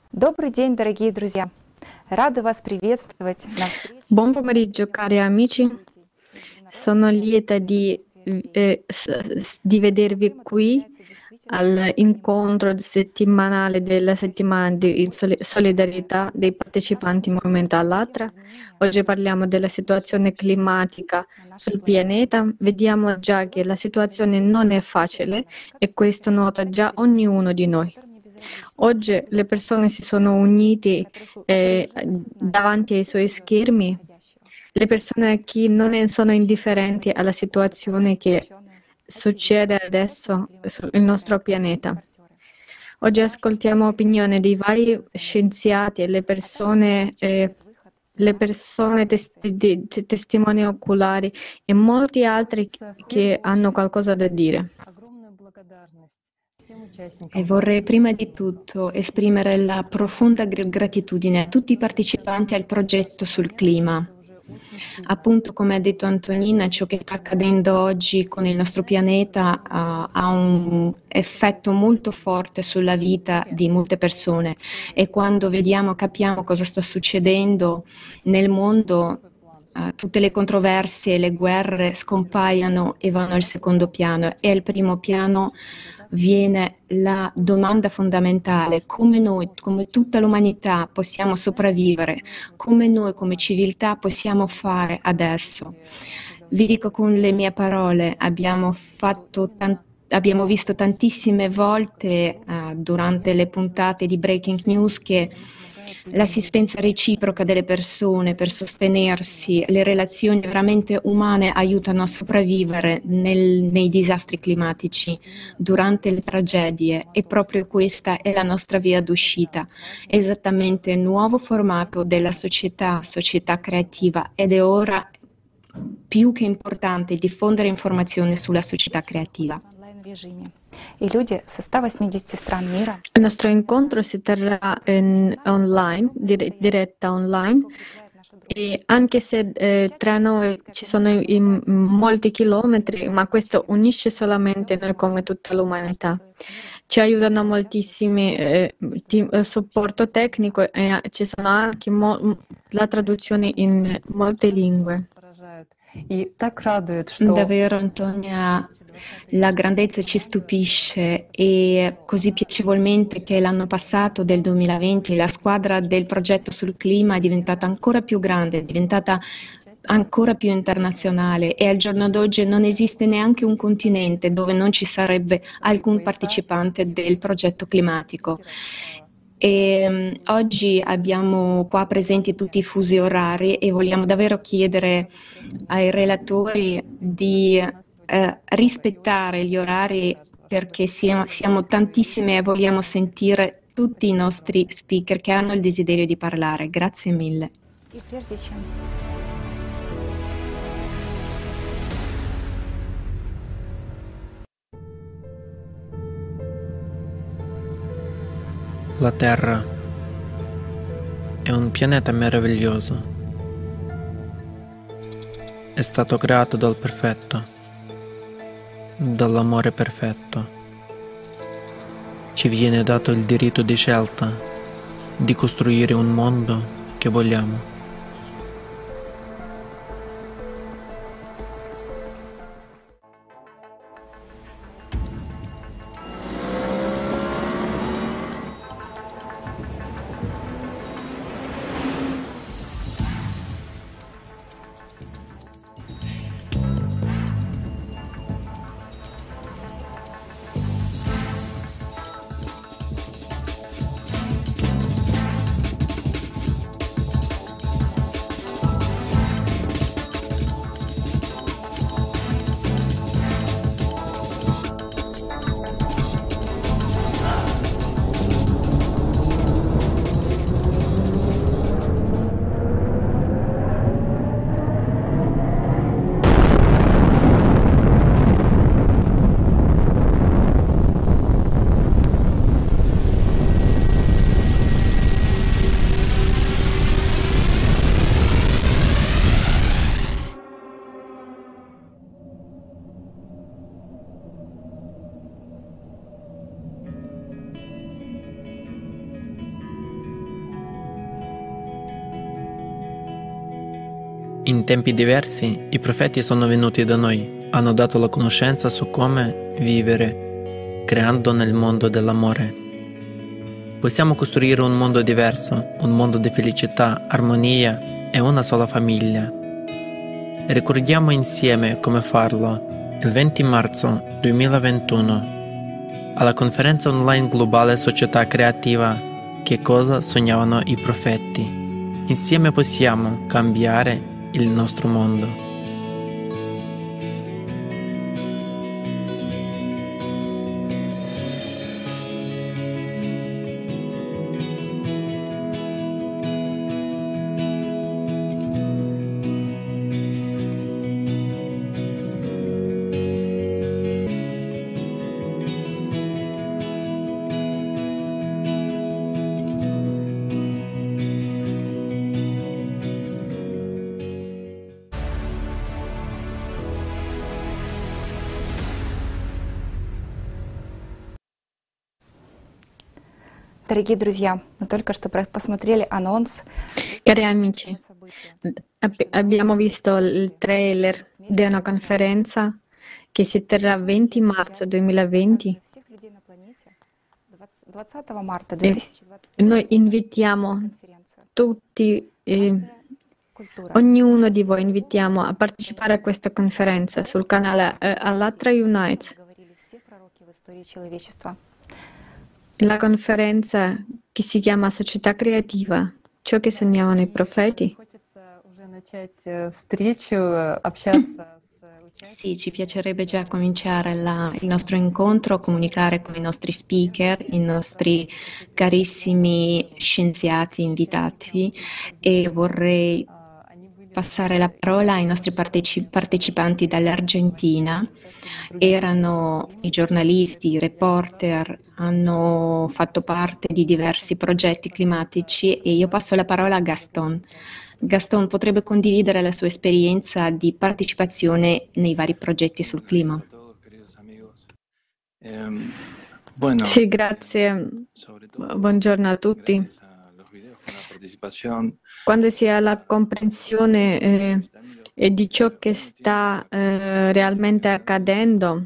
Добрый день, дорогие друзья! Рада вас приветствовать на встрече Buon pomeriggio cari amici, sono lieta di vedervi qui all'incontro settimanale della settimana di solidarietà dei partecipanti Movimento Allatra. Oggi parliamo della situazione climatica sul pianeta. Vediamo già che la situazione non è facile e questo nota già ognuno di noi. Oggi le persone si sono unite davanti ai suoi schermi, le persone che non sono indifferenti alla situazione che succede adesso sul nostro pianeta. Oggi ascoltiamo opinioni di vari scienziati e le persone testimoni oculari e molti altri che hanno qualcosa da dire. E vorrei prima di tutto esprimere la profonda gratitudine a tutti i partecipanti al progetto sul clima. Appunto, come ha detto Antonina, ciò che sta accadendo oggi con il nostro pianeta ha un effetto molto forte sulla vita di molte persone e quando capiamo cosa sta succedendo nel mondo, tutte le controversie e le guerre scompaiono e vanno al secondo piano e al primo piano viene la domanda fondamentale: come noi, come tutta l'umanità possiamo sopravvivere, come noi come civiltà possiamo fare adesso. Vi dico con le mie parole, abbiamo visto tantissime volte durante le puntate di Breaking News che l'assistenza reciproca delle persone per sostenersi, le relazioni veramente umane aiutano a sopravvivere nei disastri climatici, durante le tragedie, e proprio questa è la nostra via d'uscita, esattamente il nuovo formato della società creativa, ed è ora più che importante diffondere informazione sulla società creativa. Il nostro incontro si terrà online, diretta online, e anche se tra noi ci sono molti chilometri, ma questo unisce solamente noi come tutta l'umanità. Ci aiutano moltissimi supporto tecnico e ci sono anche la traduzione in molte lingue. Davvero, Antonia, la grandezza ci stupisce, e così piacevolmente che l'anno passato, del 2020, la squadra del progetto sul clima è diventata ancora più grande, è diventata ancora più internazionale, e al giorno d'oggi non esiste neanche un continente dove non ci sarebbe alcun partecipante del progetto climatico. E oggi abbiamo qua presenti tutti i fusi orari e vogliamo davvero chiedere ai relatori di rispettare gli orari, perché siamo tantissime e vogliamo sentire tutti i nostri speaker che hanno il desiderio di parlare. Grazie mille. La Terra è un pianeta meraviglioso. È stato creato dal perfetto, dall'amore perfetto. Ci viene dato il diritto di scelta di costruire un mondo che vogliamo. In tempi diversi, i profeti sono venuti da noi, hanno dato la conoscenza su come vivere, creando nel mondo dell'amore. Possiamo costruire un mondo diverso, un mondo di felicità, armonia e una sola famiglia. Ricordiamo insieme come farlo il 20 marzo 2021 alla conferenza online globale Società Creativa Che cosa sognavano i profeti. Insieme possiamo cambiare il nostro mondo. Дорогие друзья, мы только что посмотрели анонс. Cari amici, abbiamo visto il trailer di una conferenza che si terrà 20 marzo 2020. Всех людей на планете 20 марта E 2020 noi invitiamo конференцию. tutti, Культура. ognuno di voi invitiamo a partecipare a questa conferenza sul canale Allatra Unites. Говорили все пророки в истории человечества. La conferenza che si chiama Società Creativa, ciò che sognavano i profeti. Хочется уже начать встречу, общаться с Sì, ci piacerebbe già cominciare il nostro incontro, comunicare con i nostri speaker, i nostri carissimi scienziati invitati e vorrei passare la parola ai nostri partecipanti dall'Argentina. Erano i giornalisti, i reporter, hanno fatto parte di diversi progetti climatici e io passo la parola a Gaston. Gaston potrebbe condividere la sua esperienza di partecipazione nei vari progetti sul clima. Sì, grazie. Buongiorno a tutti. Quando si ha la comprensione di ciò che sta realmente accadendo,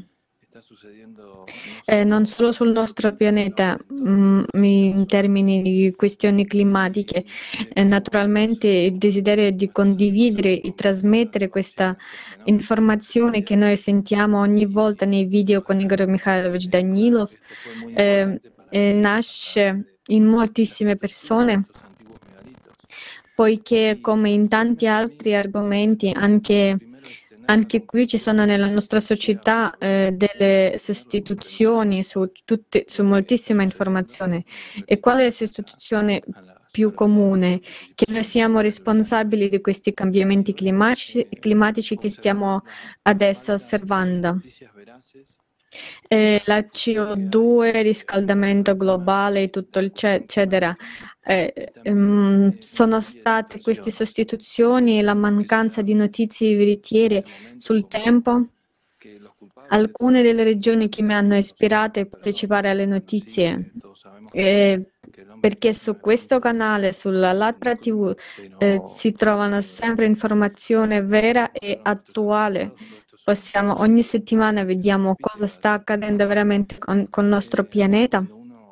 non solo sul nostro pianeta, in termini di questioni climatiche, naturalmente il desiderio di condividere e trasmettere questa informazione che noi sentiamo ogni volta nei video con Igor Mikhailovich Danilov nasce in moltissime persone, poiché come in tanti altri argomenti, anche qui ci sono nella nostra società delle sostituzioni su moltissima informazione. E qual è la sostituzione più comune? Che noi siamo responsabili di questi cambiamenti climatici che stiamo adesso osservando. La CO2, il riscaldamento globale, tutto eccetera. Sono state queste sostituzioni e la mancanza di notizie veritiere sul tempo. Alcune delle regioni che mi hanno ispirato a partecipare alle notizie, perché su questo canale, sulla Allatra TV, si trovano sempre informazione vera e attuale. Ogni settimana vediamo cosa sta accadendo veramente con il nostro pianeta.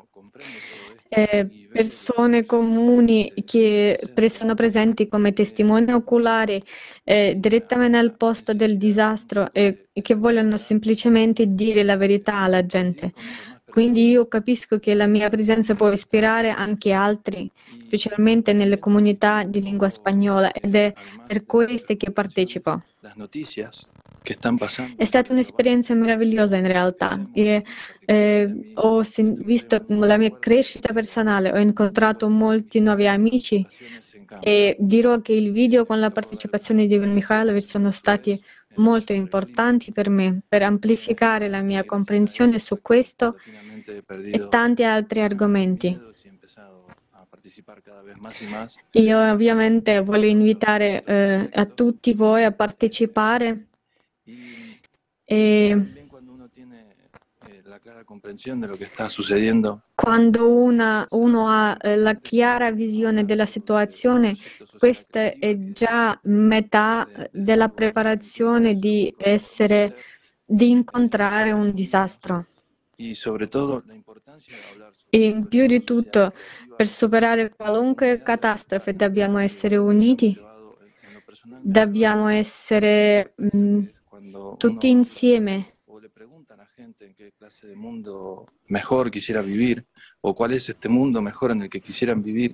Persone comuni che sono presenti come testimoni oculari direttamente al posto del disastro e che vogliono semplicemente dire la verità alla gente. Quindi io capisco che la mia presenza può ispirare anche altri, specialmente nelle comunità di lingua spagnola, ed è per queste che partecipo. È stata un'esperienza meravigliosa in realtà. Ho visto la mia crescita personale, ho incontrato molti nuovi amici e dirò che il video con la partecipazione di Igor Mikhailovich sono stati molto importanti per me, per amplificare la mia comprensione su questo e tanti altri argomenti. Io ovviamente voglio invitare a tutti voi a partecipare e Quando uno ha la chiara visione della situazione, questa è già metà della preparazione di incontrare un disastro. E in più di tutto, per superare qualunque catastrofe dobbiamo essere uniti, dobbiamo essere tutti insieme. En qué clase de mundo mejor quisiera vivir o cuál es este mundo mejor en el que quisieran vivir.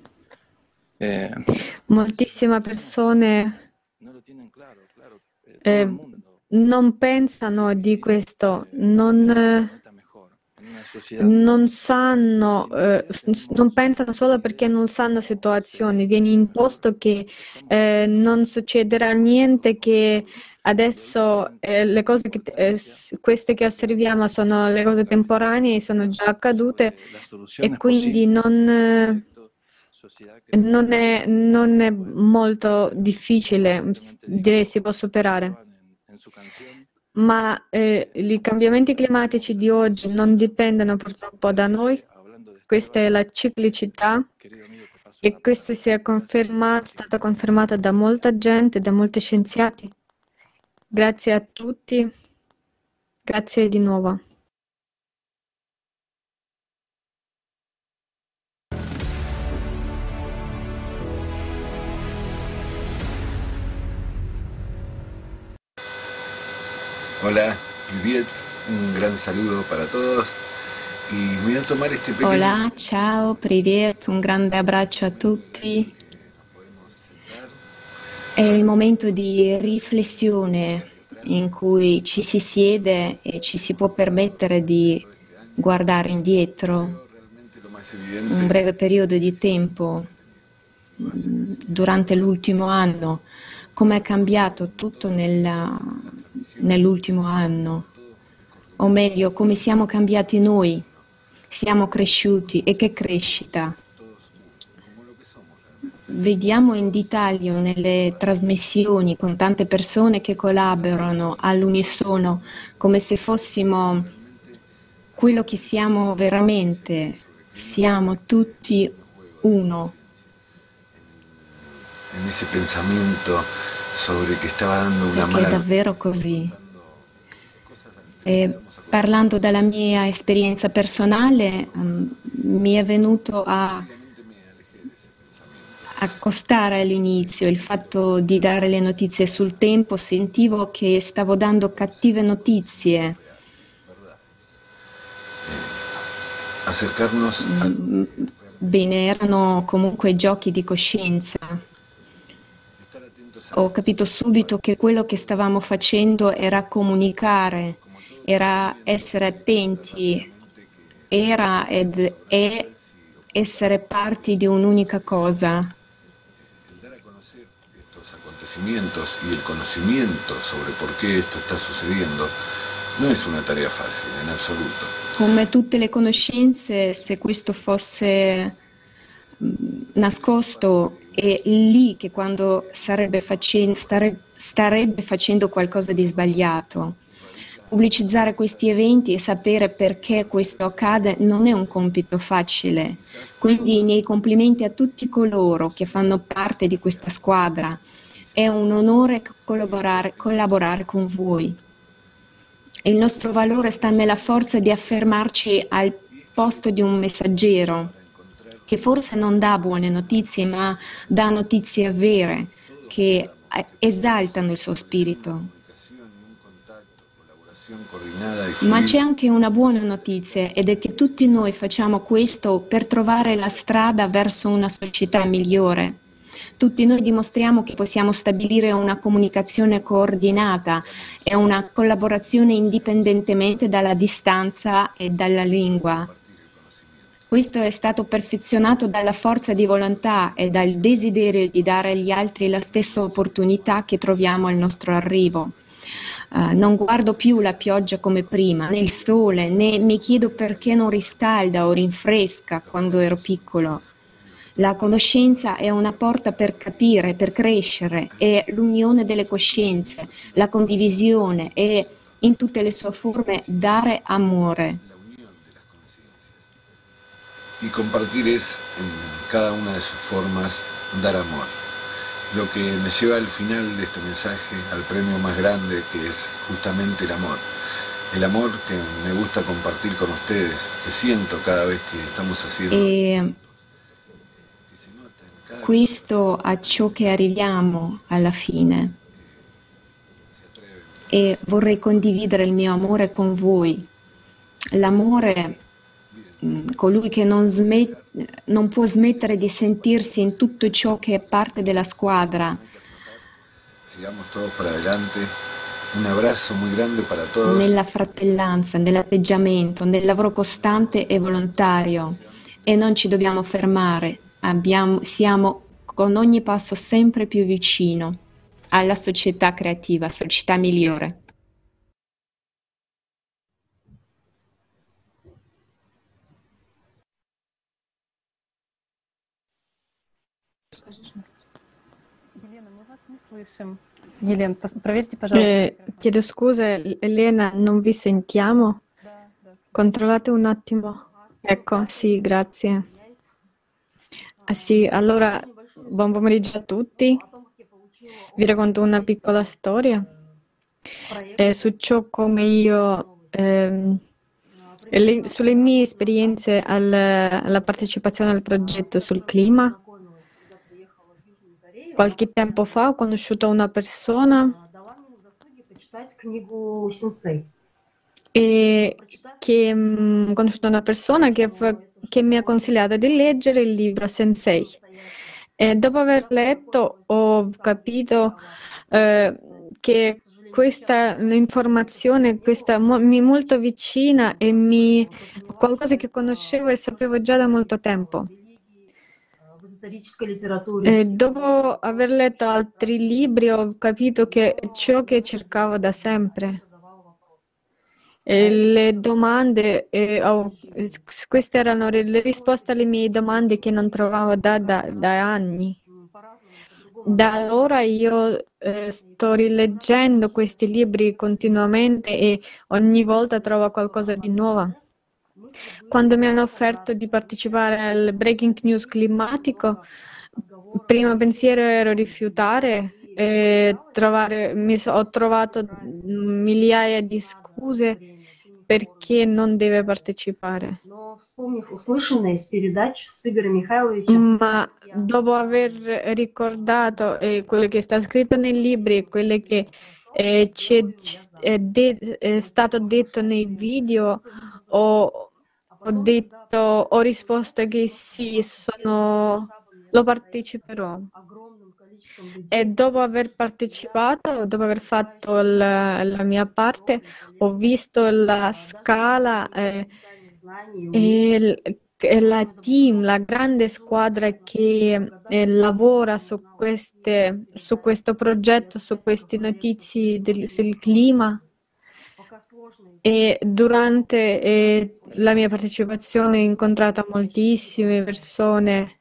Moltissime persone No lo tienen claro, todo el mundo non pensano di questo, non sanno, non pensano solo perché non sanno situazioni. Viene imposto che non succederà niente, che adesso le cose queste che osserviamo sono le cose temporanee, sono già accadute e quindi non è molto difficile, direi si può superare. Ma i cambiamenti climatici di oggi non dipendono purtroppo da noi, questa è la ciclicità e questo è stata confermata da molta gente, da molti scienziati. Grazie a tutti, grazie di nuovo. Hola, Privet, un gran saludo para todos y voy a tomar este pequeño... Hola, ciao, privet, un grande abbraccio a tutti. È il momento di riflessione in cui ci si siede e ci si può permettere di guardare indietro un breve periodo di tempo durante l'ultimo anno, come è cambiato tutto nell'ultimo anno, o meglio, come siamo cambiati noi, siamo cresciuti e che crescita. Vediamo in dettaglio nelle trasmissioni con tante persone che collaborano all'unisono, come se fossimo quello che siamo veramente, siamo tutti uno. En ese pensamiento sobre que stava dando una Perché è davvero così. Parlando dalla mia esperienza personale, mi è venuto a accostare all'inizio il fatto di dare le notizie sul tempo, sentivo che stavo dando cattive notizie. Acercarnos Bene, erano comunque giochi di coscienza. Ho capito subito che quello che stavamo facendo era comunicare, era essere attenti, era ed è essere parti di un'unica cosa. dar a conocer estos acontecimientos y el conocimiento sobre por qué esto está sucediendo no es una tarea fácil en absoluto. Come tutte le conoscenze, se questo fosse nascosto, è lì che quando starebbe facendo qualcosa di sbagliato. Pubblicizzare questi eventi e sapere perché questo accade non è un compito facile. Quindi i miei complimenti a tutti coloro che fanno parte di questa squadra. È un onore collaborare con voi. Il nostro valore sta nella forza di affermarci al posto di un messaggero che forse non dà buone notizie, ma dà notizie vere che esaltano il suo spirito. Ma c'è anche una buona notizia ed è che tutti noi facciamo questo per trovare la strada verso una società migliore. Tutti noi dimostriamo che possiamo stabilire una comunicazione coordinata e una collaborazione indipendentemente dalla distanza e dalla lingua. Questo è stato perfezionato dalla forza di volontà e dal desiderio di dare agli altri la stessa opportunità che troviamo al nostro arrivo. Non guardo più la pioggia come prima, né il sole, né mi chiedo perché non riscalda o rinfresca quando ero piccolo. La conoscenza è una porta per capire, per crescere, è l'unione delle coscienze, la condivisione e in tutte le sue forme dare amore. y compartir es, en cada una de sus formas, dar amor. Lo que me lleva al final de este mensaje, al premio más grande, que es justamente el amor. El amor que me gusta compartir con ustedes, que siento cada vez que estamos haciendo. E questo a ciò che arriviamo alla fine. E vorrei condividere il mio amore con voi. L'amore, colui che non può smettere di sentirsi in tutto ciò che è parte della squadra. Sigamos todos para adelante. Un abbraccio muy grande para todos. Nella fratellanza, nell'atteggiamento, nel lavoro costante e volontario. E non ci dobbiamo fermare. Siamo con ogni passo sempre più vicino alla società creativa, società migliore. Елена, мы вас не слышим. Елена, проверьте, пожалуйста. Chiedo scusa, Elena, non vi sentiamo? Controllate un attimo. Ecco, sì, grazie. Sì, allora, buon pomeriggio a tutti. Vi racconto una piccola storia su ciò come io, sulle mie esperienze alla partecipazione al progetto sul clima. Qualche tempo fa ho conosciuto una persona che mi ha consigliato di leggere il libro Sensei. E dopo aver letto ho capito che questa informazione mi è molto vicina e qualcosa che conoscevo e sapevo già da molto tempo. E dopo aver letto altri libri ho capito che ciò che cercavo da sempre. E le domande, queste erano le risposte alle mie domande che non trovavo da anni. Da allora io sto rileggendo questi libri continuamente e ogni volta trovo qualcosa di nuovo. Quando mi hanno offerto di partecipare al Breaking News climatico, il primo pensiero era rifiutare e ho trovato migliaia di scuse perché non deve partecipare. Ma dopo aver ricordato quello che sta scritto nei libri e quello che è stato detto nei video, ho risposto che sì, lo parteciperò. E dopo aver partecipato, dopo aver fatto la mia parte, ho visto la scala e la team, la grande squadra che lavora su questo progetto, su queste notizie del clima. E durante la mia partecipazione ho incontrato moltissime persone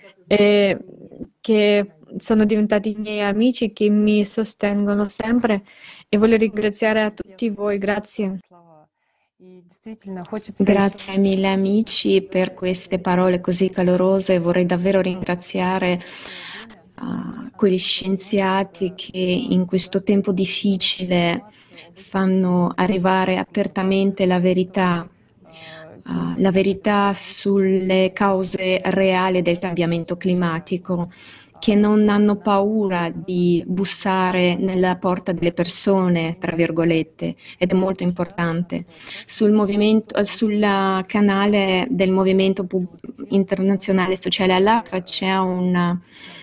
che sono diventati miei amici, che mi sostengono sempre e voglio ringraziare a tutti voi. Grazie. Grazie mille amici per queste parole così calorose. Vorrei davvero ringraziare quegli scienziati che in questo tempo difficile fanno arrivare apertamente la verità sulle cause reali del cambiamento climatico, che non hanno paura di bussare nella porta delle persone, tra virgolette, ed è molto importante. Sul canale del Movimento Internazionale Sociale all'Acqua c'è un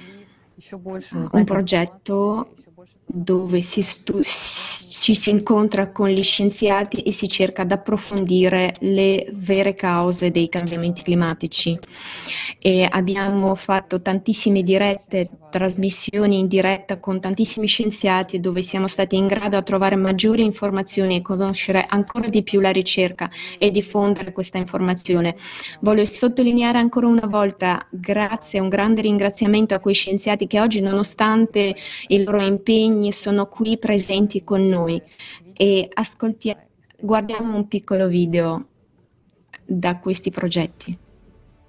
progetto dove ci si incontra con gli scienziati e si cerca di approfondire le vere cause dei cambiamenti climatici. E abbiamo fatto tantissime trasmissioni in diretta con tantissimi scienziati dove siamo stati in grado di trovare maggiori informazioni e conoscere ancora di più la ricerca e diffondere questa informazione. Voglio sottolineare ancora una volta un grande ringraziamento a quei scienziati che oggi, nonostante i loro impegni, sono qui presenti con noi. E guardiamo un piccolo video da questi progetti.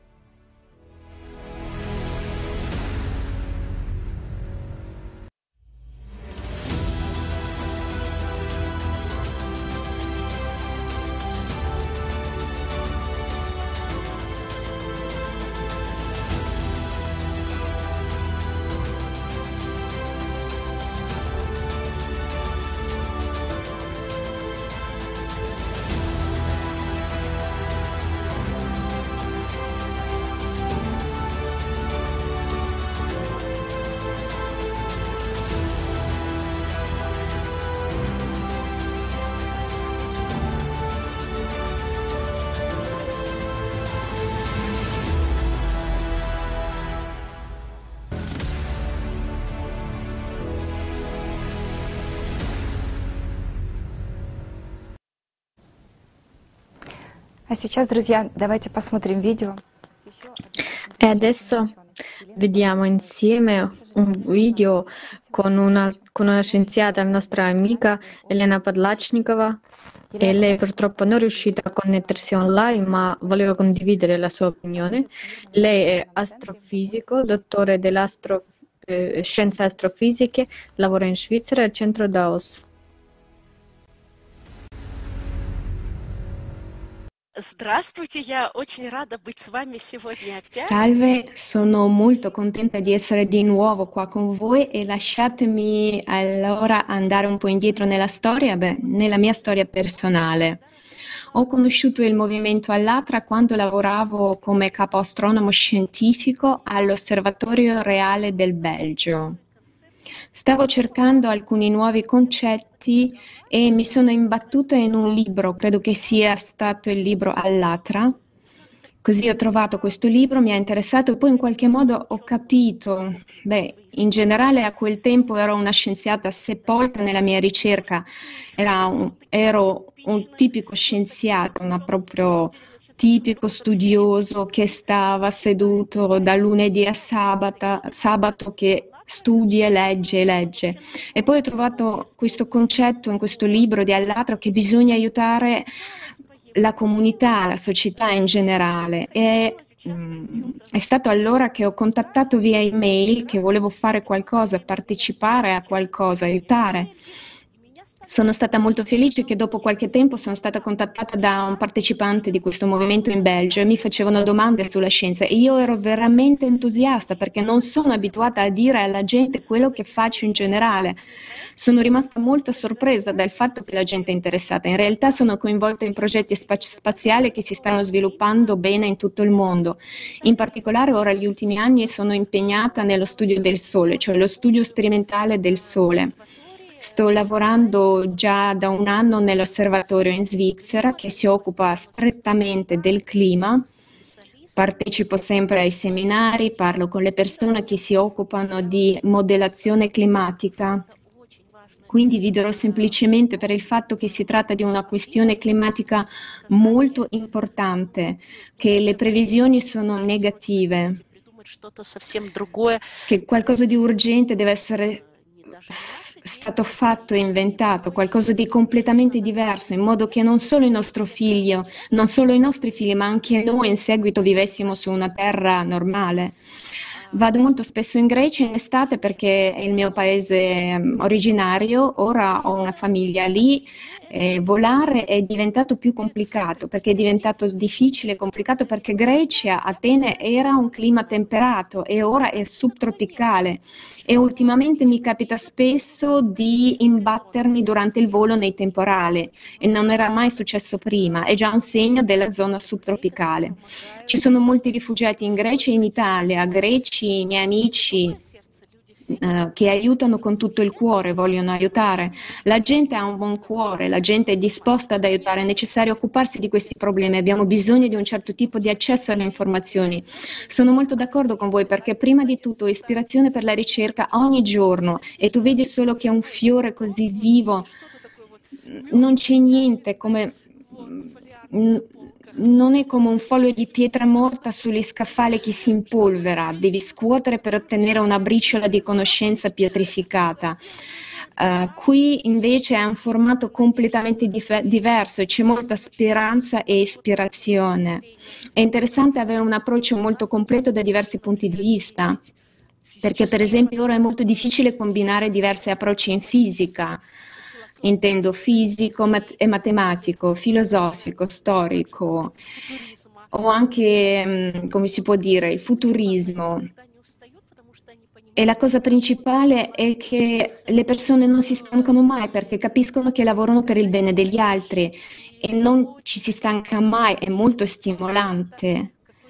А сейчас, друзья, давайте посмотрим видео. E adesso vediamo insieme un video con una scienziata, la nostra amica Elena Padlachnikova, e lei purtroppo non è riuscita a connettersi online, ma voleva condividere la sua opinione. Lei è astrofisico, dottore delle scienze astrofisiche, lavora in Svizzera al centro Davos. Здравствуйте, я очень рада быть с вами сегодня опять. Salve, sono molto contenta di essere di nuovo qua con voi e lasciatemi allora andare un po' indietro nella storia, nella mia storia personale. Ho conosciuto il movimento Allatra quando lavoravo come capo astronomo scientifico all'Osservatorio Reale del Belgio. Stavo cercando alcuni nuovi concetti e mi sono imbattuta in un libro, credo che sia stato il libro Allatra. Così ho trovato questo libro, mi ha interessato e poi in qualche modo ho capito, in generale a quel tempo ero una scienziata sepolta nella mia ricerca, ero un tipico scienziato, proprio tipico studioso che stava seduto da lunedì a sabato che studia, legge e legge. E poi ho trovato questo concetto in questo libro di Allatra che bisogna aiutare la comunità, la società in generale. E è stato allora che ho contattato via email che volevo fare qualcosa, partecipare a qualcosa, aiutare. Sono stata molto felice che dopo qualche tempo sono stata contattata da un partecipante di questo movimento in Belgio e mi facevano domande sulla scienza e io ero veramente entusiasta perché non sono abituata a dire alla gente quello che faccio in generale. Sono rimasta molto sorpresa dal fatto che la gente è interessata. In realtà sono coinvolta in progetti spaziali che si stanno sviluppando bene in tutto il mondo. In particolare ora negli ultimi anni sono impegnata nello studio del Sole, cioè lo studio sperimentale del Sole. Sto lavorando già da un anno nell'osservatorio in Svizzera che si occupa strettamente del clima. Partecipo sempre ai seminari, parlo con le persone che si occupano di modellazione climatica. Quindi vi dirò semplicemente per il fatto che si tratta di una questione climatica molto importante, che le previsioni sono negative, che qualcosa di urgente deve essere stato fatto e inventato, qualcosa di completamente diverso, in modo che non solo il nostro figlio, non solo i nostri figli, ma anche noi in seguito vivessimo su una terra normale. Vado molto spesso in Grecia in estate perché è il mio paese originario, ora ho una famiglia lì, volare è diventato più complicato perché è diventato difficile e complicato perché Grecia, Atene era un clima temperato e ora è subtropicale e ultimamente mi capita spesso di imbattermi durante il volo nei temporali e non era mai successo prima, è già un segno della zona subtropicale. Ci sono molti rifugiati in Grecia e in Italia, greci, miei amici che aiutano con tutto il cuore, vogliono aiutare. La gente ha un buon cuore, la gente è disposta ad aiutare, è necessario occuparsi di questi problemi, abbiamo bisogno di un certo tipo di accesso alle informazioni. Sono molto d'accordo con voi perché prima di tutto ispirazione per la ricerca ogni giorno e tu vedi solo che è un fiore così vivo, non c'è niente come... Non è come un foglio di pietra morta sugli scaffali che si impolvera, devi scuotere per ottenere una briciola di conoscenza pietrificata. Qui invece è un formato completamente diverso e c'è molta speranza e ispirazione. È interessante avere un approccio molto completo da diversi punti di vista, perché per esempio ora è molto difficile combinare diversi approcci in fisica. Intendo fisico e matematico, filosofico, storico o anche, come si può dire, il futurismo. E la cosa principale è che le persone non si stancano mai perché capiscono che lavorano per il bene degli altri e non ci si stanca mai, è molto stimolante.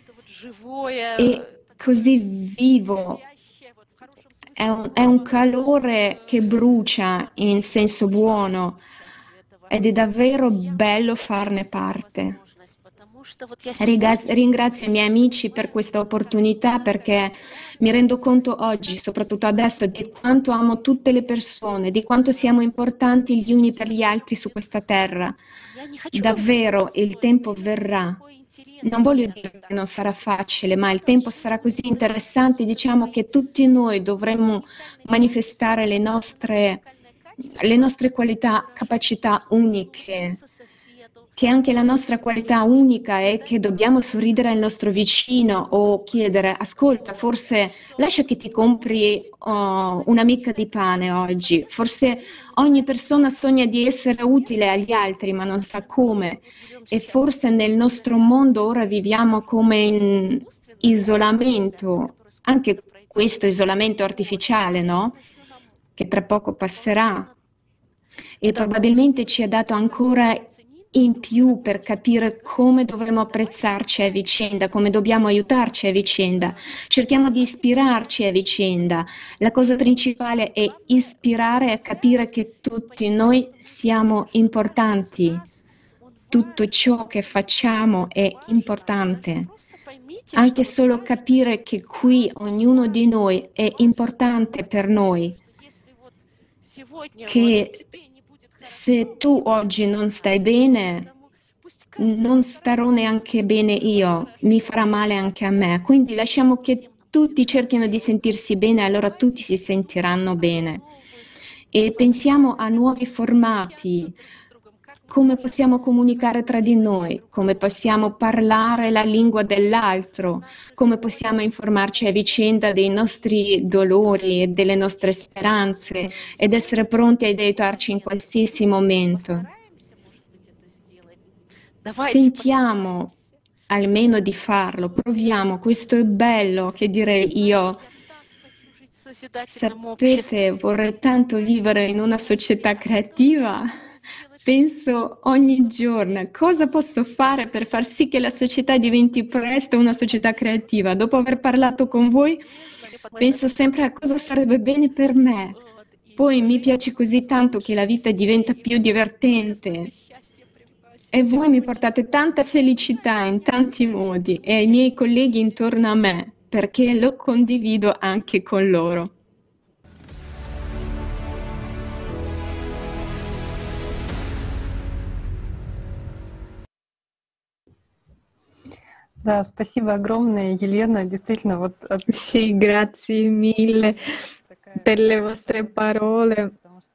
È così vivo. È un calore che brucia in senso buono ed è davvero bello farne parte. Ringrazio i miei amici per questa opportunità perché mi rendo conto oggi, soprattutto adesso, di quanto amo tutte le persone, di quanto siamo importanti gli uni per gli altri su questa terra. Davvero il tempo verrà. Non voglio dire che non sarà facile, ma il tempo sarà così interessante, diciamo che tutti noi dovremmo manifestare le nostre qualità, capacità uniche, che anche la nostra qualità unica è che dobbiamo sorridere al nostro vicino o chiedere, ascolta, forse lascia che ti compri una mica di pane oggi, forse ogni persona sogna di essere utile agli altri ma non sa come e forse nel nostro mondo ora viviamo come in isolamento, anche questo isolamento artificiale, no? Che tra poco passerà e probabilmente ci ha dato ancora in più per capire come dovremmo apprezzarci a vicenda, come dobbiamo aiutarci a vicenda. Cerchiamo di ispirarci a vicenda. La cosa principale è ispirare a capire che tutti noi siamo importanti. Tutto ciò che facciamo è importante. Anche solo capire che qui ognuno di noi è importante per noi. Che se tu oggi non stai bene, non starò neanche bene io, mi farà male anche a me. Quindi lasciamo che tutti cerchino di sentirsi bene, allora tutti si sentiranno bene. E pensiamo a nuovi formati, come possiamo comunicare tra di noi, come possiamo parlare la lingua dell'altro, come possiamo informarci a vicenda dei nostri dolori e delle nostre speranze ed essere pronti ad aiutarci in qualsiasi momento. Tentiamo almeno di farlo, proviamo, questo è bello, che direi io. Sapete, vorrei tanto vivere in una società creativa. Penso ogni giorno, cosa posso fare per far sì che la società diventi presto una società creativa? Dopo aver parlato con voi, penso sempre a cosa sarebbe bene per me. Poi mi piace così tanto che la vita diventa più divertente. E voi mi portate tanta felicità in tanti modi e ai miei colleghi intorno a me, perché lo condivido anche con loro. Да, спасибо огромное, Елена. Действительно, вот Sì, grazie mille per le vostre parole.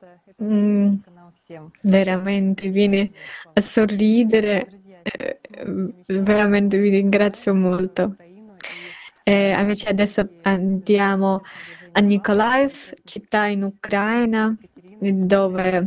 Veramente vieni a sorridere, veramente vi ringrazio molto. Amici, adesso andiamo a Mykolaiv, città in Ucraina, dove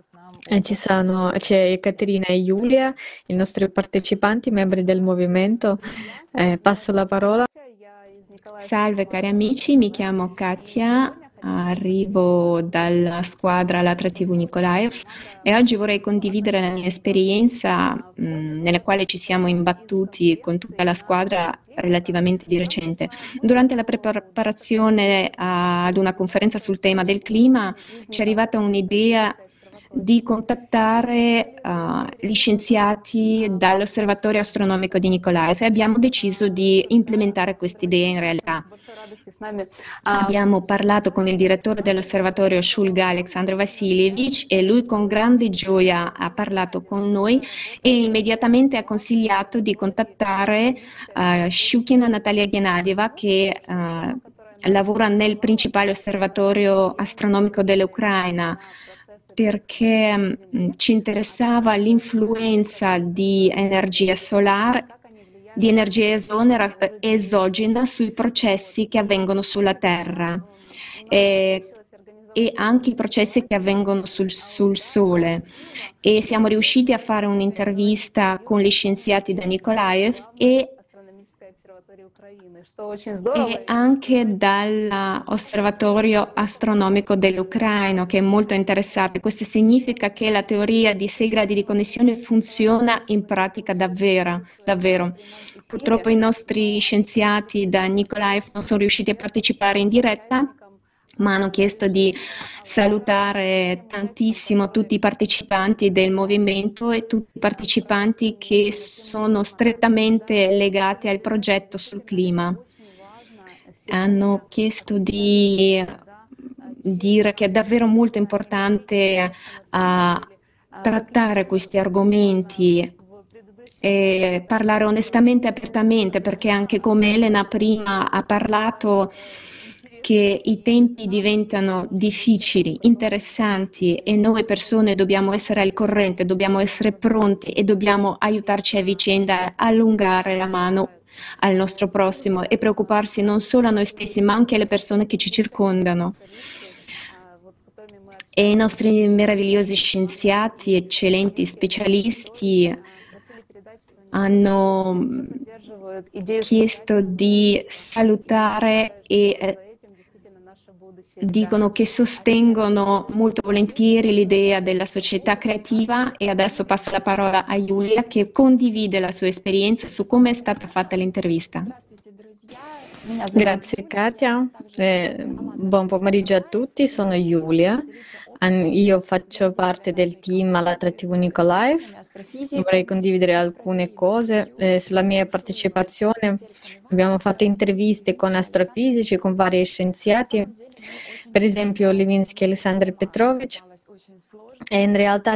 c'è Ekaterina e Giulia, i nostri partecipanti, membri del movimento. Passo la parola. Salve cari amici, mi chiamo Katia, arrivo dalla squadra Latra TV Mykolaiv e oggi vorrei condividere la mia esperienza nella quale ci siamo imbattuti con tutta la squadra relativamente di recente. Durante la preparazione ad una conferenza sul tema del clima ci è arrivata un'idea di contattare gli scienziati dall'Osservatorio Astronomico di Mykolaiv e abbiamo deciso di implementare quest'idea in realtà. Abbiamo parlato con il direttore dell'osservatorio Shulga Alexandr Vassilievich e lui con grande gioia ha parlato con noi e immediatamente ha consigliato di contattare Shukina Natalia Gennadieva che lavora nel principale osservatorio astronomico dell'Ucraina, perché ci interessava l'influenza di energia solare, di energia esogena sui processi che avvengono sulla Terra e anche i processi che avvengono sul Sole. E siamo riusciti a fare un'intervista con gli scienziati da Mykolaiv e anche dall'Osservatorio Astronomico dell'Ucraina, che è molto interessato. Questo significa che la teoria di 6 gradi di connessione funziona in pratica davvero. Purtroppo i nostri scienziati da Mykolaiv non sono riusciti a partecipare in diretta, ma hanno chiesto di salutare tantissimo tutti i partecipanti del movimento e tutti i partecipanti che sono strettamente legati al progetto sul clima. Hanno chiesto di dire che è davvero molto importante trattare questi argomenti e parlare onestamente e apertamente, perché anche come Elena prima ha parlato che i tempi diventano difficili, interessanti e noi persone dobbiamo essere al corrente, dobbiamo essere pronti e dobbiamo aiutarci a vicenda, a allungare la mano al nostro prossimo e preoccuparsi non solo a noi stessi ma anche alle persone che ci circondano. E i nostri meravigliosi scienziati, eccellenti specialisti hanno chiesto di salutare e dicono che sostengono molto volentieri l'idea della società creativa e adesso passo la parola a Giulia che condivide la sua esperienza su come è stata fatta l'intervista. Grazie Katia, buon pomeriggio a tutti, sono Giulia, io faccio parte del team all'Attrattivo Nikolaev. Vorrei condividere alcune cose sulla mia partecipazione. Abbiamo fatto interviste con astrofisici, con vari scienziati, per esempio Levinsky e Alexander Petrovich, e in realtà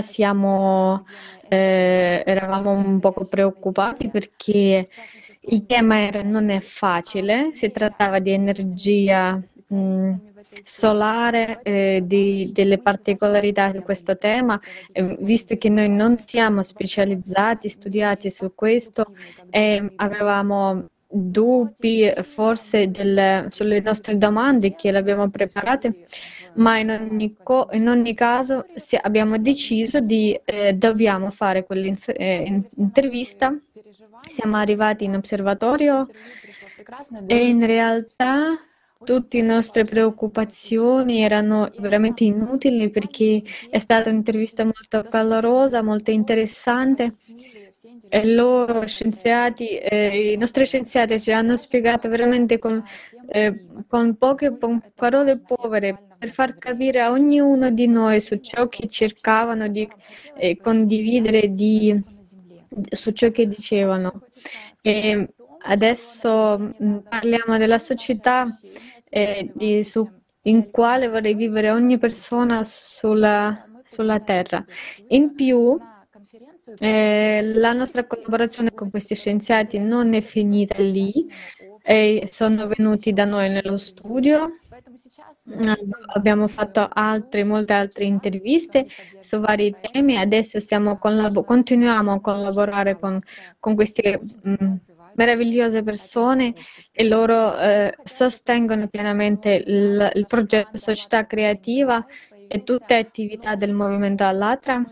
eravamo un poco preoccupati perché il tema non è facile, si trattava di energia solare, delle particolarità su questo tema, visto che noi non siamo specializzati, studiati su questo, avevamo dubbi forse sulle nostre domande che le abbiamo preparate, ma in ogni caso abbiamo deciso di dobbiamo fare quell'intervista. Siamo arrivati in osservatorio e in realtà tutte le nostre preoccupazioni erano veramente inutili perché è stata un'intervista molto calorosa, molto interessante. E loro scienziati, i nostri scienziati ci hanno spiegato veramente con poche parole povere per far capire a ognuno di noi su ciò che cercavano di condividere su ciò che dicevano. E adesso parliamo della società in quale vorrei vivere ogni persona sulla Terra. In più, la nostra collaborazione con questi scienziati non è finita lì, sono venuti da noi nello studio. Abbiamo fatto molte altre interviste su vari temi. Adesso continuiamo a collaborare con queste meravigliose persone e loro sostengono pienamente il progetto Società Creativa e tutte le attività del movimento ALLATRA.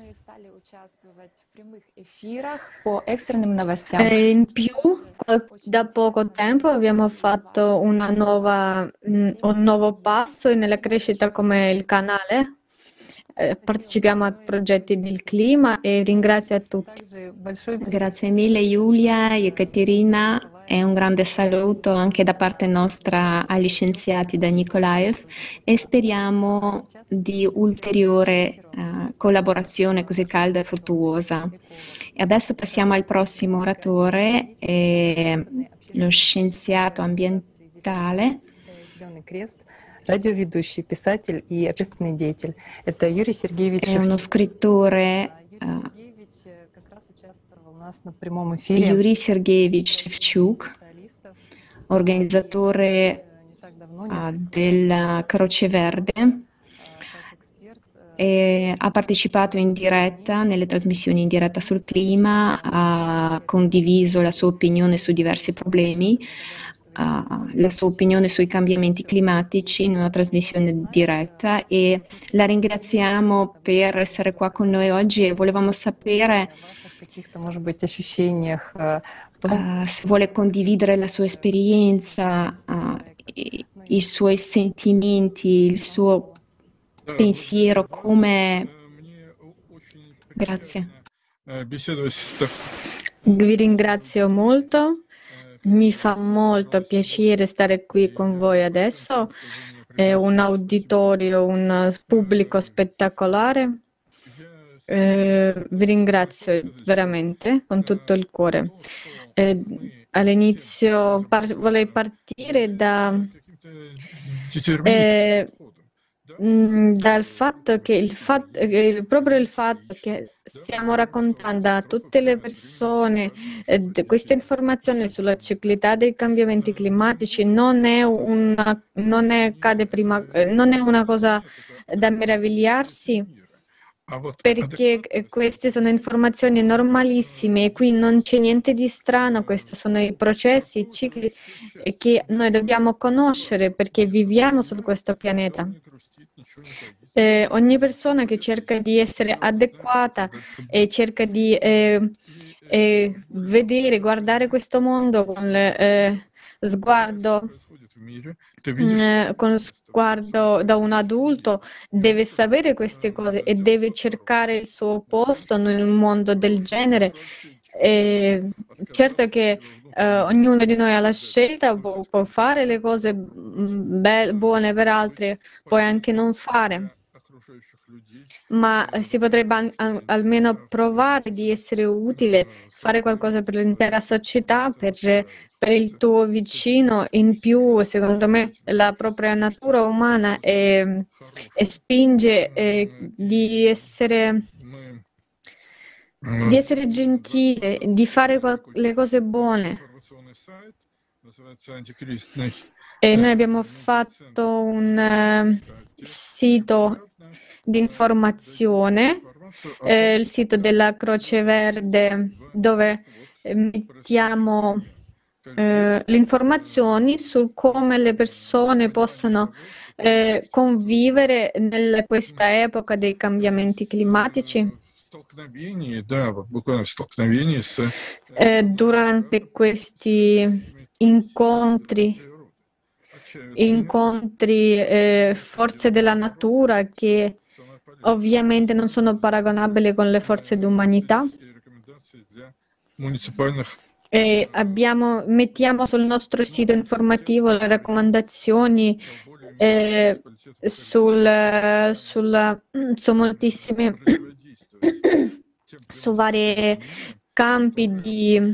In più, da poco tempo abbiamo fatto un nuovo passo nella crescita come il canale. Partecipiamo a progetti del clima e ringrazio a tutti. Grazie mille Giulia e Caterina e un grande saluto anche da parte nostra agli scienziati da Nikolaev e speriamo di ulteriore collaborazione così calda e fruttuosa. E adesso passiamo al prossimo oratore, lo scienziato ambientale. Радиоведущий, писатель и общественный деятель. Это Юрий Сергеевич È uno scrittore, Юрий Сергеевич Шевчук, organizzatore della Croce Verde, e ha partecipato in diretta nelle trasmissioni in diretta sul clima, ha condiviso la sua opinione su diversi problemi, la sua opinione sui cambiamenti climatici in una trasmissione diretta e la ringraziamo per essere qua con noi oggi e volevamo sapere se vuole condividere la sua esperienza, i suoi sentimenti, il suo pensiero, come... Grazie. Vi ringrazio molto. Mi fa molto piacere stare qui con voi adesso. un auditorio, un pubblico spettacolare. Vi ringrazio veramente con tutto il cuore. All'inizio vorrei partire dal fatto che proprio il fatto che stiamo raccontando a tutte le persone queste informazioni sulla ciclicità dei cambiamenti climatici non è una cosa da meravigliarsi, perché queste sono informazioni normalissime e qui non c'è niente di strano. Questi sono i processi, i cicli che noi dobbiamo conoscere perché viviamo su questo pianeta. Ogni persona che cerca di essere adeguata e cerca di guardare questo mondo con lo sguardo da un adulto, deve sapere queste cose e deve cercare il suo posto in un mondo del genere. Certo che ognuno di noi ha la scelta, può fare le cose buone per altri, puoi anche non fare, ma si potrebbe almeno provare di essere utile, fare qualcosa per l'intera società, per il tuo vicino. In più, secondo me, la propria natura umana spinge di essere gentile, di fare le cose buone. E noi abbiamo fatto un sito di informazione, il sito della Croce Verde, dove mettiamo le informazioni su come le persone possano convivere in questa epoca dei cambiamenti climatici. Durante questi incontri, forze della natura che ovviamente non sono paragonabili con le forze d'umanità. E mettiamo sul nostro sito informativo le raccomandazioni su moltissime su vari campi di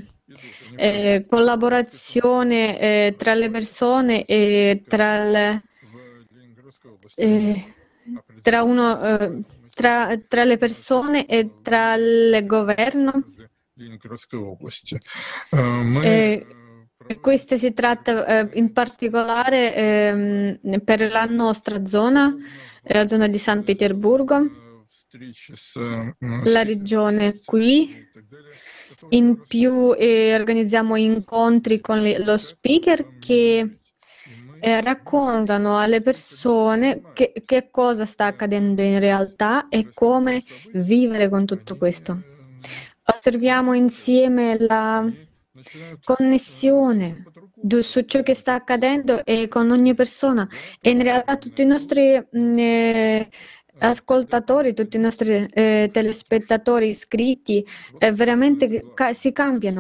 collaborazione tra le persone e tra le persone e tra il governo. Questo si tratta in particolare per la nostra zona, la zona di San Pietroburgo, la regione qui. In più organizziamo incontri con lo speaker che raccontano alle persone che cosa sta accadendo in realtà e come vivere con tutto questo. Osserviamo insieme la connessione su ciò che sta accadendo e con ogni persona, e in realtà tutti i nostri ascoltatori, tutti i nostri telespettatori iscritti veramente si cambiano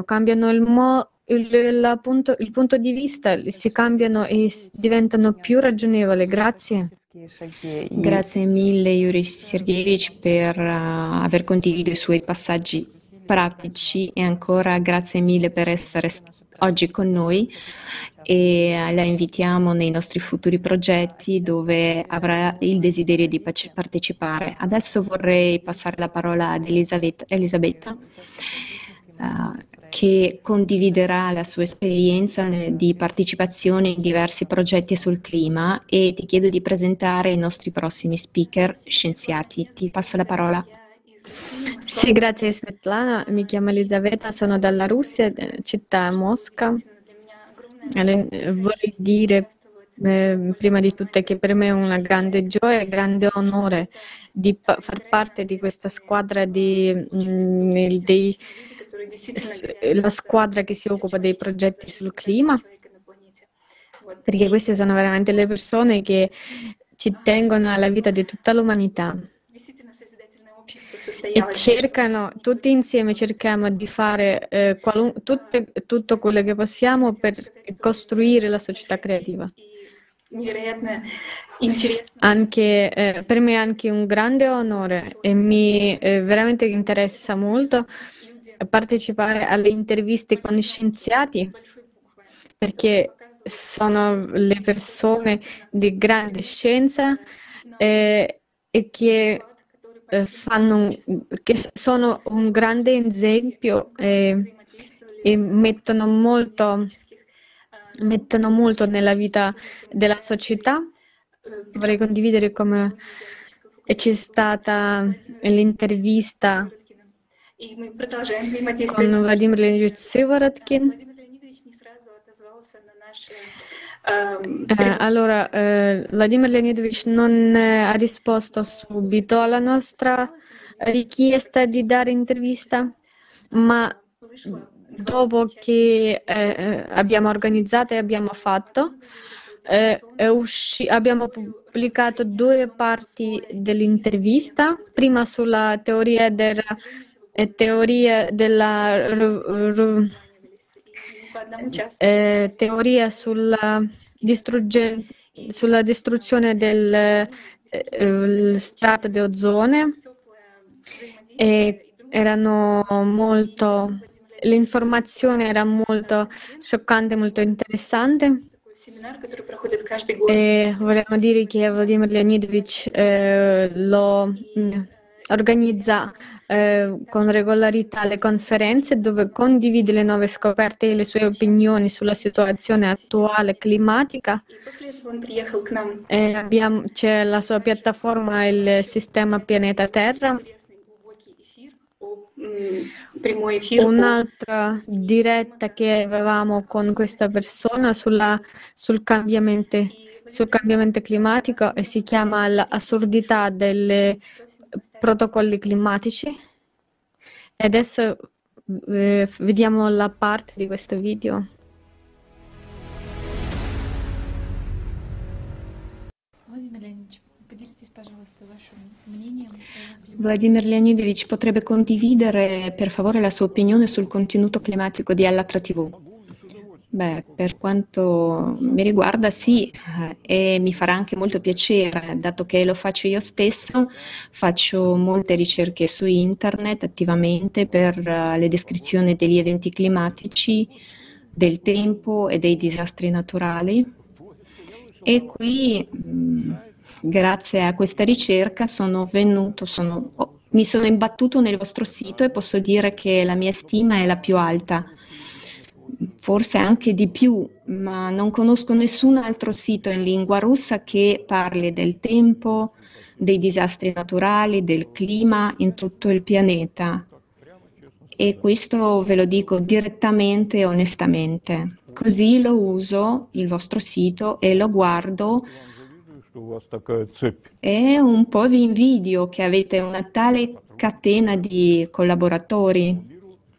il punto di vista, si cambiano e diventano più ragionevoli. Grazie. Grazie mille Yuri Sergeyevich per aver condiviso i suoi passaggi pratici, e ancora grazie mille per essere oggi con noi, e la invitiamo nei nostri futuri progetti dove avrà il desiderio di partecipare. Adesso vorrei passare la parola ad Elisabetta, che condividerà la sua esperienza di partecipazione in diversi progetti sul clima, e ti chiedo di presentare i nostri prossimi speaker scienziati. Ti passo la parola. Sì, grazie Svetlana, mi chiamo Elisabetta, sono dalla Russia, città Mosca. Vorrei dire prima di tutto che per me è una grande gioia e grande onore di far parte di questa squadra la squadra che si occupa dei progetti sul clima, perché queste sono veramente le persone che ci tengono alla vita di tutta l'umanità. E tutti insieme cerchiamo di fare tutto quello che possiamo per costruire la società creativa. Anche, per me è anche un grande onore e mi veramente interessa molto partecipare alle interviste con scienziati perché sono le persone di grande scienza e che che sono un grande esempio e mettono molto nella vita della società. Vorrei condividere come c'è stata l'intervista con Vladimir Leonidovich Sivorotkин. Allora, Vladimir Leonidovich non ha risposto subito alla nostra richiesta di dare intervista, ma dopo che abbiamo organizzato e abbiamo fatto, abbiamo pubblicato 2 parti dell'intervista, prima sulla teoria teoria sulla distruzione del strato di ozone e l'informazione era molto scioccante, molto interessante. E vogliamo dire che Vladimir Leonidovich lo organizza con regolarità le conferenze dove condivide le nuove scoperte e le sue opinioni sulla situazione attuale climatica. C'è la sua piattaforma, il sistema Pianeta Terra. Un'altra diretta che avevamo con questa persona sul cambiamento climatico e si chiama l'assurdità dei protocolli climatici. E adesso vediamo la parte di questo video. Vladimir Leonidovich potrebbe condividere per favore la sua opinione sul contenuto climatico di Allatra TV? Beh, per quanto mi riguarda sì, e mi farà anche molto piacere, dato che lo faccio io stesso, faccio molte ricerche su internet attivamente per le descrizioni degli eventi climatici, del tempo e dei disastri naturali. E qui, grazie a questa ricerca, mi sono imbattuto nel vostro sito e posso dire che la mia stima è la più alta. Forse anche di più, ma non conosco nessun altro sito in lingua russa che parli del tempo, dei disastri naturali, del clima in tutto il pianeta. E questo ve lo dico direttamente e onestamente. Così lo uso, il vostro sito, e lo guardo e un po' vi invidio che avete una tale catena di collaboratori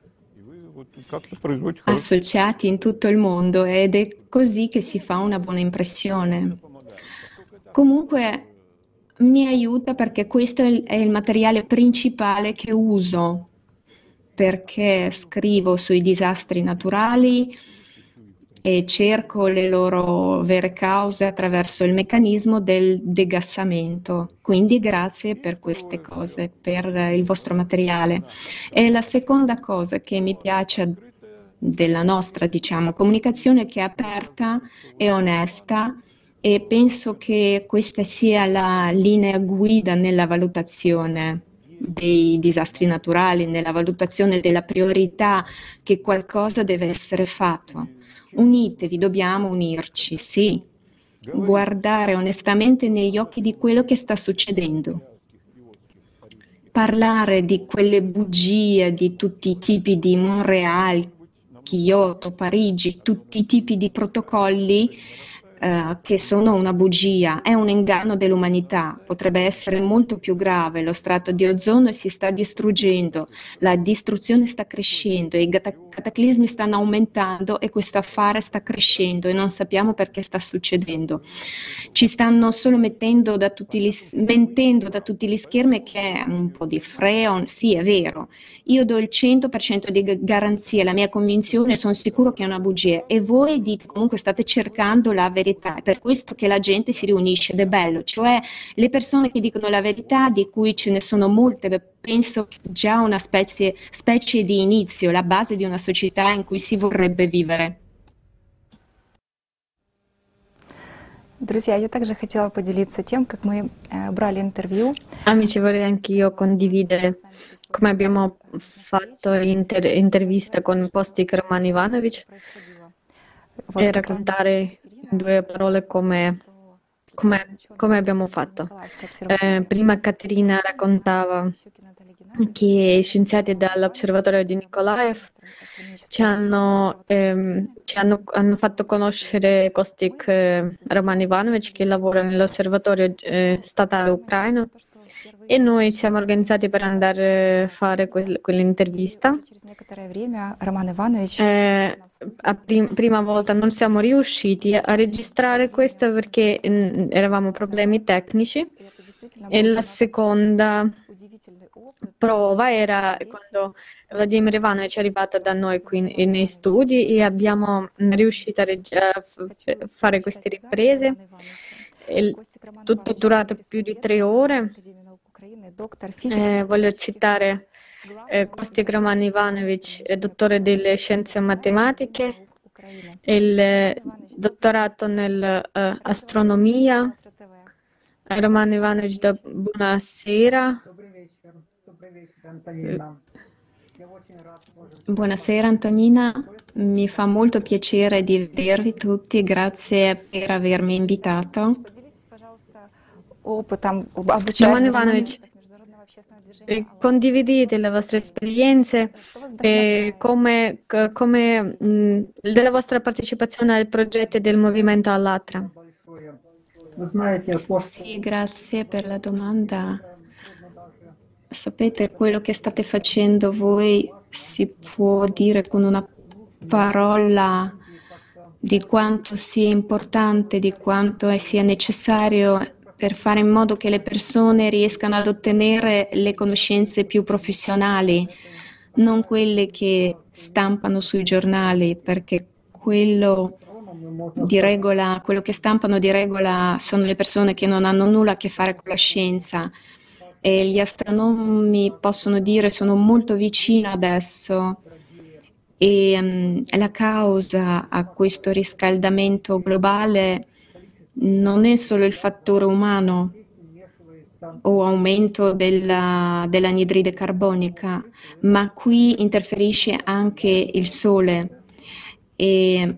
associati in tutto il mondo ed è così che si fa una buona impressione. Comunque mi aiuta perché questo è il materiale principale che uso, perché scrivo sui disastri naturali e cerco le loro vere cause attraverso il meccanismo del degassamento. Quindi grazie per queste cose, per il vostro materiale. E la seconda cosa che mi piace della nostra, comunicazione, che è aperta e onesta, e penso che questa sia la linea guida nella valutazione dei disastri naturali, nella valutazione della priorità che qualcosa deve essere fatto. Unitevi, dobbiamo unirci, sì, guardare onestamente negli occhi di quello che sta succedendo. Parlare di quelle bugie, di tutti i tipi di Montreal, Kyoto, Parigi, tutti i tipi di protocolli che sono una bugia, è un inganno dell'umanità, potrebbe essere molto più grave, lo strato di ozono si sta distruggendo, la distruzione sta crescendo, i cataclismi stanno aumentando e questo affare sta crescendo e non sappiamo perché sta succedendo. Ci stanno solo mentendo da tutti gli schermi che è un po' di freon, sì è vero, io do il 100% di garanzia, la mia convinzione, sono sicuro che è una bugia e voi dite comunque state cercando la verità verità, è per questo che la gente si riunisce ed è bello, cioè le persone che dicono la verità, di cui ce ne sono molte, penso che già una specie di inizio, la base di una società in cui si vorrebbe vivere. Друзья, я также хотела поделиться тем, как мы брали интервью. Amici, vorrei anch'io condividere come abbiamo fatto intervista con Postik Roman Ivanovic e raccontare in due parole come abbiamo fatto. Prima Caterina raccontava che scienziati dall'osservatorio di Nikolaev hanno fatto conoscere Kostik Roman Ivanovic, che lavora nell'osservatorio statale ucraino, e noi siamo organizzati per andare a fare quell'intervista. Prima volta non siamo riusciti a registrare questo perché eravamo problemi tecnici, e la seconda prova era quando Vladimir Ivanovic è arrivato da noi qui nei studi e abbiamo riuscito a fare queste riprese. Tutto è durato più di 3 ore. Voglio citare Kostik Roman Ivanovic, dottore delle scienze matematiche, il dottorato nell'astronomia. Roman Ivanovic, buonasera. Buonasera Antonina, mi fa molto piacere di vedervi tutti, grazie per avermi invitato. Roman Ivanovic, condividete le vostre esperienze della vostra partecipazione al progetto del movimento Allatra. Sì, grazie per la domanda. Sapete, quello che state facendo voi si può dire con una parola di quanto sia importante, di quanto sia necessario per fare in modo che le persone riescano ad ottenere le conoscenze più professionali, non quelle che stampano sui giornali, perché quello che stampano di regola sono le persone che non hanno nulla a che fare con la scienza. E gli astronomi possono dire sono molto vicino adesso, e la causa a questo riscaldamento globale non è solo il fattore umano o aumento dell'anidride carbonica, ma qui interferisce anche il Sole e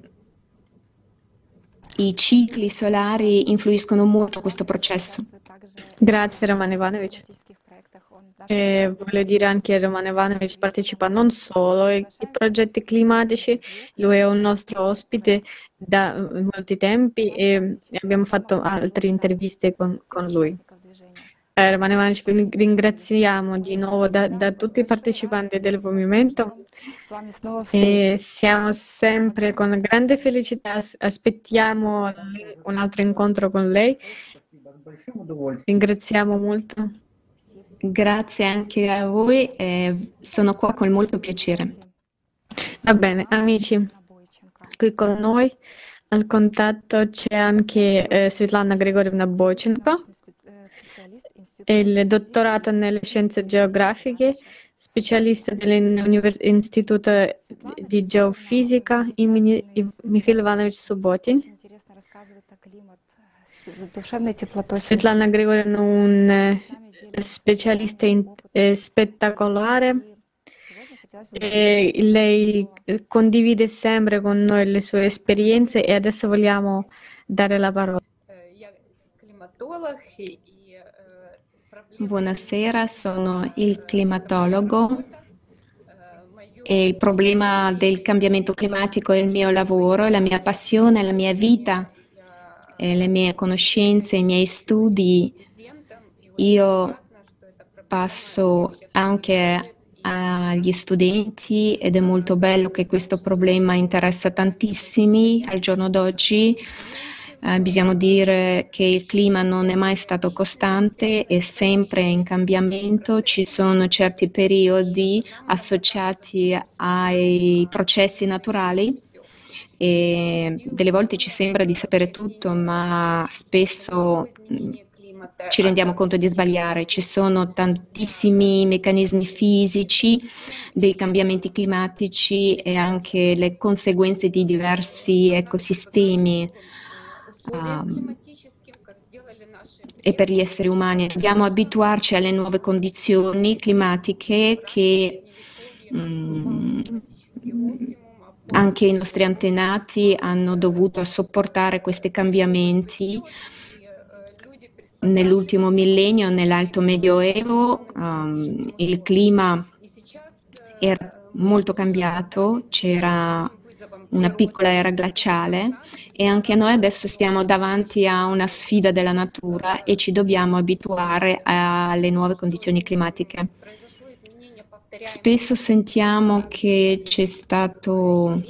i cicli solari influiscono molto a questo processo. Grazie Roman Ivanovic. Voglio dire anche che Roman Ivanovic partecipa non solo ai progetti climatici, lui è un nostro ospite da molti tempi e abbiamo fatto altre interviste con lui. Roman Ivanovic, vi ringraziamo di nuovo da tutti i partecipanti del movimento e siamo sempre con grande felicità, aspettiamo un altro incontro con lei. Ringraziamo molto. Grazie anche a voi, sono qua con molto piacere. Va bene, amici, qui con noi al contatto c'è anche Svetlana Grigorievna Boychenko, il dottorato nelle scienze geografiche, specialista dell'Istituto di Geofisica Mikhail Ivanovic Subotin. Svetlana Grigorievna, un specialista spettacolare, e lei condivide sempre con noi le sue esperienze e adesso vogliamo dare la parola. Buonasera, sono il climatologo e il problema del cambiamento climatico è il mio lavoro, la mia passione, la mia vita, le mie conoscenze, i miei studi. Io passo anche agli studenti ed è molto bello che questo problema interessa tantissimi al giorno d'oggi. Bisogna dire che il clima non è mai stato costante, è sempre in cambiamento, ci sono certi periodi associati ai processi naturali e delle volte ci sembra di sapere tutto, ma spesso ci rendiamo conto di sbagliare. Ci sono tantissimi meccanismi fisici dei cambiamenti climatici e anche le conseguenze di diversi ecosistemi. E per gli esseri umani dobbiamo abituarci alle nuove condizioni climatiche che anche i nostri antenati hanno dovuto sopportare questi cambiamenti nell'ultimo millennio, nell'Alto Medioevo. Il clima era molto cambiato, c'era una piccola era glaciale e anche noi adesso stiamo davanti a una sfida della natura e ci dobbiamo abituare alle nuove condizioni climatiche. Spesso sentiamo che c'è stato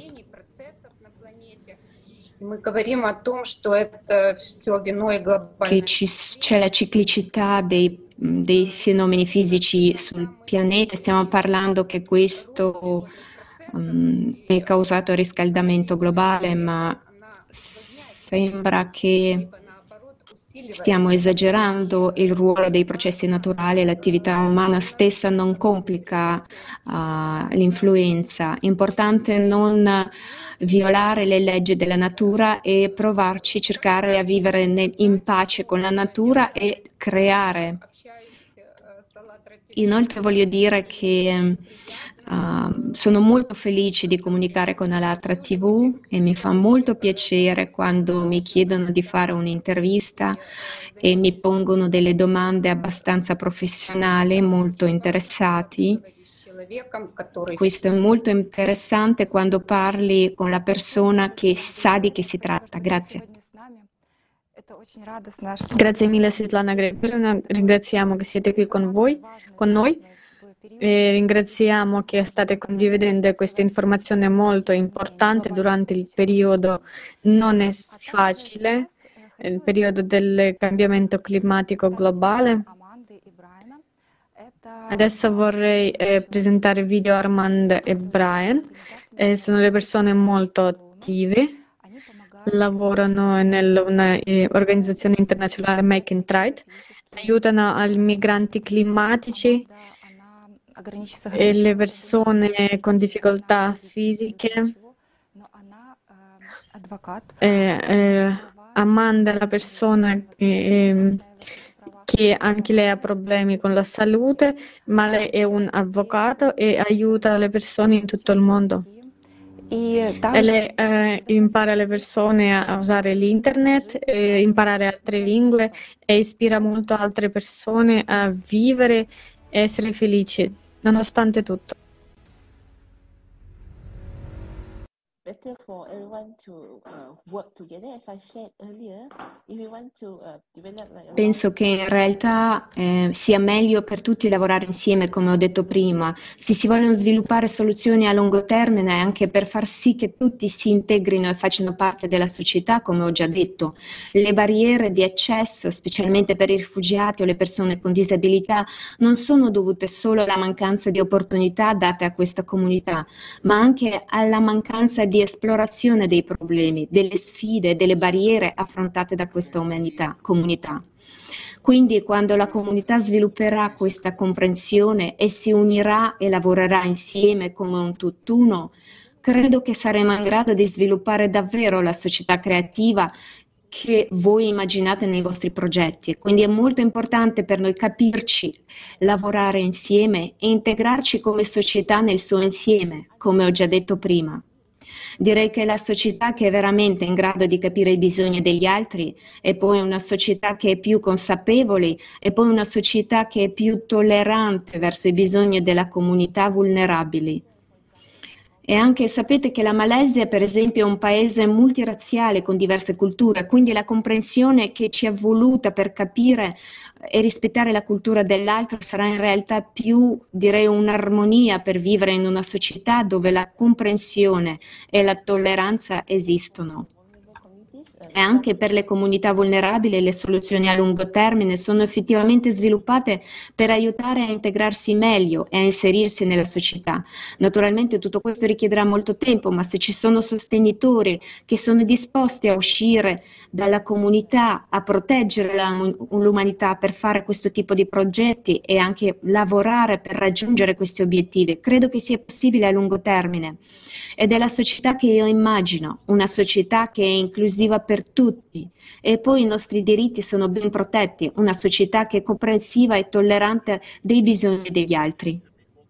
che c'è la ciclicità dei fenomeni fisici sul pianeta. Stiamo parlando che questo è causato dal riscaldamento globale, ma sembra che stiamo esagerando il ruolo dei processi naturali. L'attività umana stessa non complica l'influenza. È importante non violare le leggi della natura e provarci, cercare a vivere in pace con la natura e creare. Inoltre voglio dire che sono molto felice di comunicare con Alatra TV e mi fa molto piacere quando mi chiedono di fare un'intervista e mi pongono delle domande abbastanza professionali, molto interessati. Questo è molto interessante quando parli con la persona che sa di che si tratta. Grazie. Grazie mille Svetlana Gregorovna, ringraziamo che siete qui con noi. E ringraziamo che state condividendo questa informazione molto importante durante il periodo non è facile, il periodo del cambiamento climatico globale. Adesso vorrei presentare video Armand e Brian. Sono le persone molto attive, lavorano nell'organizzazione internazionale Make and Trade, aiutano ai migranti climatici e le persone con difficoltà fisiche. Amanda è la persona che anche lei ha problemi con la salute, ma lei è un avvocato e aiuta le persone in tutto il mondo. E lei impara le persone a usare l'internet, imparare altre lingue e ispira molto altre persone a vivere e essere felici, nonostante tutto. Better for everyone to work together, as I said earlier. If we want to develop like Penso che in realtà sia meglio per tutti lavorare insieme, come ho detto prima. Se si vogliono sviluppare soluzioni a lungo termine, anche per far sì che tutti si integrino e facciano parte della società, come ho già detto, le barriere di accesso, specialmente per i rifugiati o le persone con disabilità, non sono dovute solo alla mancanza di opportunità date a questa comunità, ma anche alla mancanza di esplorazione dei problemi, delle sfide, delle barriere affrontate da questa comunità. Quindi quando la comunità svilupperà questa comprensione e si unirà e lavorerà insieme come un tutt'uno, credo che saremo in grado di sviluppare davvero la società creativa che voi immaginate nei vostri progetti. Quindi è molto importante per noi capirci, lavorare insieme e integrarci come società nel suo insieme, come ho già detto prima. Direi che la società che è veramente in grado di capire i bisogni degli altri è poi una società che è più consapevole e poi una società che è più tollerante verso i bisogni della comunità vulnerabili. E anche sapete che la Malesia, per esempio, è un paese multirazziale con diverse culture, quindi la comprensione che ci è voluta per capire e rispettare la cultura dell'altro sarà in realtà più, direi, un'armonia per vivere in una società dove la comprensione e la tolleranza esistono. E anche per le comunità vulnerabili le soluzioni a lungo termine sono effettivamente sviluppate per aiutare a integrarsi meglio e a inserirsi nella società. Naturalmente tutto questo richiederà molto tempo, ma se ci sono sostenitori che sono disposti a uscire dalla comunità, a proteggere l'umanità per fare questo tipo di progetti e anche lavorare per raggiungere questi obiettivi, credo che sia possibile a lungo termine. Ed è la società che io immagino, una società che è inclusiva per tutti e poi i nostri diritti sono ben protetti, una società che è comprensiva e tollerante dei bisogni degli altri.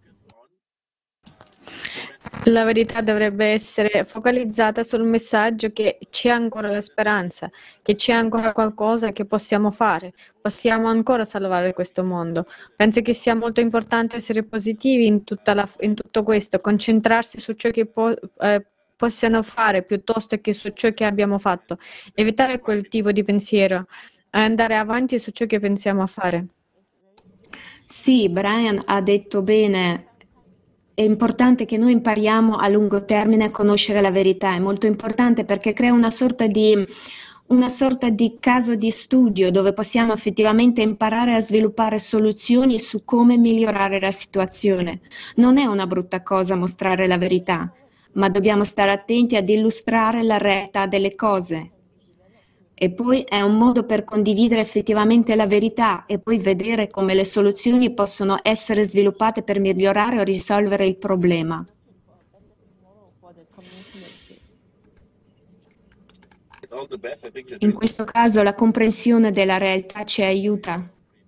La verità dovrebbe essere focalizzata sul messaggio che c'è ancora la speranza, che c'è ancora qualcosa che possiamo fare, possiamo ancora salvare questo mondo. Penso che sia molto importante essere positivi in tutto questo, concentrarsi su ciò che possiamo fare piuttosto che su ciò che abbiamo fatto, evitare quel tipo di pensiero e andare avanti su ciò che pensiamo a fare. Sì, Brian ha detto bene. È importante che noi impariamo a lungo termine a conoscere la verità, è molto importante perché crea una sorta di caso di studio dove possiamo effettivamente imparare a sviluppare soluzioni su come migliorare la situazione. Non è una brutta cosa mostrare la verità, ma dobbiamo stare attenti ad illustrare la realtà delle cose. E poi è un modo per condividere effettivamente la verità e poi vedere come le soluzioni possono essere sviluppate per migliorare o risolvere il problema. In questo caso la comprensione della realtà ci aiuta.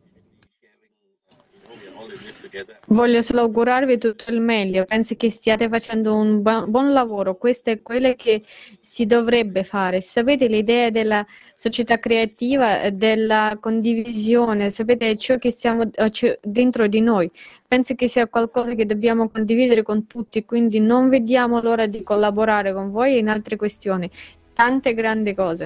Voglio solo augurarvi tutto il meglio, penso che stiate facendo un buon lavoro, questo è quello che si dovrebbe fare. Sapete l'idea della società creativa, della condivisione, sapete ciò che siamo dentro di noi. Penso che sia qualcosa che dobbiamo condividere con tutti, quindi non vediamo l'ora di collaborare con voi in altre questioni, tante grandi cose.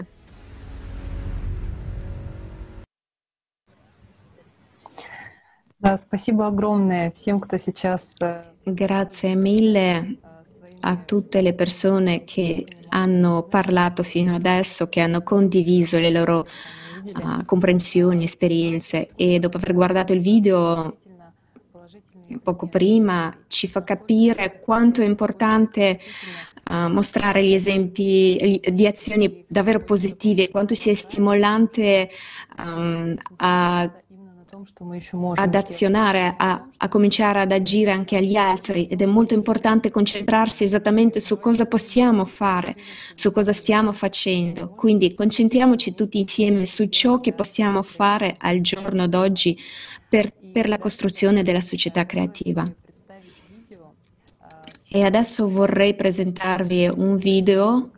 Да, спасибо огромное всем, кто сейчас Grazie mille a tutte le persone che hanno parlato fino adesso, che hanno condiviso le loro comprensioni, esperienze e dopo aver guardato il video poco prima ci fa capire quanto è importante mostrare gli esempi di azioni davvero positive, quanto sia stimolante ad azionare, a cominciare ad agire anche agli altri ed è molto importante concentrarsi esattamente su cosa possiamo fare, su cosa stiamo facendo. Quindi concentriamoci tutti insieme su ciò che possiamo fare al giorno d'oggi per la costruzione della società creativa. E adesso vorrei presentarvi un video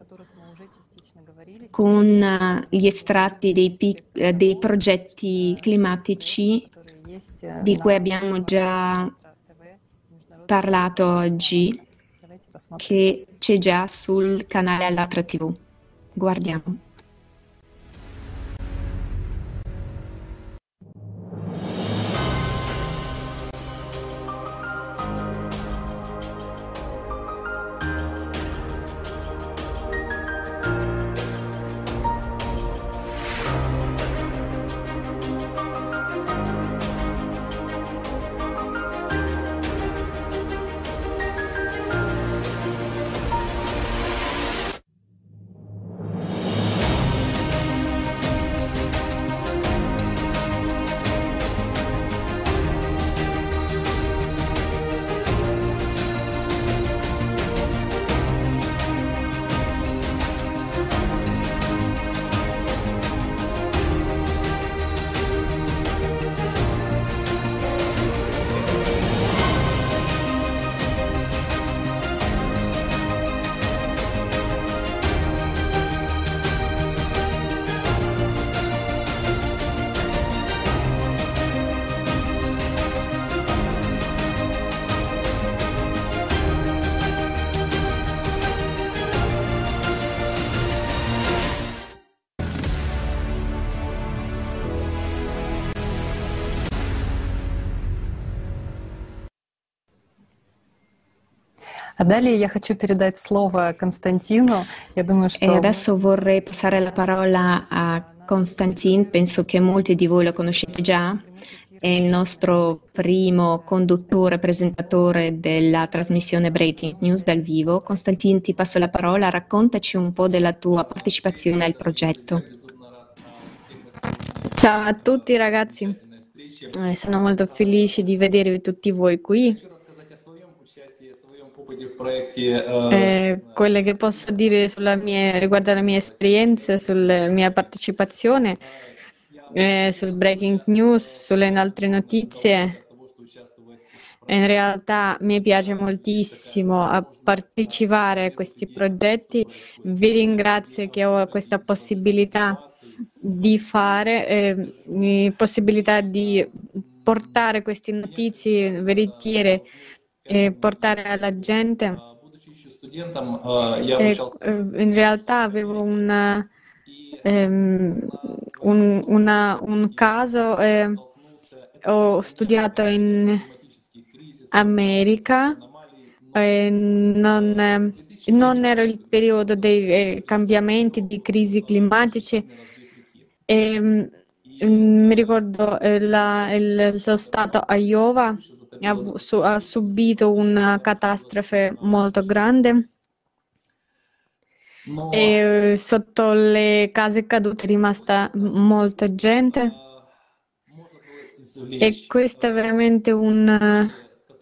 con gli estratti dei progetti climatici di cui abbiamo già parlato oggi, che c'è già sul canale Allatra TV. Guardiamo. А далее я хочу передать слово Константину. Я думаю, E что adesso vorrei passare la parola a Konstantin, penso che molti di voi lo conoscete già, è il nostro primo conduttore, presentatore della trasmissione Breaking News dal vivo. Konstantin, ti passo la parola, raccontaci un po' della tua partecipazione al progetto. Ciao a tutti ragazzi, sono molto felice di vedere tutti voi qui. Quelle che posso dire riguardo alla mia esperienza, sulla mia partecipazione, sul breaking news, sulle altre notizie. In realtà mi piace moltissimo a partecipare a questi progetti. Vi ringrazio che ho questa possibilità di fare, possibilità di portare queste notizie veritiere e portare alla gente. In realtà avevo un caso, ho studiato in America, non era il periodo dei cambiamenti, di crisi climatici. Mi ricordo lo stato Iowa ha subito una catastrofe molto grande e sotto le case cadute è rimasta molta gente e questo è veramente un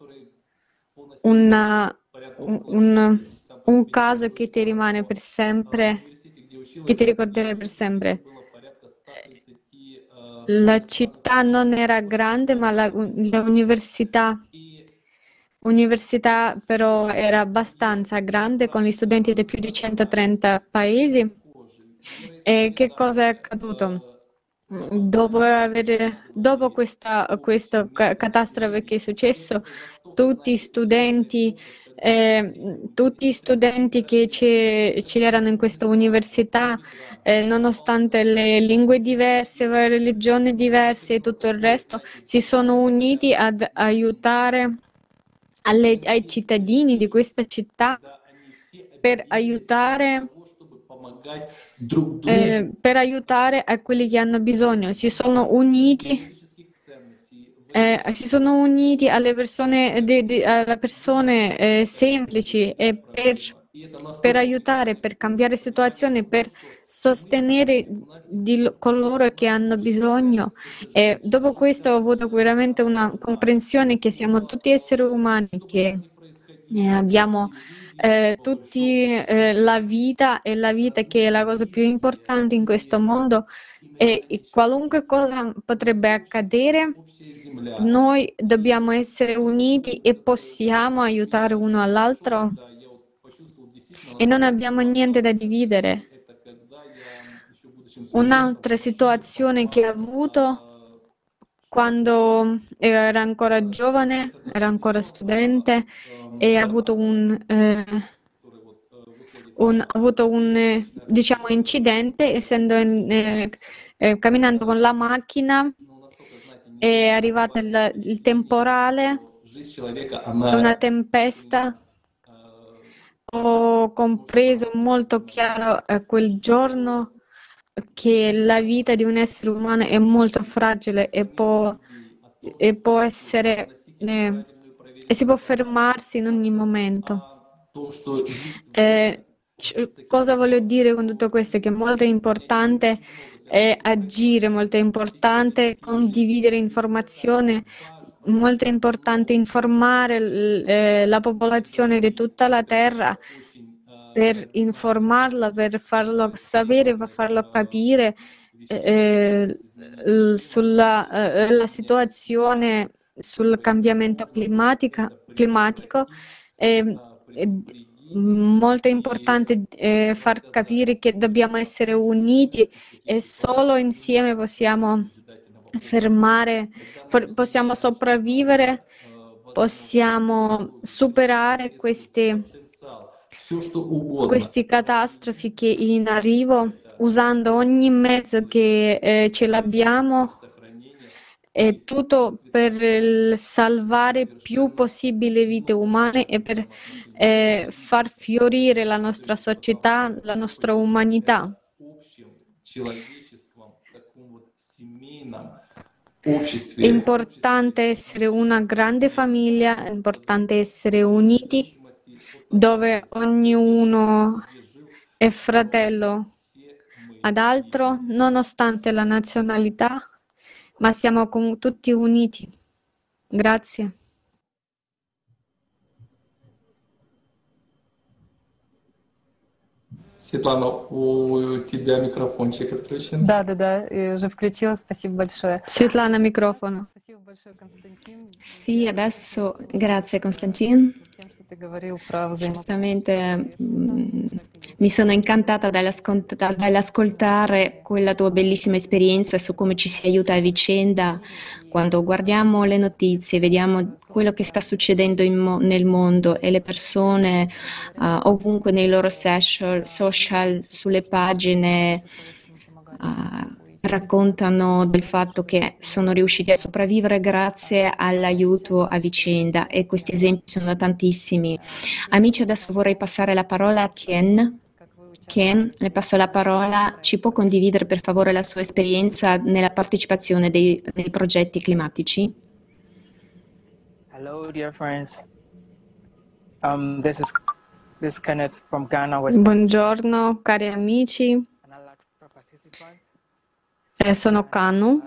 caso che ti rimane per sempre, che ti ricorderai per sempre. La città non era grande, ma l'università però era abbastanza grande, con gli studenti di più di 130 paesi. E che cosa è accaduto? Dopo questa catastrofe che è successo, tutti i studenti che c'erano in questa università, nonostante le lingue diverse, le religioni diverse e tutto il resto, si sono uniti ad aiutare ai cittadini di questa città per aiutare a quelli che hanno bisogno. Si sono uniti alle persone semplici e per aiutare, per cambiare situazioni, per sostenere coloro che hanno bisogno. E dopo questo ho avuto veramente una comprensione che siamo tutti esseri umani, che abbiamo tutti la vita, e la vita che è la cosa più importante in questo mondo, e qualunque cosa potrebbe accadere, noi dobbiamo essere uniti e possiamo aiutare uno all'altro e non abbiamo niente da dividere. Un'altra situazione che ho avuto quando era ancora giovane, era ancora studente, e ho avuto un diciamo, incidente, essendo camminando con la macchina, è arrivato il temporale, una tempesta. Ho compreso molto chiaro quel giorno che la vita di un essere umano è molto fragile e si può fermarsi in ogni momento. Cosa voglio dire con tutto questo? Che è molto importante agire, molto importante condividere informazione, molto importante informare la popolazione di tutta la terra, per informarla, per farlo sapere, per farlo capire sulla situazione, sul cambiamento climatico. Molto importante far capire che dobbiamo essere uniti e solo insieme possiamo possiamo sopravvivere, possiamo superare queste catastrofi che in arrivo, usando ogni mezzo che ce l'abbiamo è tutto per salvare più possibile vite umane e per far fiorire la nostra società, la nostra umanità. È importante essere una grande famiglia, è importante essere uniti, dove ognuno è fratello ad altro, nonostante la nazionalità, ma siamo tutti uniti. Grazie. Светлана, у тебя микрофончик отключен. Да, уже включила. Спасибо большое. Svetlana, microfono. Спасибо большое, Константин. Sì, adesso grazie Constantin. Тем, что ты говорил про Certamente mi sono incantata dall'ascoltare quella tua bellissima esperienza su come ci si aiuta a vicenda quando guardiamo le notizie, vediamo quello che sta succedendo nel mondo e le persone ovunque nei loro social, sulle pagine raccontano del fatto che sono riusciti a sopravvivere grazie all'aiuto a vicenda e questi esempi sono tantissimi. Amici, adesso vorrei passare la parola a Ken. Ken, le passo la parola. Ci può condividere per favore la sua esperienza nella partecipazione nei progetti climatici? Hello, dear friends. This is Kenneth from Ghana, West. Buongiorno cari amici, sono Kanu.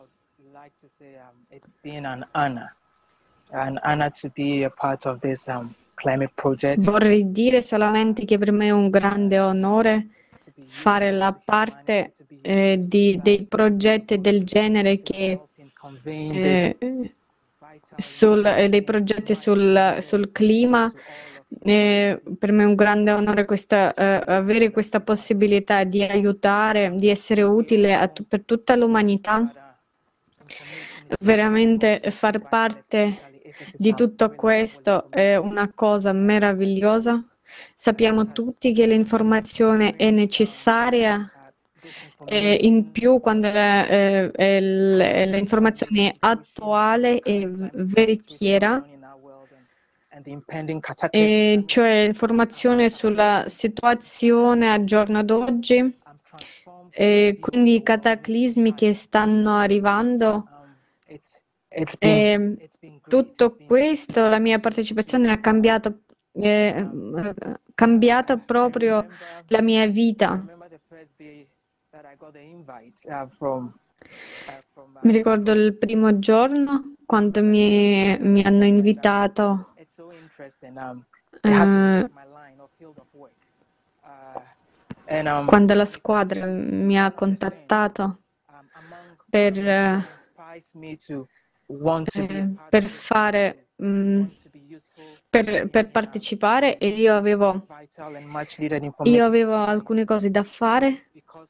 It's been an honor to be a part of this climate project. Vorrei dire solamente che per me è un grande onore fare la parte dei progetti del genere che dei progetti sul clima. Per me è un grande onore avere questa possibilità di aiutare, di essere utile per tutta l'umanità. Veramente far parte di tutto questo è una cosa meravigliosa. Sappiamo tutti che l'informazione è necessaria, e in più quando l'informazione è attuale e veritiera, cioè informazione sulla situazione al giorno d'oggi, quindi i cataclismi che stanno arrivando. Tutto questo, la mia partecipazione ha cambiato proprio la mia vita. Mi ricordo il primo giorno quando mi hanno invitato quando la squadra mi ha contattato per partecipare, e io avevo alcune cose da fare,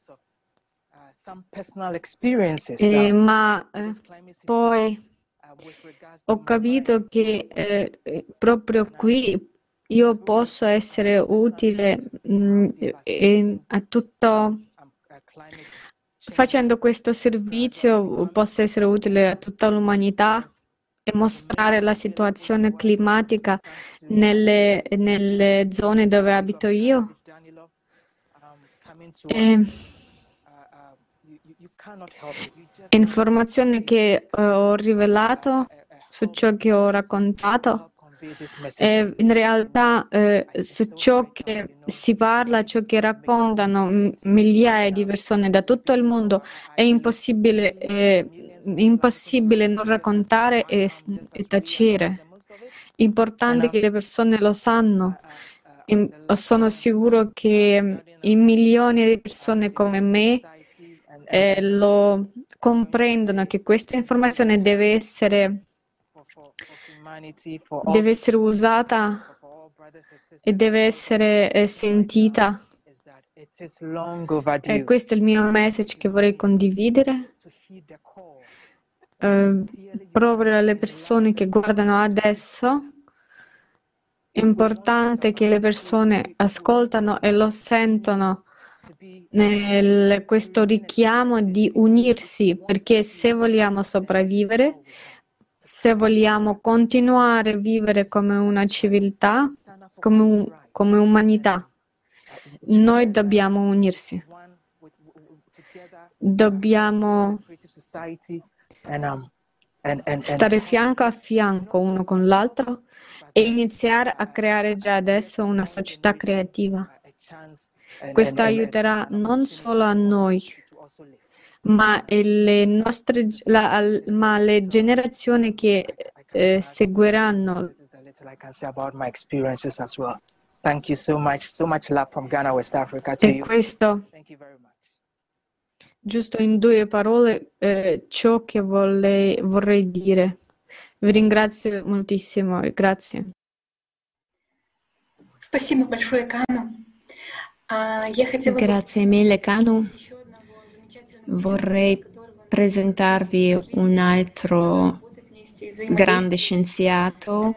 ma poi ho capito che proprio qui io posso essere utile a tutto. Facendo questo servizio posso essere utile a tutta l'umanità e mostrare la situazione climatica nelle zone dove abito io. Informazioni che ho rivelato su ciò che ho raccontato. In realtà su ciò che si parla, ciò che raccontano migliaia di persone da tutto il mondo, è impossibile non raccontare e tacere. Importante che le persone lo sanno. Sono sicuro che i milioni di persone come me lo comprendono, che questa informazione deve essere usata e deve essere sentita. E questo è il mio message che vorrei condividere proprio alle persone che guardano adesso. È importante che le persone ascoltano e lo sentono questo richiamo di unirsi, perché se vogliamo sopravvivere, se vogliamo continuare a vivere come una civiltà, come umanità, noi dobbiamo unirsi. Dobbiamo stare fianco a fianco uno con l'altro e iniziare a creare già adesso una società creativa. Questo aiuterà non solo a noi, ma le generazioni che seguiranno. Thank you so much love from Ghana, West Africa to E you. questo, giusto in due parole, ciò che vorrei dire. Vi ringrazio moltissimo, grazie. Спасибо большое, Кану. Я хотела бы Grazie mille, Kanu. Vorrei presentarvi un altro grande scienziato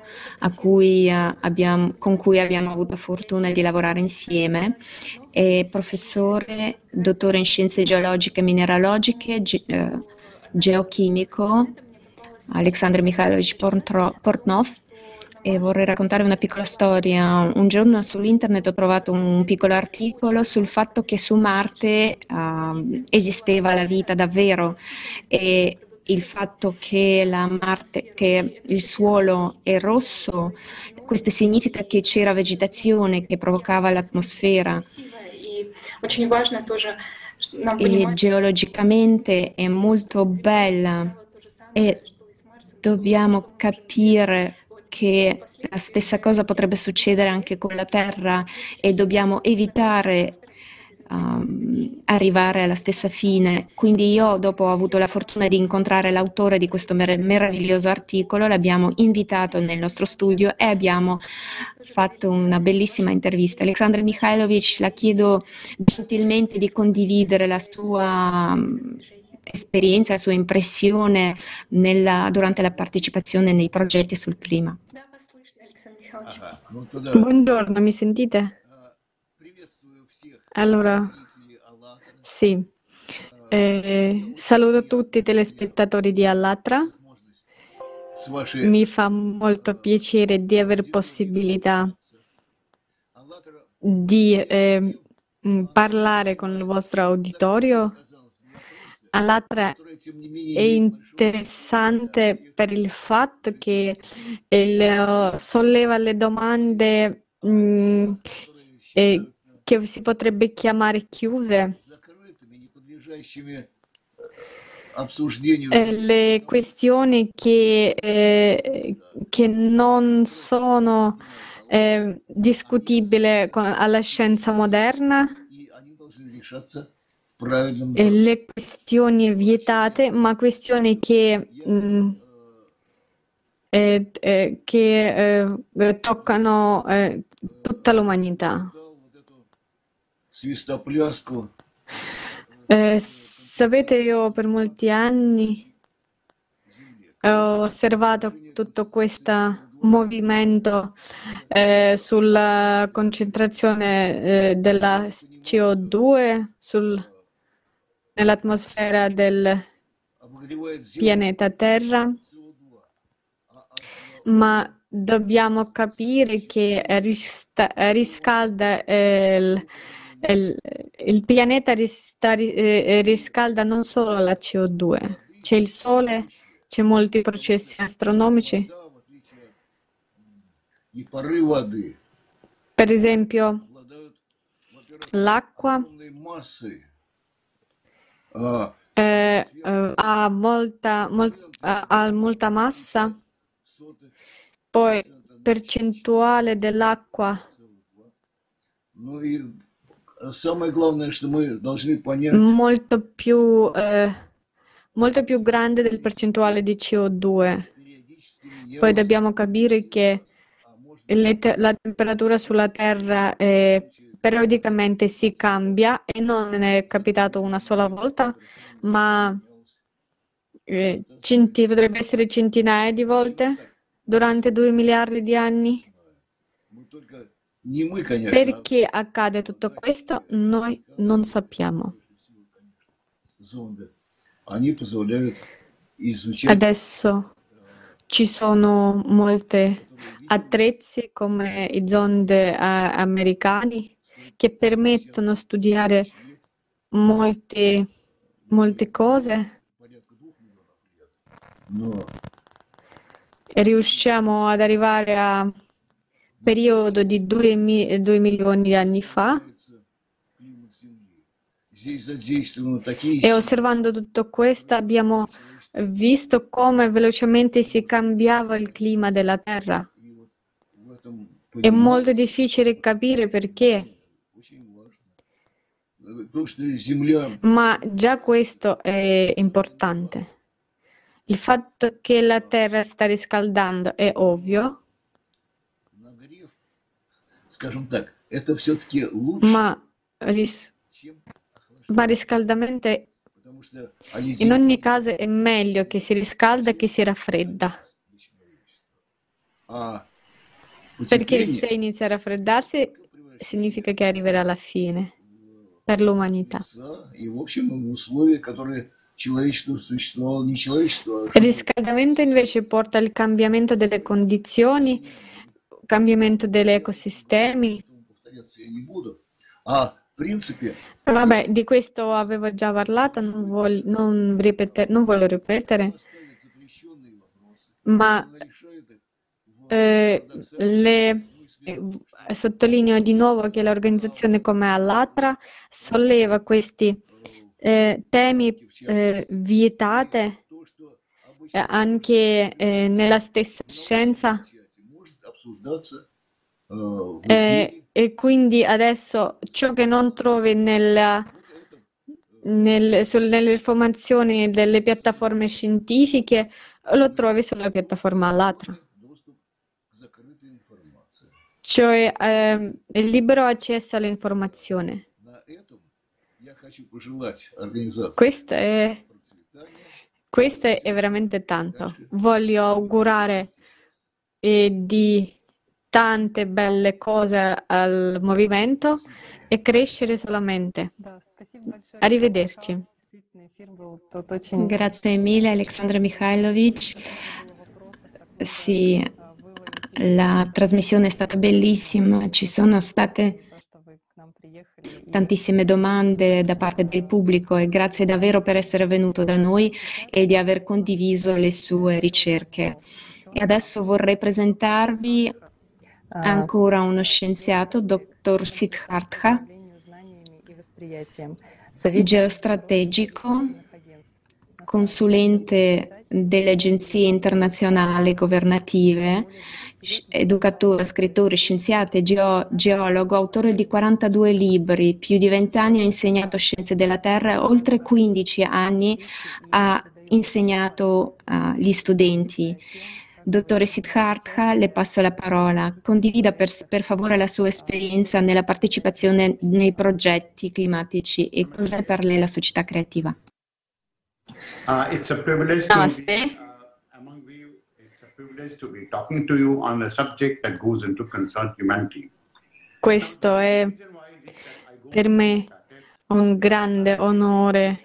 con cui abbiamo avuto la fortuna di lavorare insieme. È professore, dottore in scienze geologiche e mineralogiche, geochimico, Alexandr Mikhailovich Portnov. E vorrei raccontare una piccola storia. Un giorno su internet ho trovato un piccolo articolo sul fatto che su Marte esisteva la vita davvero, e il fatto che che il suolo è rosso, questo significa che c'era vegetazione che provocava l'atmosfera. очень важно тоже нам E понимать, geologicamente è molto bella, e dobbiamo capire che la stessa cosa potrebbe succedere anche con la Terra, e dobbiamo evitare arrivare alla stessa fine. Quindi io, dopo ho avuto la fortuna di incontrare l'autore di questo meraviglioso articolo, l'abbiamo invitato nel nostro studio e abbiamo fatto una bellissima intervista. Alexandr Mikhailovich, la chiedo gentilmente di condividere la sua esperienza, la sua impressione durante la partecipazione nei progetti sul clima. Buongiorno, mi sentite? Allora, sì. Saluto tutti i telespettatori di Allatra. Mi fa molto piacere di avere possibilità di parlare con il vostro uditorio. Allatra è interessante per il fatto che solleva le domande che si potrebbe chiamare chiuse. Le questioni che non sono discutibili alla scienza moderna, le questioni vietate, ma questioni che toccano tutta l'umanità. Sapete, io per molti anni ho osservato tutto questo movimento sulla concentrazione della CO2 nell'atmosfera del pianeta Terra, ma dobbiamo capire che riscalda il pianeta riscalda non solo la CO2, c'è il Sole, c'è molti processi astronomici. Per esempio, l'acqua ha molta massa, poi percentuale dell'acqua molto più grande del percentuale di CO2. Poi dobbiamo capire che la temperatura sulla Terra periodicamente si cambia, e non è capitato una sola volta, ma potrebbe essere centinaia di volte durante 2 miliardi di anni. Perché accade tutto questo? Noi non sappiamo. Adesso ci sono molte attrezzi come i zonde americani che permettono di studiare molte cose e riusciamo ad arrivare a periodo di 2 milioni di anni fa e osservando tutto questo abbiamo visto come velocemente si cambiava il clima della Terra. È molto difficile capire perché, ma già questo è importante. Il fatto che la Terra sta riscaldando è ovvio, ma riscaldamento in ogni caso è meglio che si riscalda che si raffredda. Perché se inizia a raffreddarsi significa che arriverà alla fine per l'umanità. Il riscaldamento invece porta al cambiamento delle condizioni, cambiamento degli ecosistemi. Vabbè, di questo avevo già parlato, non voglio ripetere, ma sottolineo di nuovo che l'organizzazione come Allatra solleva questi temi vietate anche nella stessa scienza e quindi adesso ciò che non trovi nelle informazioni delle piattaforme scientifiche lo trovi sulla piattaforma Allatra. Cioè il libero accesso all'informazione. Questo è veramente tanto. Voglio augurare di tante belle cose al movimento e crescere solamente. Arrivederci. Grazie mille Alexandra Mikhailovic. Sì, la trasmissione è stata bellissima, ci sono state tantissime domande da parte del pubblico e grazie davvero per essere venuto da noi e di aver condiviso le sue ricerche. E adesso vorrei presentarvi ancora uno scienziato, Dr. Siddhartha, geostrategico, consulente delle agenzie internazionali governative, educatore, scrittore, scienziato e geologo, autore di 42 libri, più di 20 anni ha insegnato scienze della Terra e oltre 15 anni ha insegnato agli studenti. Dottore Siddhartha, le passo la parola. Condivida per favore la sua esperienza nella partecipazione nei progetti climatici e cos'è per lei la società creativa. It's a privilege to be among you. It's a privilege to be talking to you on a subject that goes into concern humanity. Questo è per me un grande onore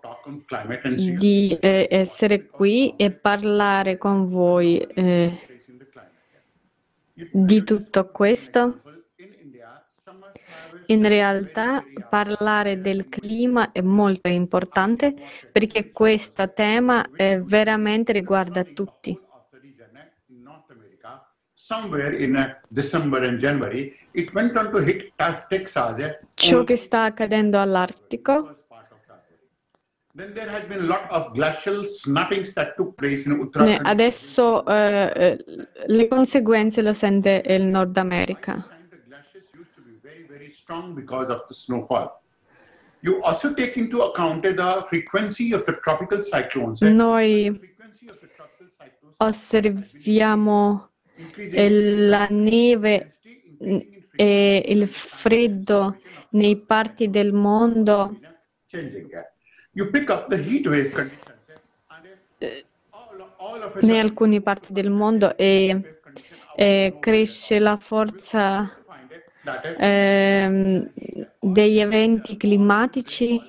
di essere qui e parlare con voi di tutto questo. In realtà parlare del clima è molto importante perché questo tema veramente riguarda tutti. Ciò che sta accadendo all'Artico adesso le conseguenze lo sente il Nord America. Because of the snowfall. You also take into account the frequency of the tropical cyclones. Noi osserviamo la neve e il freddo nei parti del mondo. In alcune parti del mondo e cresce la forza degli eventi climatici.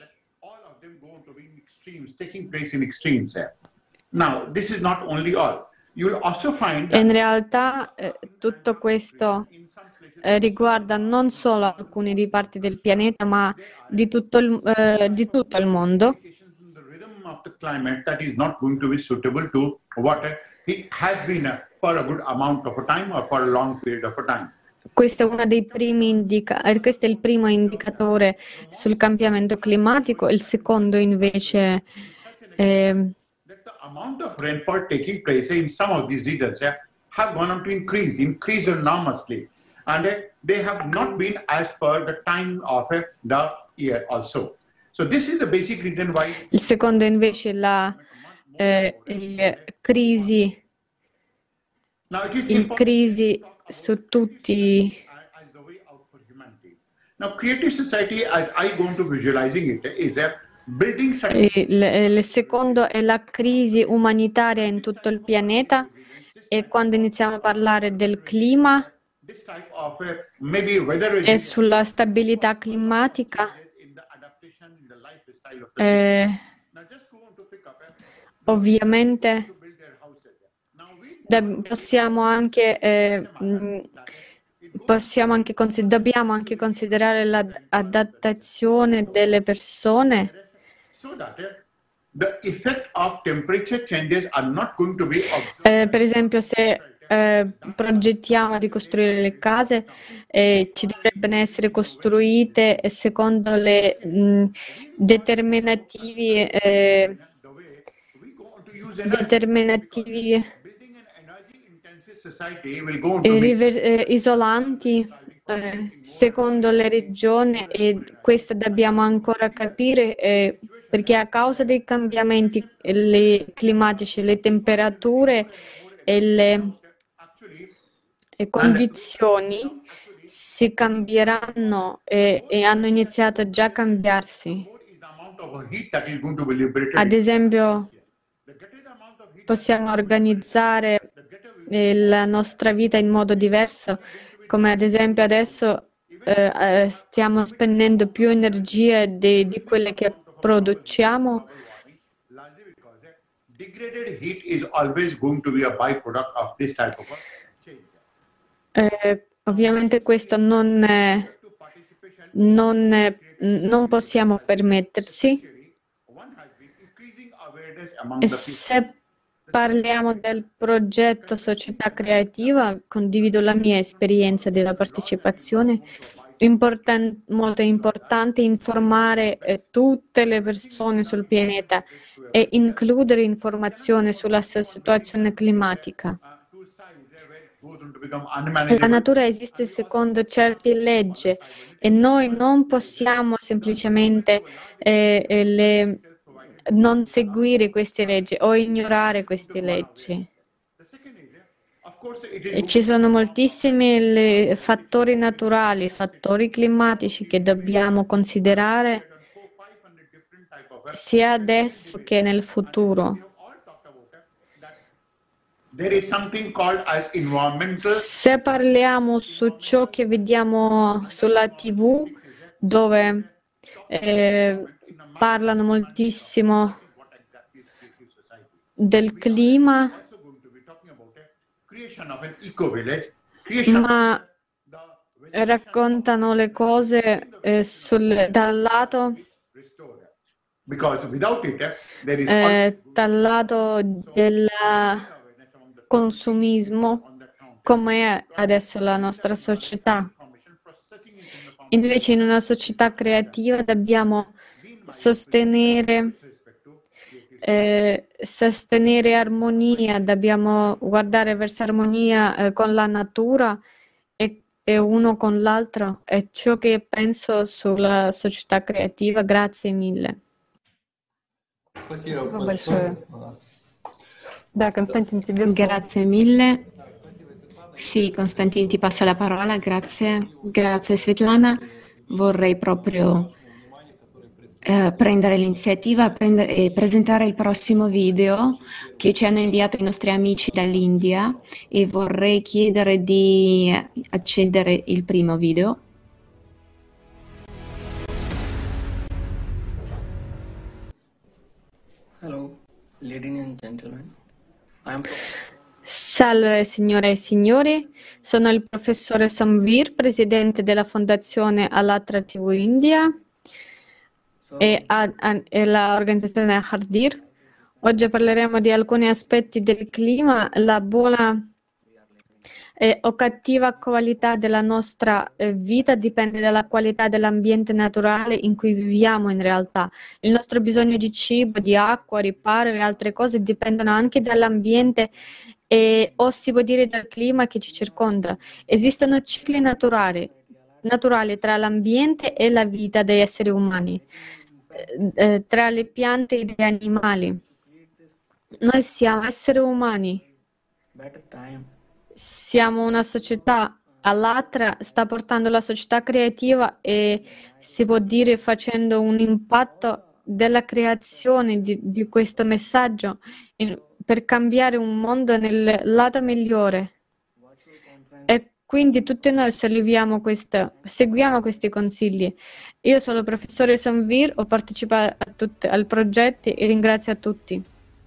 Taking place in extremes there. Now, this is not only all. You'll also find E in realtà tutto questo riguarda non solo alcune di parti del pianeta, ma di tutto il mondo. the rhythm of the climate that is not going to be suitable to what it has been for a good amount of a time or for a long period of a time. Questo è uno dei primi questo è il primo indicatore sul cambiamento climatico. Il secondo invece The amount of rainfall taking place in some of these regions have gone on to increase enormously, and they have not been as per the time of the year also. So this is the basic reason why. Il secondo invece la crisi su tutti. Now, creative society, as I go into visualizing it, is a building. Il secondo è la crisi umanitaria in tutto il pianeta, e quando iniziamo a parlare del clima e sulla stabilità climatica, ovviamente dobbiamo anche considerare l'adattazione delle persone. Per esempio, se progettiamo di costruire le case, ci dovrebbero essere costruite secondo le determinativi isolanti secondo le regioni, e questo dobbiamo ancora capire perché a causa dei cambiamenti climatici le temperature e le condizioni si cambieranno e hanno iniziato già a cambiarsi. Ad esempio, possiamo organizzare la nostra vita in modo diverso, come ad esempio adesso stiamo spendendo più energie di quelle che produciamo. Ovviamente questo non possiamo permettersi. E se parliamo del progetto Società Creativa, condivido la mia esperienza della partecipazione. Molto importante informare tutte le persone sul pianeta e includere informazioni sulla situazione climatica. La natura esiste secondo certe leggi e noi non possiamo semplicemente non seguire queste leggi o ignorare queste leggi. E ci sono moltissimi fattori naturali, fattori climatici che dobbiamo considerare sia adesso che nel futuro. Se parliamo su ciò che vediamo sulla TV, dove parlano moltissimo del clima, ma raccontano le cose dal lato del consumismo, come è adesso la nostra società. Invece in una società creativa dobbiamo sostenere armonia, dobbiamo guardare verso armonia con la natura e uno con l'altro. È ciò che penso sulla società creativa. Grazie mille. Спасибо большое. Да, Константин, тебе слово. Grazie mille. Sì, Constantin, ti passa la parola. Grazie Svetlana. Vorrei proprio prendere l'iniziativa e presentare il prossimo video che ci hanno inviato i nostri amici dall'India, e vorrei chiedere di accedere il primo video. Ladies and gentlemen, I am Salve signore e signori, sono il professore Samvir, presidente della Fondazione Allatra TV India e l'organizzazione Hardir. Oggi parleremo di alcuni aspetti del clima, la buona o cattiva qualità della nostra vita dipende dalla qualità dell'ambiente naturale in cui viviamo in realtà. Il nostro bisogno di cibo, di acqua, riparo e altre cose dipendono anche dall'ambiente o si può dire dal clima che ci circonda. Esistono cicli naturali tra l'ambiente e la vita degli esseri umani, tra le piante e gli animali. Noi siamo esseri umani. Siamo una società, Allatra sta portando la società creativa e si può dire facendo un impatto della creazione di questo messaggio per cambiare un mondo nel lato migliore. E quindi tutti noi seguiamo questi consigli. Io sono il professore Samvir, ho partecipato al progetto e ringrazio a tutti.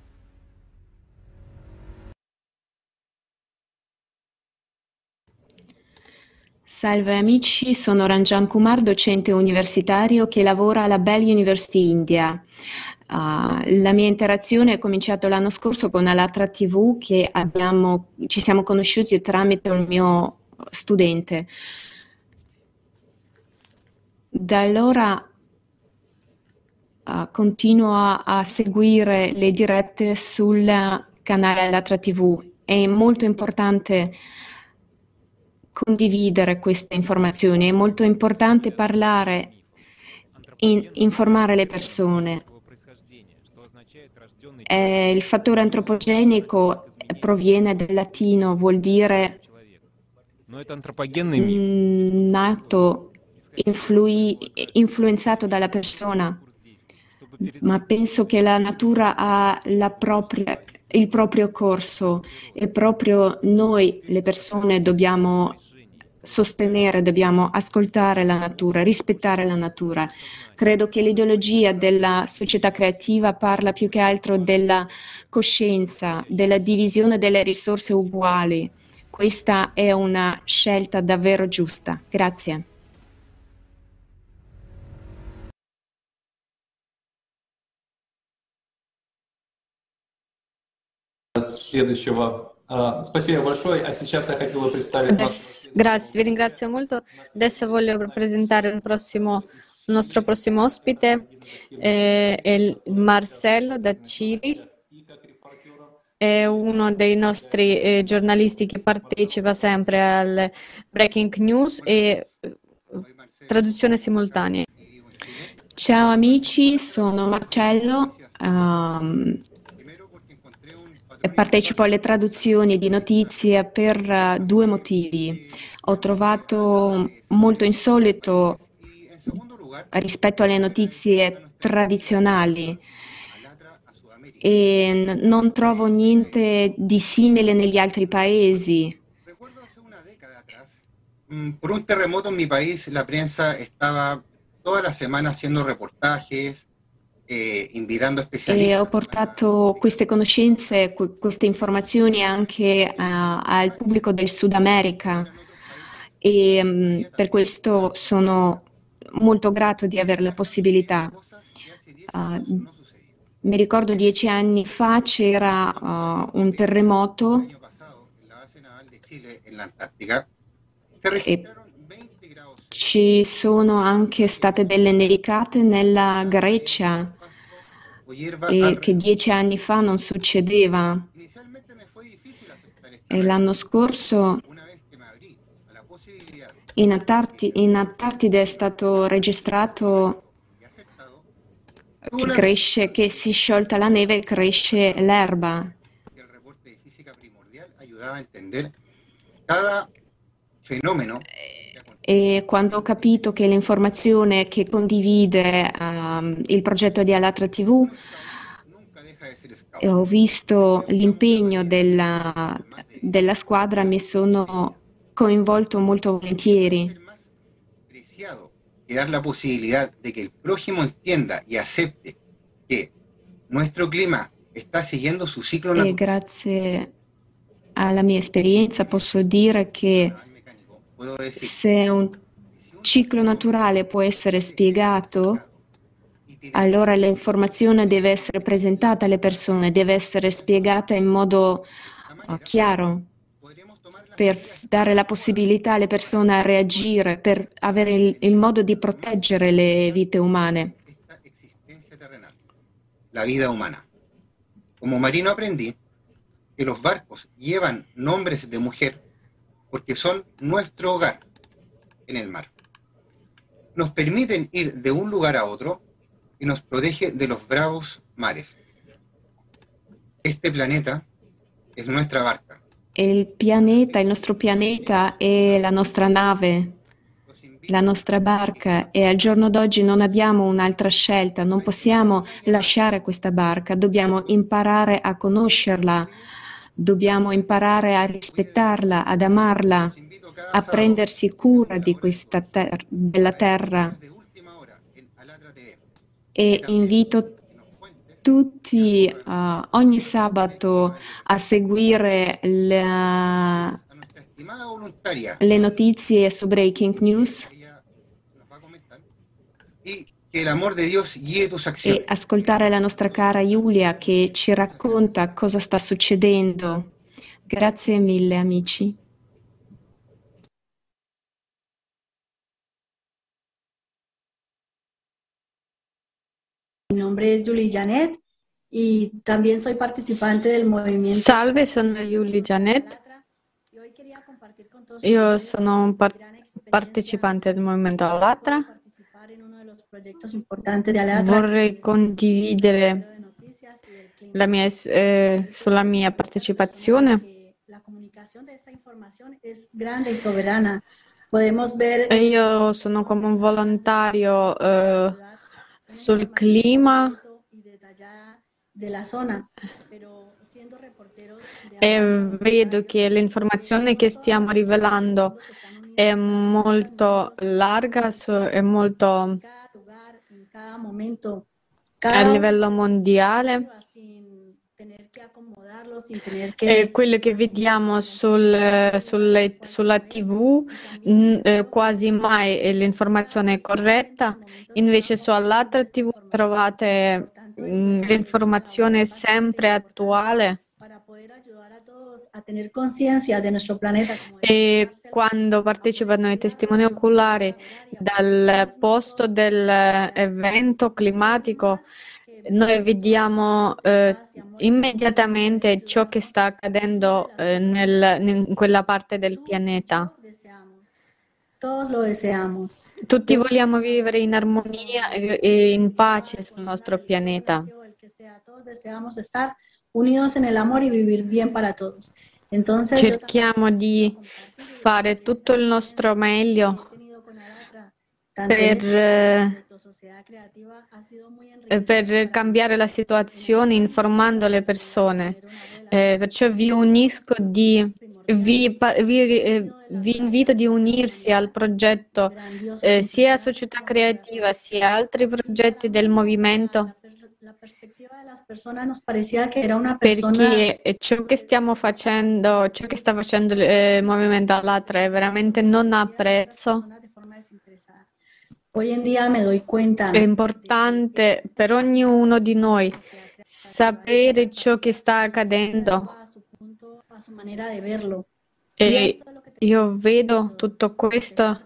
Salve amici, sono Ranjan Kumar, docente universitario che lavora alla Bell University India. La mia interazione è cominciata l'anno scorso con Allatra TV che ci siamo conosciuti tramite un mio studente. Da allora continuo a seguire le dirette sul canale Allatra TV. È molto importante condividere queste informazioni, è molto importante parlare, informare le persone. Il fattore antropogenico proviene dal latino, vuol dire nato, influenzato dalla persona, ma penso che la natura ha il proprio corso e proprio noi, le persone, dobbiamo sostenere, dobbiamo ascoltare la natura, rispettare la natura. Credo che l'ideologia della società creativa parla più che altro della coscienza, della divisione delle risorse uguali. Questa è una scelta davvero giusta. Grazie. Следующего. Спасибо большое. А сейчас я хотел бы представить вас. Grazie, vi ringrazio molto. Adesso voglio presentare il nostro prossimo ospite, è Marcello da Cili. È uno dei nostri giornalisti che partecipa sempre al Breaking News e traduzione simultanea. Ciao amici, sono Marcello. Partecipo alle traduzioni di notizie per due motivi. Ho trovato molto insolito rispetto alle notizie tradizionali e non trovo niente di simile negli altri paesi. Por un terremoto en mi país, la prensa estaba toda la semana haciendo reportajes, invitando specialisti. E ho portato queste conoscenze, queste informazioni anche al pubblico del Sud America e per questo sono molto grato di avere la possibilità. Mi ricordo 10 anni fa c'era un terremoto e ci sono anche state delle nevicate nella Grecia e che 10 anni fa non succedeva. E l'anno scorso in Antartide è stato registrato che si è sciolta la neve e cresce l'erba. E quando ho capito che l'informazione che condivide il progetto di Allatra TV, ho visto l'impegno della squadra, mi sono coinvolto molto volentieri. Y dar la posibilidad de que el prójimo entienda y acepte que nuestro clima está siguiendo su ciclo E natural. grazie alla mia esperienza posso dire che Puedo decir, se un ciclo naturale può essere spiegato, allora l'informazione deve essere presentata alle persone, deve essere spiegata in modo chiaro per dare la possibilità alle persone a reagire, per avere il modo di proteggere le vite umane. la vida humana. Como marino aprendí que los barcos llevan nombres de mujer porque son nuestro hogar en el mar. Nos permiten ir de un lugar a otro y nos protege de los bravos mares. Este planeta es nuestra barca. Il nostro pianeta è la nostra nave, la nostra barca, e al giorno d'oggi non abbiamo un'altra scelta, non possiamo lasciare questa barca, dobbiamo imparare a conoscerla, dobbiamo imparare a rispettarla, ad amarla, a prendersi cura di questa della terra. E invito tutti ogni sabato a seguire le notizie su Breaking News Y que el amor de Dios guíe tus acciones. e ascoltare la nostra cara Giulia che ci racconta cosa sta succedendo. Grazie mille, amici. Mi nombre es Julie Janet y también soy participante del movimiento. Salve, sono Julie Janet. Io sono un partecipante del Movimento Allatra. Vorrei condividere sulla mia partecipazione. Io sono come un volontario sul clima e vedo che l'informazione che stiamo rivelando è molto larga, è molto a livello mondiale. E quello che vediamo sulla TV quasi mai l'informazione è corretta, invece su Allatra TV trovate l'informazione sempre attuale. E quando partecipano ai testimoni oculari dal posto dell'evento climatico, noi vediamo immediatamente ciò che sta accadendo in quella parte del pianeta. Tutti vogliamo vivere in armonia e in pace sul nostro pianeta. Cerchiamo di fare tutto il nostro meglio per cambiare la situazione informando le persone. Perciò vi invito di unirsi al progetto sia Società Creativa sia altri progetti del movimento, perché ciò che stiamo facendo, ciò che sta facendo il Movimento Allatra è veramente non ha prezzo. È importante per ognuno di noi sapere ciò che sta accadendo. E io vedo tutto questo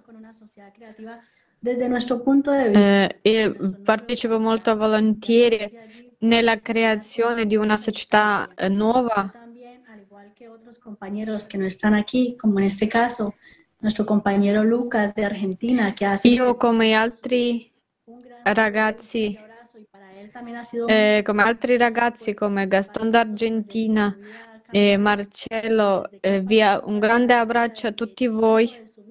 e partecipo molto volentieri nella creazione di una società nuova. Nuestro compañero Lucas de Argentina, que hace io come altri ragazzi come Gaston d'Argentina e Marcello, un grande abbraccio a tutti voi.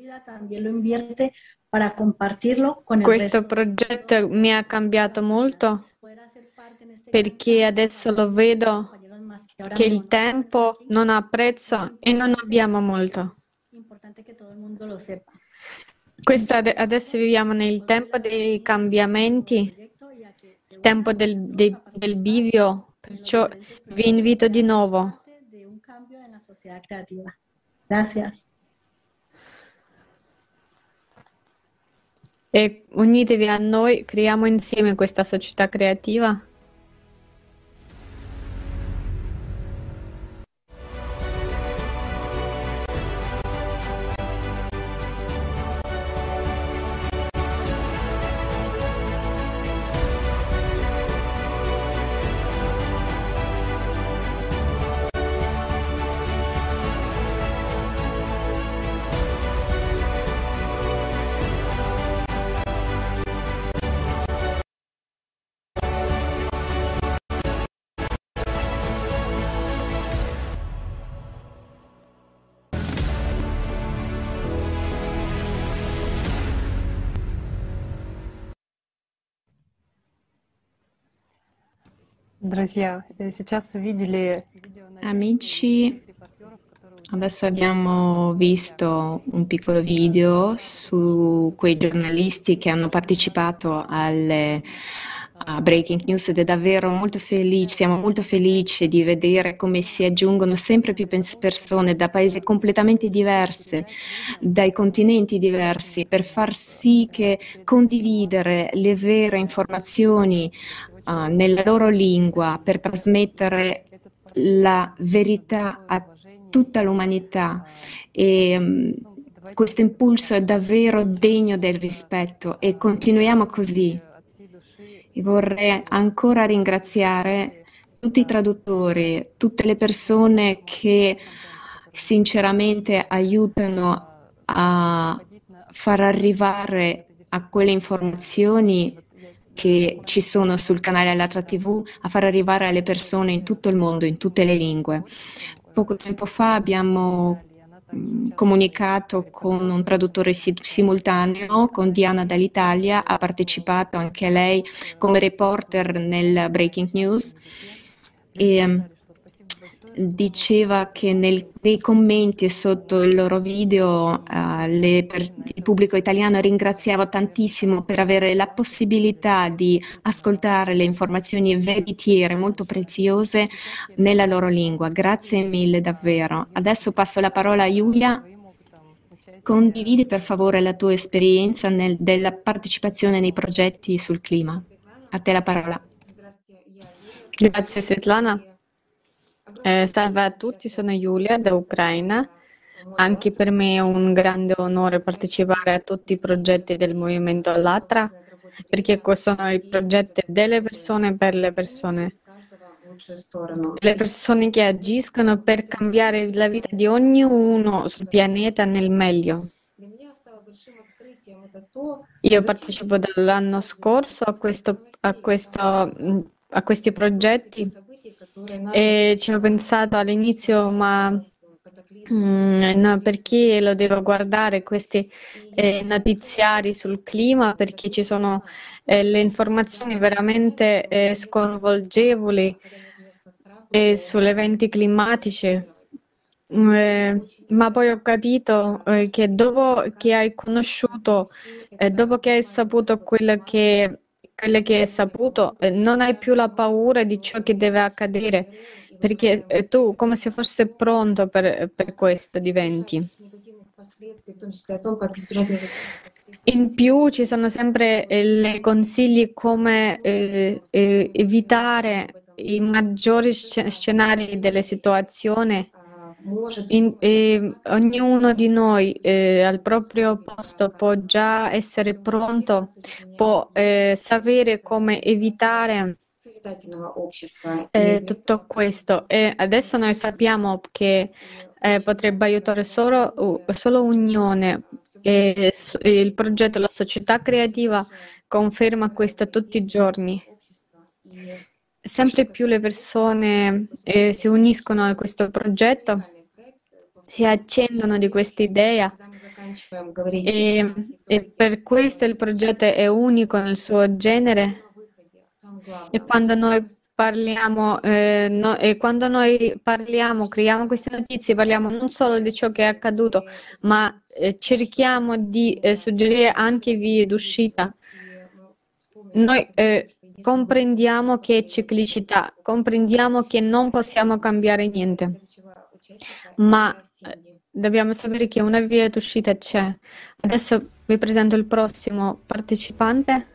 Questo progetto mi ha cambiato molto perché adesso lo vedo che il tempo non ha prezzo e non abbiamo molto. Adesso viviamo nel tempo dei cambiamenti, il tempo del bivio, Perciò vi invito di nuovo. De un cambio en la sociedad creativa. Gracias. E unitevi a noi, creiamo insieme questa società creativa. Друзья, сейчас увидели видео на Amici, adesso abbiamo visto un piccolo video su quei giornalisti che hanno partecipato alle Breaking News ed è davvero molto felice, siamo molto felici di vedere come si aggiungono sempre più persone da paesi completamente diversi, dai continenti diversi, per far sì che condividere le vere informazioni nella loro lingua, per trasmettere la verità a tutta l'umanità. E questo impulso è davvero degno del rispetto e continuiamo così. E vorrei ancora ringraziare tutti i traduttori, tutte le persone che sinceramente aiutano a far arrivare a quelle informazioni che ci sono sul canale Allatra TV, a far arrivare alle persone in tutto il mondo, in tutte le lingue. Poco tempo fa abbiamo comunicato con un traduttore simultaneo, con Diana dall'Italia, ha partecipato anche lei come reporter nel Breaking News e diceva che nei commenti sotto il loro video il pubblico italiano ringraziava tantissimo per avere la possibilità di ascoltare le informazioni veritiere molto preziose nella loro lingua. Grazie mille davvero. Adesso passo la parola a Giulia. Condividi per favore la tua esperienza della partecipazione nei progetti sul clima. A te la parola. Grazie Svetlana. Salve a tutti, sono Giulia da Ucraina. Anche per me è un grande onore partecipare a tutti i progetti del Movimento Allatra, perché sono i progetti delle persone per le persone. Le persone che agiscono per cambiare la vita di ognuno sul pianeta nel meglio. Io partecipo dall'anno scorso a questi progetti e ci ho pensato all'inizio, ma no, perché lo devo guardare questi notiziari sul clima? Perché ci sono le informazioni veramente sconvolgevoli sugli eventi climatici. Ma poi ho capito che dopo che hai conosciuto, dopo che hai saputo quello che hai saputo, non hai più la paura di ciò che deve accadere, perché tu come se fossi pronto per questo diventi. In più ci sono sempre le consigli come evitare i maggiori scenari delle situazioni. Ognuno di noi al proprio posto può già essere pronto, può sapere come evitare tutto questo. E adesso noi sappiamo che potrebbe aiutare solo unione. Il progetto La Società Creativa conferma questo tutti i giorni. Sempre più le persone si uniscono a questo progetto, si accendono di questa idea e per questo il progetto è unico nel suo genere. E quando noi parliamo, creiamo queste notizie, parliamo non solo di ciò che è accaduto, ma cerchiamo di suggerire anche vie d'uscita. Noi comprendiamo che è ciclicità, comprendiamo che non possiamo cambiare niente, ma dobbiamo sapere che una via d'uscita c'è. Adesso vi presento il prossimo partecipante.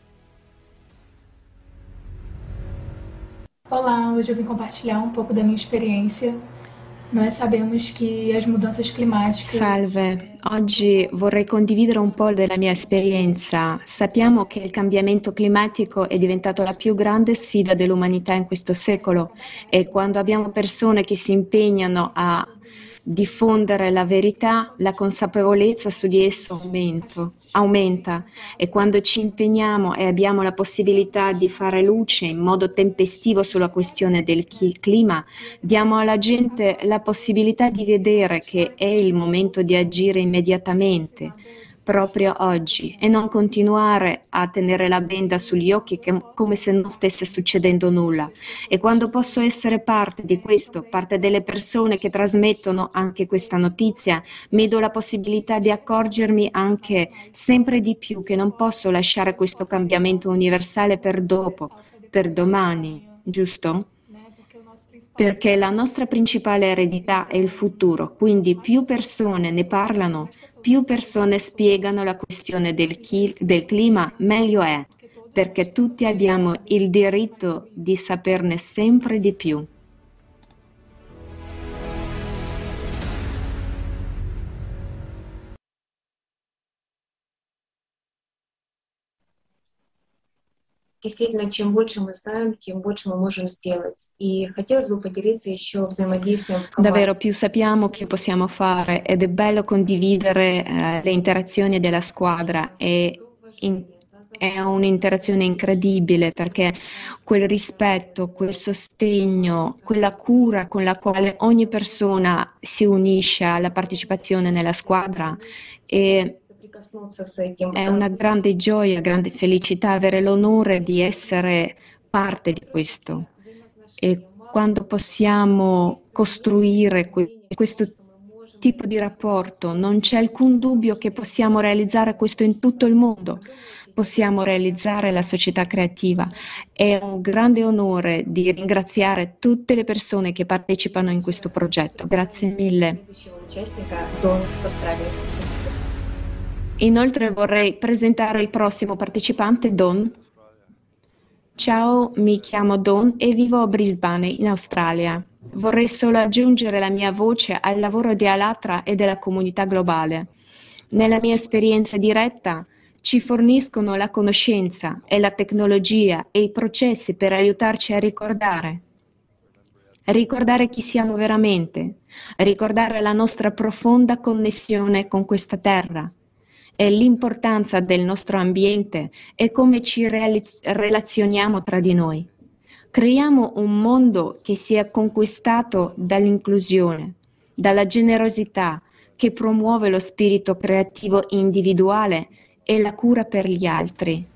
Olá, hoje eu vim compartilhar um pouco da minha experiência. Nós sabemos que as mudanças climáticas... Salve, oggi vorrei condividere un po' della mia esperienza. Sappiamo che il cambiamento climatico è diventato la più grande sfida dell'umanità in questo secolo e quando abbiamo persone che si impegnano a diffondere la verità, la consapevolezza su di esso aumenta e quando ci impegniamo e abbiamo la possibilità di fare luce in modo tempestivo sulla questione del clima, diamo alla gente la possibilità di vedere che è il momento di agire immediatamente, proprio oggi, e non continuare a tenere la benda sugli occhi come se non stesse succedendo nulla. E quando posso essere parte di questo, parte delle persone che trasmettono anche questa notizia, mi do la possibilità di accorgermi anche sempre di più che non posso lasciare questo cambiamento universale per dopo, per domani, giusto? Perché la nostra principale eredità è il futuro, quindi più persone ne parlano, più persone spiegano la questione del clima, meglio è, perché tutti abbiamo il diritto di saperne sempre di più. Действительно, чем больше мы знаем, тем больше мы можем сделать. И хотелось бы поделиться еще взаимодействием в команде. Davvero, più sappiamo, più possiamo fare ed è bello condividere le interazioni della squadra è un'interazione incredibile perché quel rispetto, quel sostegno, quella cura con la quale ogni persona si unisce alla partecipazione nella squadra è una grande gioia, grande felicità avere l'onore di essere parte di questo. E quando possiamo costruire questo tipo di rapporto, non c'è alcun dubbio che possiamo realizzare questo in tutto il mondo. Possiamo realizzare la società creativa. È un grande onore di ringraziare tutte le persone che partecipano in questo progetto. Grazie mille. Inoltre vorrei presentare il prossimo partecipante, Don. Ciao, mi chiamo Don e vivo a Brisbane, in Australia. Vorrei solo aggiungere la mia voce al lavoro di Allatra e della comunità globale. Nella mia esperienza diretta ci forniscono la conoscenza e la tecnologia e i processi per aiutarci a ricordare chi siamo veramente, ricordare la nostra profonda connessione con questa terra e l'importanza del nostro ambiente e come ci relazioniamo tra di noi. Creiamo un mondo che sia conquistato dall'inclusione, dalla generosità, che promuove lo spirito creativo individuale e la cura per gli altri.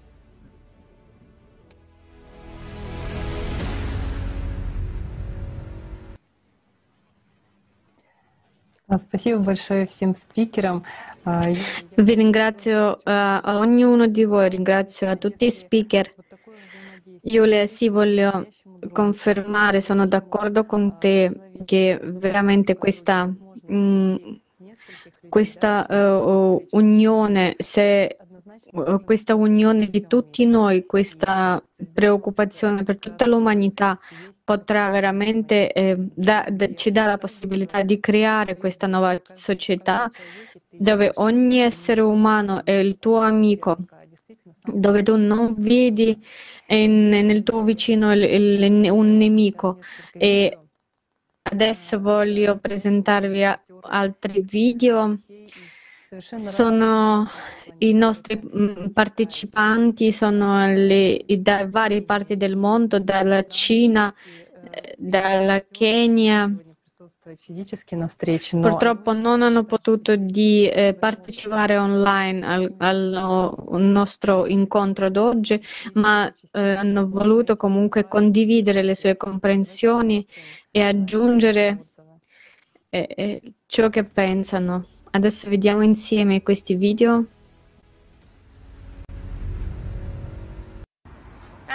Спасибо большое всем спикерам. Vi ringrazio a ognuno di voi, ringrazio a tutti i speaker. Giulia, sì, voglio confermare, sono d'accordo con te che veramente questa unione, questa unione di tutti noi, questa preoccupazione per tutta l'umanità potrà veramente ci dà la possibilità di creare questa nuova società dove ogni essere umano è il tuo amico, dove tu non vedi nel tuo vicino un nemico. E adesso voglio presentarvi altri video. Sono i nostri partecipanti, sono da varie parti del mondo, dalla Cina, dalla Kenya. Purtroppo non hanno potuto partecipare online al nostro incontro d'oggi, ma hanno voluto comunque condividere le sue comprensioni e aggiungere ciò che pensano. Adesso vediamo insieme questi video.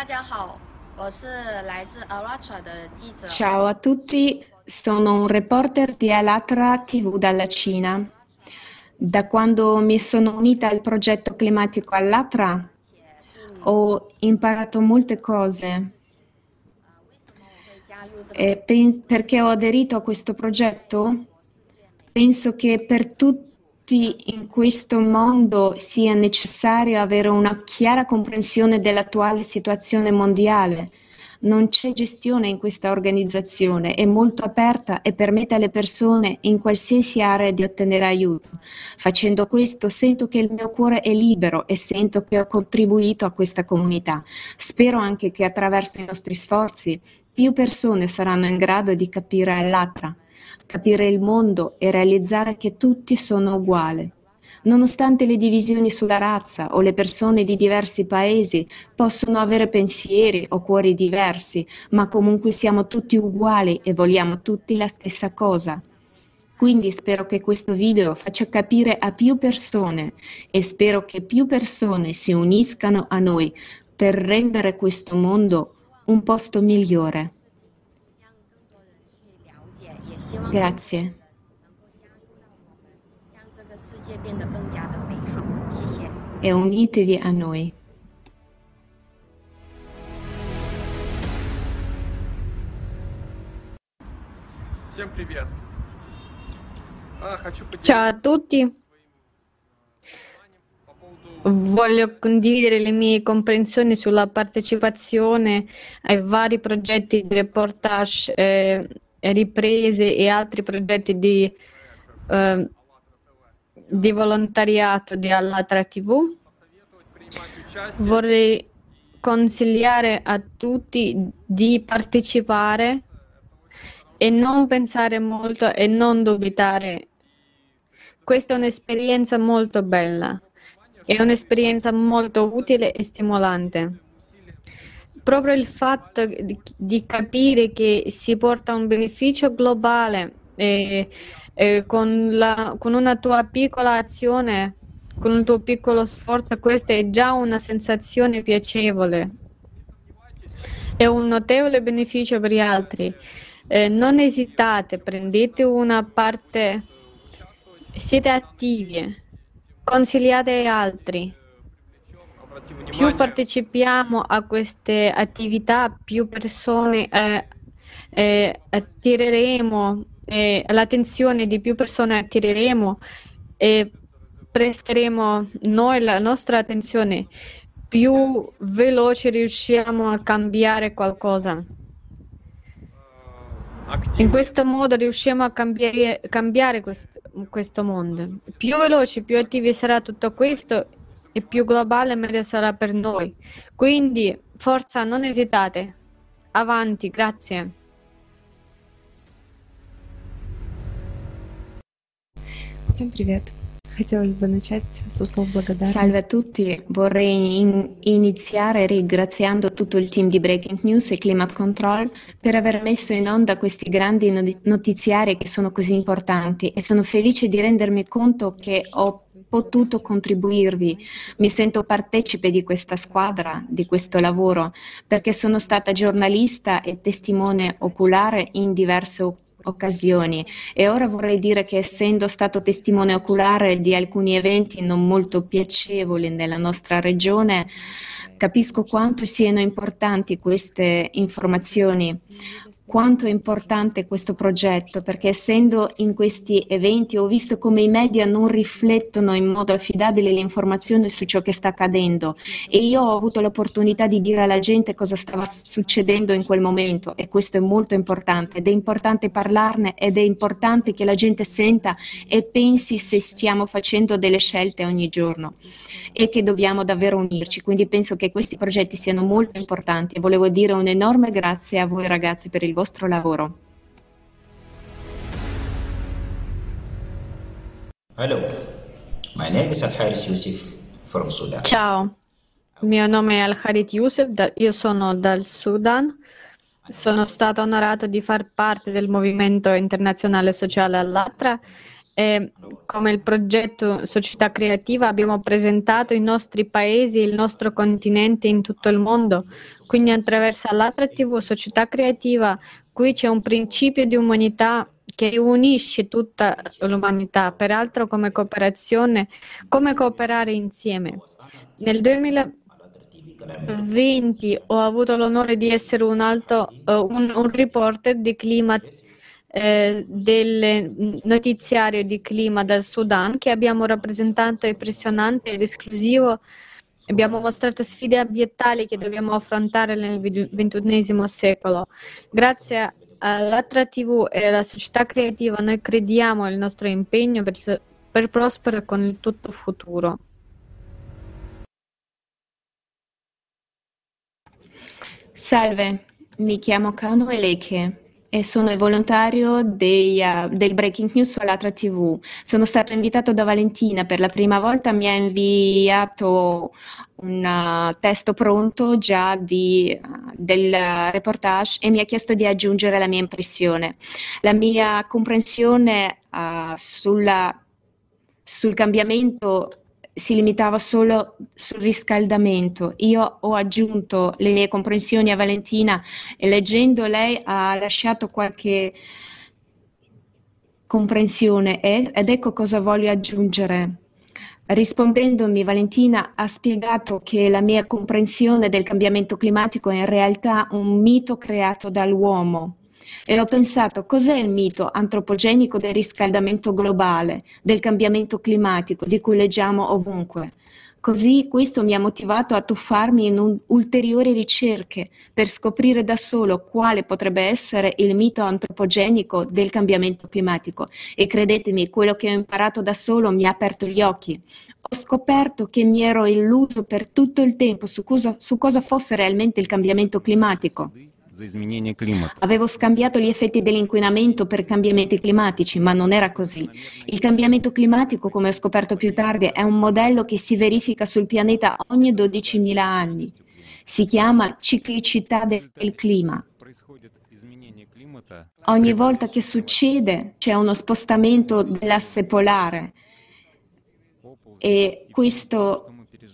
Ciao a tutti, sono un reporter di Allatra TV dalla Cina. Da quando mi sono unita al progetto climatico Allatra ho imparato molte cose. Perché ho aderito a questo progetto? Penso che per tutti in questo mondo sia necessario avere una chiara comprensione dell'attuale situazione mondiale. Non c'è gestione in questa organizzazione, è molto aperta e permette alle persone in qualsiasi area di ottenere aiuto. Facendo questo sento che il mio cuore è libero e sento che ho contribuito a questa comunità. Spero anche che attraverso i nostri sforzi più persone saranno in grado di capire Allatra, capire il mondo e realizzare che tutti sono uguali. Nonostante le divisioni sulla razza o le persone di diversi paesi possono avere pensieri o cuori diversi, ma comunque siamo tutti uguali e vogliamo tutti la stessa cosa. Quindi spero che questo video faccia capire a più persone e spero che più persone si uniscano a noi per rendere questo mondo un posto migliore. Grazie. E unitevi a noi. Ciao a tutti. Voglio condividere le mie comprensioni sulla partecipazione ai vari progetti di reportage, riprese e altri progetti di volontariato di Allatra TV. Vorrei consigliare a tutti di partecipare e non pensare molto e non dubitare. Questa è un'esperienza molto bella, è un'esperienza molto utile e stimolante. Proprio il fatto di capire che si porta un beneficio globale con una tua piccola azione, con un tuo piccolo sforzo, questa è già una sensazione piacevole. È un notevole beneficio per gli altri. Non esitate, prendete una parte, siete attivi, consigliate agli altri. Più partecipiamo a queste attività, più persone attireremo, l'attenzione di più persone attireremo e presteremo noi la nostra attenzione, più veloce riusciamo a cambiare qualcosa. In questo modo riusciamo a cambiare questo mondo. Più veloci, più attivi sarà tutto questo e più globale meglio sarà per noi. Quindi, forza, non esitate. Avanti, grazie. Всем привет. Хотелось бы начать со слов благодарности. Salve a tutti, vorrei iniziare ringraziando tutto il team di Breaking News e Climate Control per aver messo in onda questi grandi notiziari che sono così importanti e sono felice di rendermi conto che ho potuto contribuirvi. Mi sento partecipe di questa squadra, di questo lavoro, perché sono stata giornalista e testimone oculare in diverse occasioni e ora vorrei dire che essendo stato testimone oculare di alcuni eventi non molto piacevoli nella nostra regione, capisco quanto siano importanti queste informazioni, quanto è importante questo progetto, perché essendo in questi eventi ho visto come i media non riflettono in modo affidabile l'informazione su ciò che sta accadendo e io ho avuto l'opportunità di dire alla gente cosa stava succedendo in quel momento e questo è molto importante ed è importante parlarne ed è importante che la gente senta e pensi se stiamo facendo delle scelte ogni giorno e che dobbiamo davvero unirci, quindi penso che questi progetti siano molto importanti e volevo dire un enorme grazie a voi ragazzi per il vostro lavoro. Hello, my name is Al-Harith Youssef from Sudan. Ciao, il mio nome è Al-Harith Youssef, io sono dal Sudan. Sono stato onorato di far parte del movimento internazionale sociale Allatra E come il progetto Società Creativa abbiamo presentato i nostri paesi e il nostro continente in tutto il mondo. Quindi attraverso l'Atra TV Società Creativa qui c'è un principio di umanità che unisce tutta l'umanità, peraltro come cooperazione, come cooperare insieme. Nel 2020 ho avuto l'onore di essere un reporter di clima del notiziario di clima dal Sudan, che abbiamo rappresentato impressionante ed esclusivo. Abbiamo mostrato sfide ambientali che dobbiamo affrontare nel XXI secolo. Grazie all'Atra TV e alla società creativa noi crediamo nel nostro impegno per prosperare con il tutto futuro. Salve, mi chiamo Kano Eleke e sono il volontario del Breaking News sull'Atra TV. Sono stato invitato da Valentina per la prima volta, mi ha inviato un testo pronto già del reportage e mi ha chiesto di aggiungere la mia impressione. La mia comprensione sul cambiamento si limitava solo sul riscaldamento. Io ho aggiunto le mie comprensioni a Valentina e leggendo lei ha lasciato qualche comprensione ed ecco cosa voglio aggiungere. Rispondendomi, Valentina ha spiegato che la mia comprensione del cambiamento climatico è in realtà un mito creato dall'uomo. E ho pensato, cos'è il mito antropogenico del riscaldamento globale, del cambiamento climatico, di cui leggiamo ovunque? Così questo mi ha motivato a tuffarmi in ulteriori ricerche per scoprire da solo quale potrebbe essere il mito antropogenico del cambiamento climatico. E credetemi, quello che ho imparato da solo mi ha aperto gli occhi. Ho scoperto che mi ero illuso per tutto il tempo su cosa fosse realmente il cambiamento climatico. Avevo scambiato gli effetti dell'inquinamento per cambiamenti climatici, ma non era così. Il cambiamento climatico, come ho scoperto più tardi, è un modello che si verifica sul pianeta ogni 12.000 anni. Si chiama ciclicità del clima. Ogni volta che succede c'è uno spostamento dell'asse polare e questo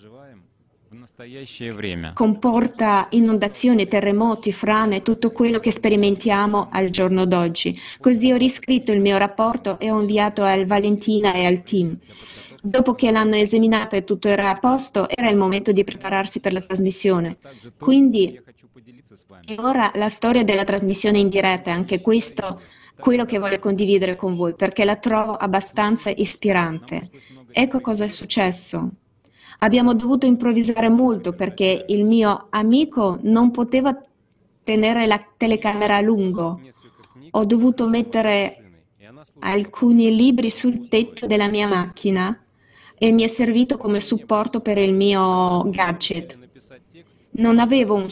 comporta inondazioni, terremoti, frane, tutto quello che sperimentiamo al giorno d'oggi. Così ho riscritto il mio rapporto e ho inviato al Valentina e al team. Dopo che l'hanno esaminato e tutto era a posto, era il momento di prepararsi per la trasmissione. Quindi, e ora la storia della trasmissione in diretta è anche questo quello che voglio condividere con voi, perché la trovo abbastanza ispirante. Ecco cosa è successo. Abbiamo dovuto improvvisare molto perché il mio amico non poteva tenere la telecamera a lungo. Ho dovuto mettere alcuni libri sul tetto della mia macchina e mi è servito come supporto per il mio gadget. Non avevo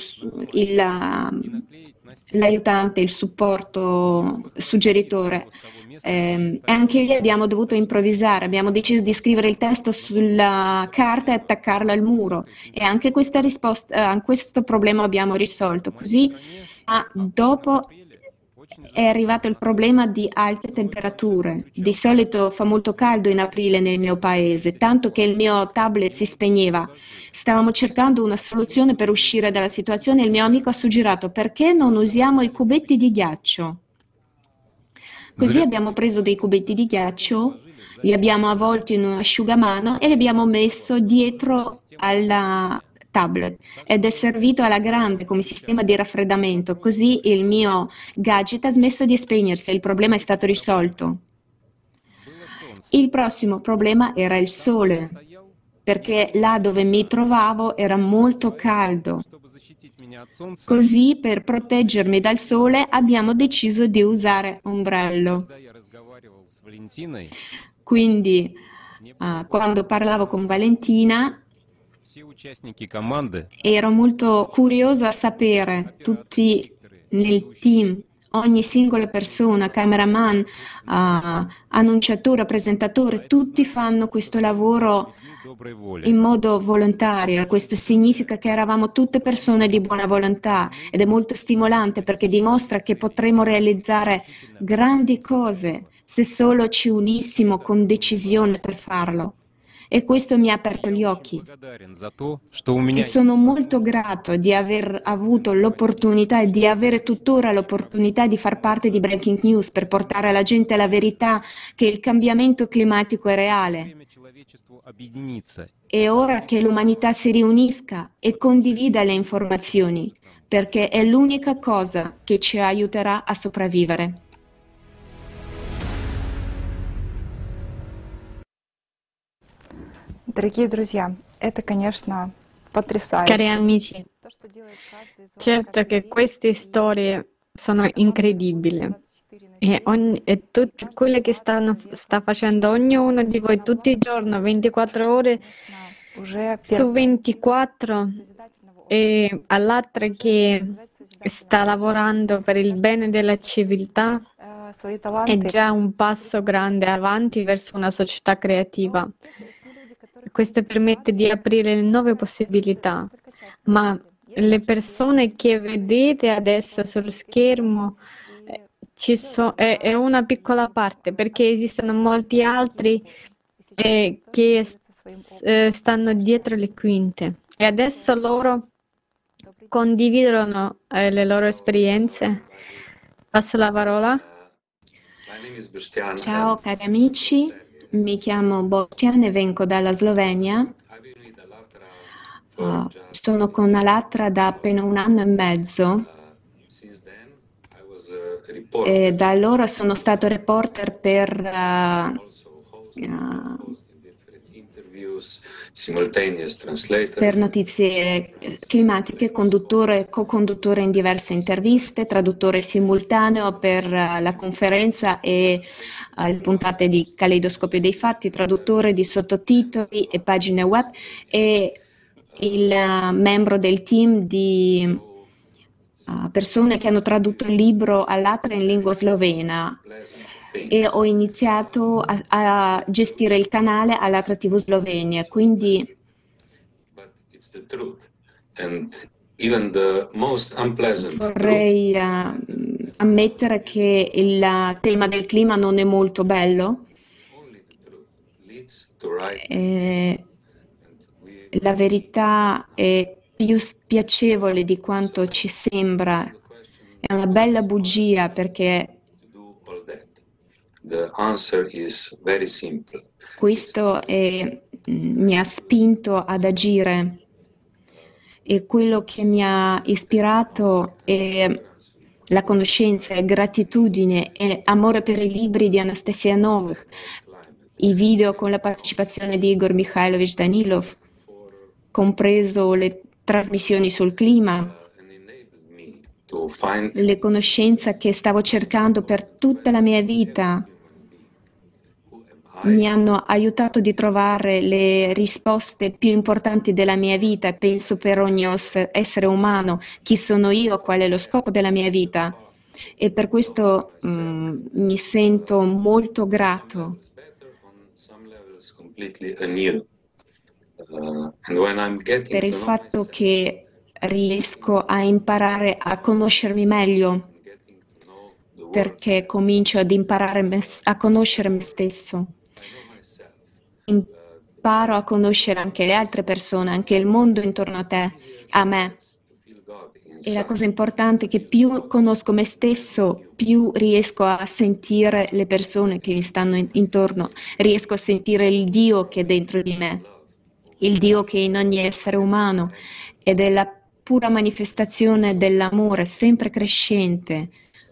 l'aiutante, il supporto suggeritore. E anche lì abbiamo dovuto improvvisare, abbiamo deciso di scrivere il testo sulla carta e attaccarlo al muro e anche questa questo problema abbiamo risolto. Così, ma dopo è arrivato il problema di alte temperature. Di solito fa molto caldo in aprile nel mio paese, tanto che il mio tablet si spegneva. Stavamo cercando una soluzione per uscire dalla situazione e il mio amico ha suggerito perché non usiamo i cubetti di ghiaccio. Così abbiamo preso dei cubetti di ghiaccio, li abbiamo avvolti in un asciugamano e li abbiamo messo dietro alla tablet ed è servito alla grande come sistema di raffreddamento. Così il mio gadget ha smesso di spegnersi e il problema è stato risolto. Il prossimo problema era il sole, perché là dove mi trovavo era molto caldo. Così, per proteggermi dal sole, abbiamo deciso di usare ombrello. Quindi, quando parlavo con Valentina, ero molto curiosa a sapere, tutti nel team, ogni singola persona, cameraman, annunciatore, presentatore, tutti fanno questo lavoro in modo volontario. Questo significa che eravamo tutte persone di buona volontà ed è molto stimolante perché dimostra che potremo realizzare grandi cose se solo ci unissimo con decisione per farlo. E questo mi ha aperto gli occhi. E sono molto grato di aver avuto l'opportunità e di avere tuttora l'opportunità di far parte di Breaking News per portare alla gente la verità che il cambiamento climatico è reale. È ora che l'umanità si riunisca e condivida le informazioni, perché è l'unica cosa che ci aiuterà a sopravvivere. Дорогие друзья, это, конечно, Cari потрясающе. amici, certo che queste storie sono incredibili e tutte quelle che sta facendo ognuno di voi tutti i giorni, 24 ore su 24, e all'altra che sta lavorando per il bene della civiltà, è già un passo grande avanti verso una società creativa. Questo permette di aprire nuove possibilità, ma le persone che vedete adesso sullo schermo è una piccola parte, perché esistono molti altri che stanno dietro le quinte e adesso loro condividono le loro esperienze. Passo la parola. Ciao cari amici, mi chiamo Boštjan e vengo dalla Slovenia. Sono con Alatra da appena 1 anno e mezzo e da allora sono stato reporter per notizie climatiche, co-conduttore in diverse interviste, traduttore simultaneo per la conferenza e le puntate di Caleidoscopio dei Fatti, traduttore di sottotitoli e pagine web e il membro del team di persone che hanno tradotto il libro Alatra in lingua slovena. E ho iniziato a gestire il canale Alatra TV Slovenia, quindi vorrei ammettere che il tema del clima non è molto bello. La verità è più spiacevole di quanto ci sembra, è una bella bugia perché questo mi ha spinto ad agire e quello che mi ha ispirato è la conoscenza, è gratitudine e amore per i libri di Anastasia Novak, i video con la partecipazione di Igor Mikhailovich Danilov, compreso le trasmissioni sul clima, le conoscenze che stavo cercando per tutta la mia vita mi hanno aiutato di trovare le risposte più importanti della mia vita e penso per ogni essere umano, chi sono io, qual è lo scopo della mia vita, e per questo mi sento molto grato. Per il fatto che riesco a imparare a conoscermi meglio, perché comincio ad imparare a conoscere me stesso. Imparo a conoscere anche le altre persone, anche il mondo intorno a te, a me. E la cosa importante è che più conosco me stesso, più riesco a sentire le persone che mi stanno intorno, riesco a sentire il Dio che è dentro di me, il Dio che è in ogni essere umano ed è la pura manifestazione dell'amore sempre crescente,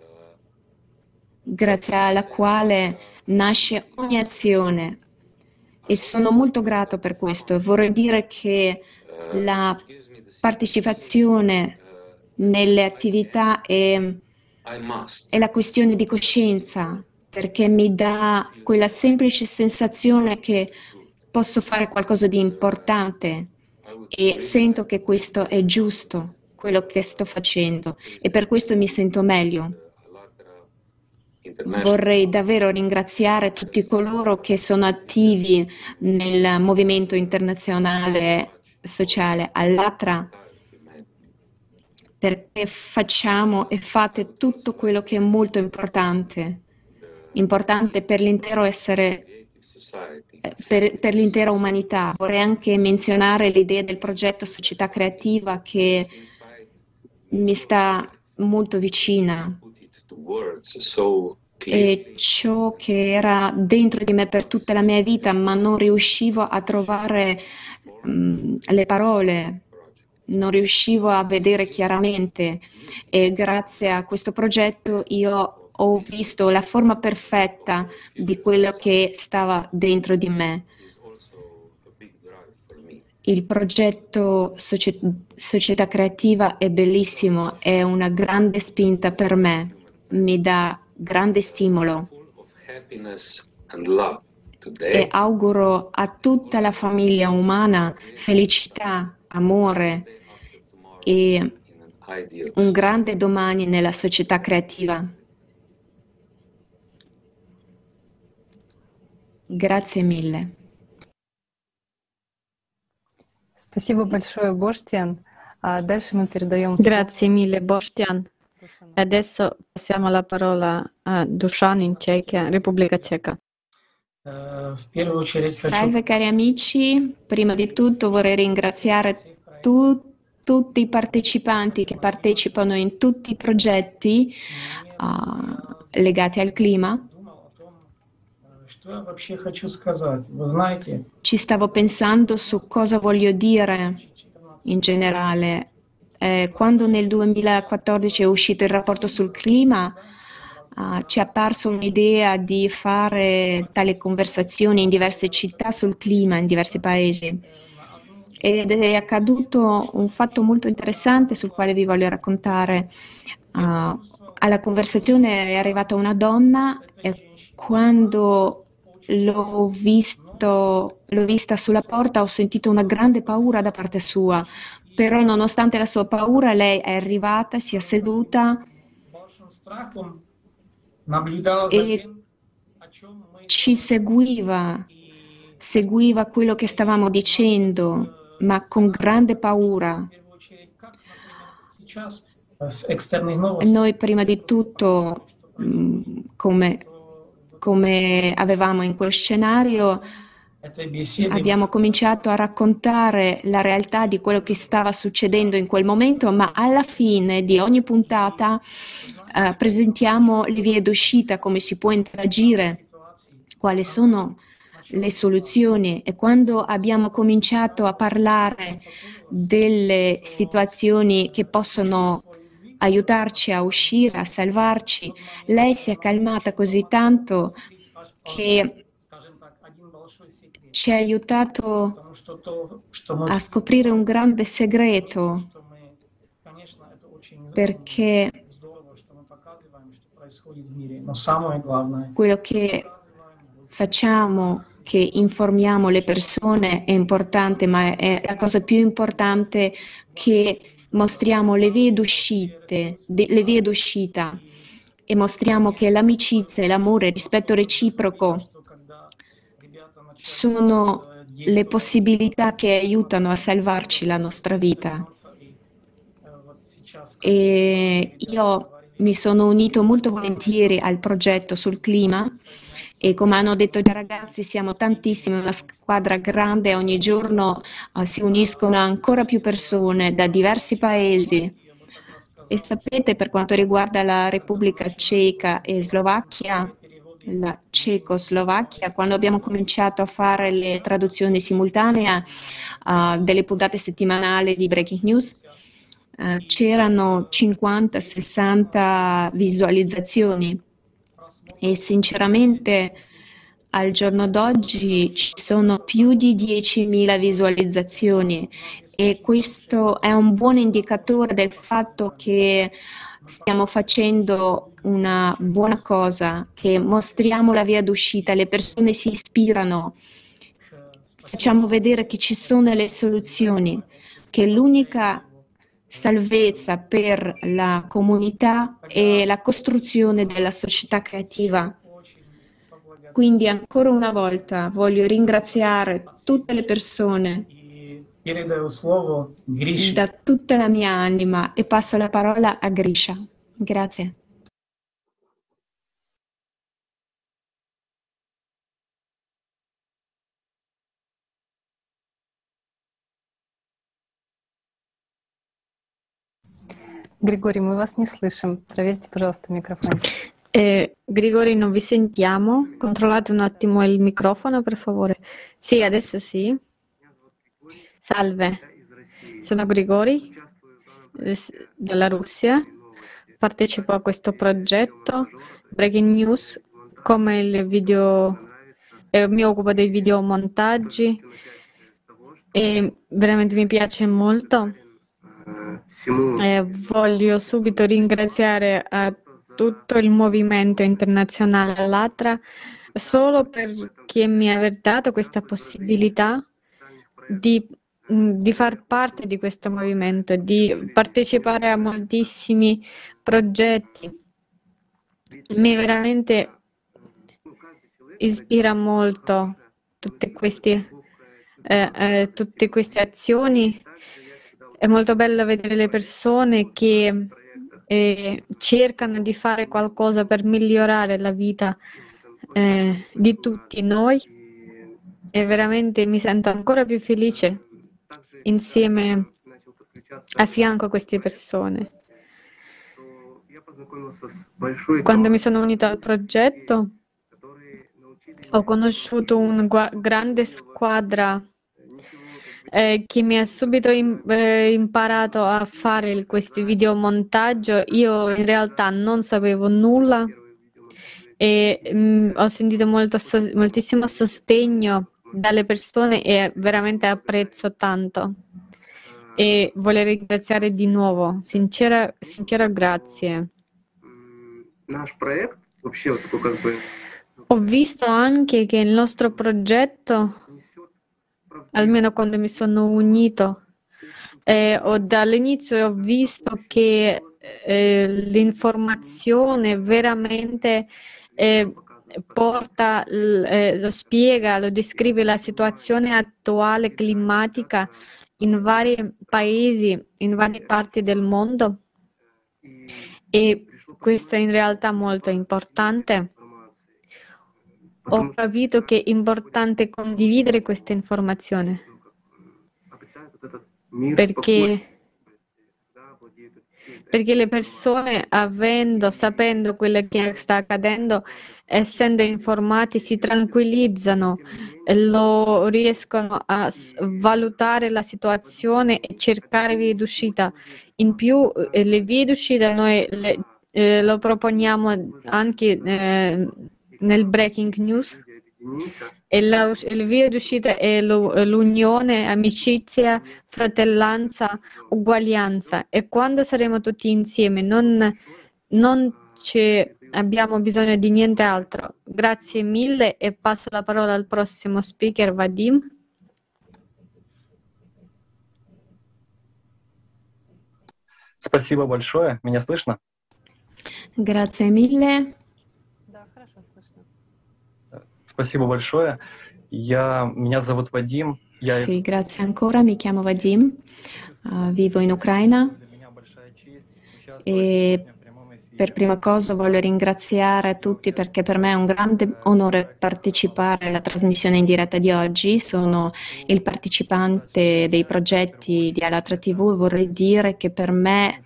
grazie alla quale nasce ogni azione. E sono molto grato per questo. Vorrei dire che la partecipazione nelle attività è la questione di coscienza, perché mi dà quella semplice sensazione che posso fare qualcosa di importante e sento che questo è giusto, quello che sto facendo, e per questo mi sento meglio. Vorrei davvero ringraziare tutti coloro che sono attivi nel movimento internazionale sociale Allatra, perché facciamo e fate tutto quello che è molto importante. importante per l'intero per l'intera umanità. Vorrei anche menzionare l'idea del progetto Società Creativa che mi sta molto vicina. E ciò che era dentro di me per tutta la mia vita, ma non riuscivo a trovare le parole, non riuscivo a vedere chiaramente, e grazie a questo progetto io ho visto la forma perfetta di quello che stava dentro di me. Il progetto Società Creativa è bellissimo, è una grande spinta per me, mi dà grande stimolo e auguro a tutta la famiglia umana felicità, amore e un grande domani nella società creativa. Grazie mille. Спасибо большое, Боштян. Дальше мы передаем Grazie mille, Boštjan. E adesso passiamo la parola a Dušan in Cechia, Repubblica Ceca. Salve cari amici, prima di tutto vorrei ringraziare tutti i partecipanti che partecipano in tutti i progetti legati al clima. Ci stavo pensando su cosa voglio dire in generale. Quando nel 2014 è uscito il rapporto sul clima, ci è apparso un'idea di fare tale conversazioni in diverse città sul clima, in diversi paesi. Ed è accaduto un fatto molto interessante sul quale vi voglio raccontare. Alla conversazione è arrivata una donna e quando l'ho vista sulla porta ho sentito una grande paura da parte sua, però nonostante la sua paura lei è arrivata, si è seduta e ci seguiva quello che stavamo dicendo, ma con grande paura. Noi prima di tutto, come avevamo in quel scenario, abbiamo cominciato a raccontare la realtà di quello che stava succedendo in quel momento, ma alla fine di ogni puntata presentiamo le vie d'uscita, come si può interagire, quali sono le soluzioni. E quando abbiamo cominciato a parlare delle situazioni che possono aiutarci a uscire, a salvarci, lei si è calmata così tanto che ci ha aiutato a scoprire un grande segreto, perché quello che facciamo, che informiamo le persone è importante, ma è la cosa più importante che mostriamo le vie d'uscita e mostriamo che l'amicizia, l'amore, il rispetto reciproco sono le possibilità che aiutano a salvarci la nostra vita. E io mi sono unito molto volentieri al progetto sul clima e come hanno detto i ragazzi siamo tantissimi, una squadra grande, ogni giorno si uniscono ancora più persone da diversi paesi. E sapete, per quanto riguarda la Repubblica Ceca e Slovacchia, la Cecoslovacchia, quando abbiamo cominciato a fare le traduzioni simultanee delle puntate settimanali di Breaking News, c'erano 50-60 visualizzazioni e sinceramente al giorno d'oggi ci sono più di 10.000 visualizzazioni e questo è un buon indicatore del fatto che stiamo facendo una buona cosa, che mostriamo la via d'uscita, le persone si ispirano, facciamo vedere che ci sono le soluzioni, che l'unica salvezza per la comunità è la costruzione della società creativa. Quindi ancora una volta voglio ringraziare tutte le persone da tutta la mia anima e passo la parola a Grisha. Grazie. Григорий, мы вас не слышим. Проверьте, пожалуйста, микрофон. Grigori, non vi sentiamo. Controllate un attimo il microfono, per favore. Sì, adesso sì. Salve, sono Grigori della Russia. Partecipo a questo progetto Breaking News come il video. Mi occupo dei videomontaggi e veramente mi piace molto. Voglio subito ringraziare a tutto il movimento internazionale Allatra solo perché mi ha dato questa possibilità di far parte di questo movimento, di partecipare a moltissimi progetti. Mi veramente ispira molto tutte queste azioni. È molto bello vedere le persone che cercano di fare qualcosa per migliorare la vita di tutti noi e veramente mi sento ancora più felice insieme a fianco a queste persone. Quando mi sono unito al progetto ho conosciuto una grande squadra che mi ha subito imparato a fare questi videomontaggio. Io in realtà non sapevo nulla e ho sentito moltissimo sostegno dalle persone e veramente apprezzo tanto. E voglio ringraziare di nuovo, sincera grazie. Ho visto anche che il nostro progetto, almeno quando mi sono unito, dall'inizio ho visto che l'informazione veramente porta, lo spiega, lo descrive la situazione attuale climatica in vari paesi, in varie parti del mondo e questo è in realtà molto importante. Ho capito che è importante condividere questa informazione perché le persone sapendo quello che sta accadendo, essendo informati, si tranquillizzano, riescono a valutare la situazione e cercare vie d'uscita. In più, le vie d'uscita noi lo proponiamo anche nel Breaking News e le vie d'uscita è l'unione, amicizia, fratellanza, uguaglianza e quando saremo tutti insieme non abbiamo bisogno di niente altro. Grazie mille e passo la parola al prossimo speaker, Vadim. Спасибо большое. Меня слышно? Grazie mille. Спасибо большое. Меня зовут Вадим. Sì, grazie ancora. Mi chiamo Vadim, vivo in Ucraina e per prima cosa voglio ringraziare tutti perché per me è un grande onore partecipare alla trasmissione in diretta di oggi. Sono il partecipante dei progetti di Allatra TV e vorrei dire che per me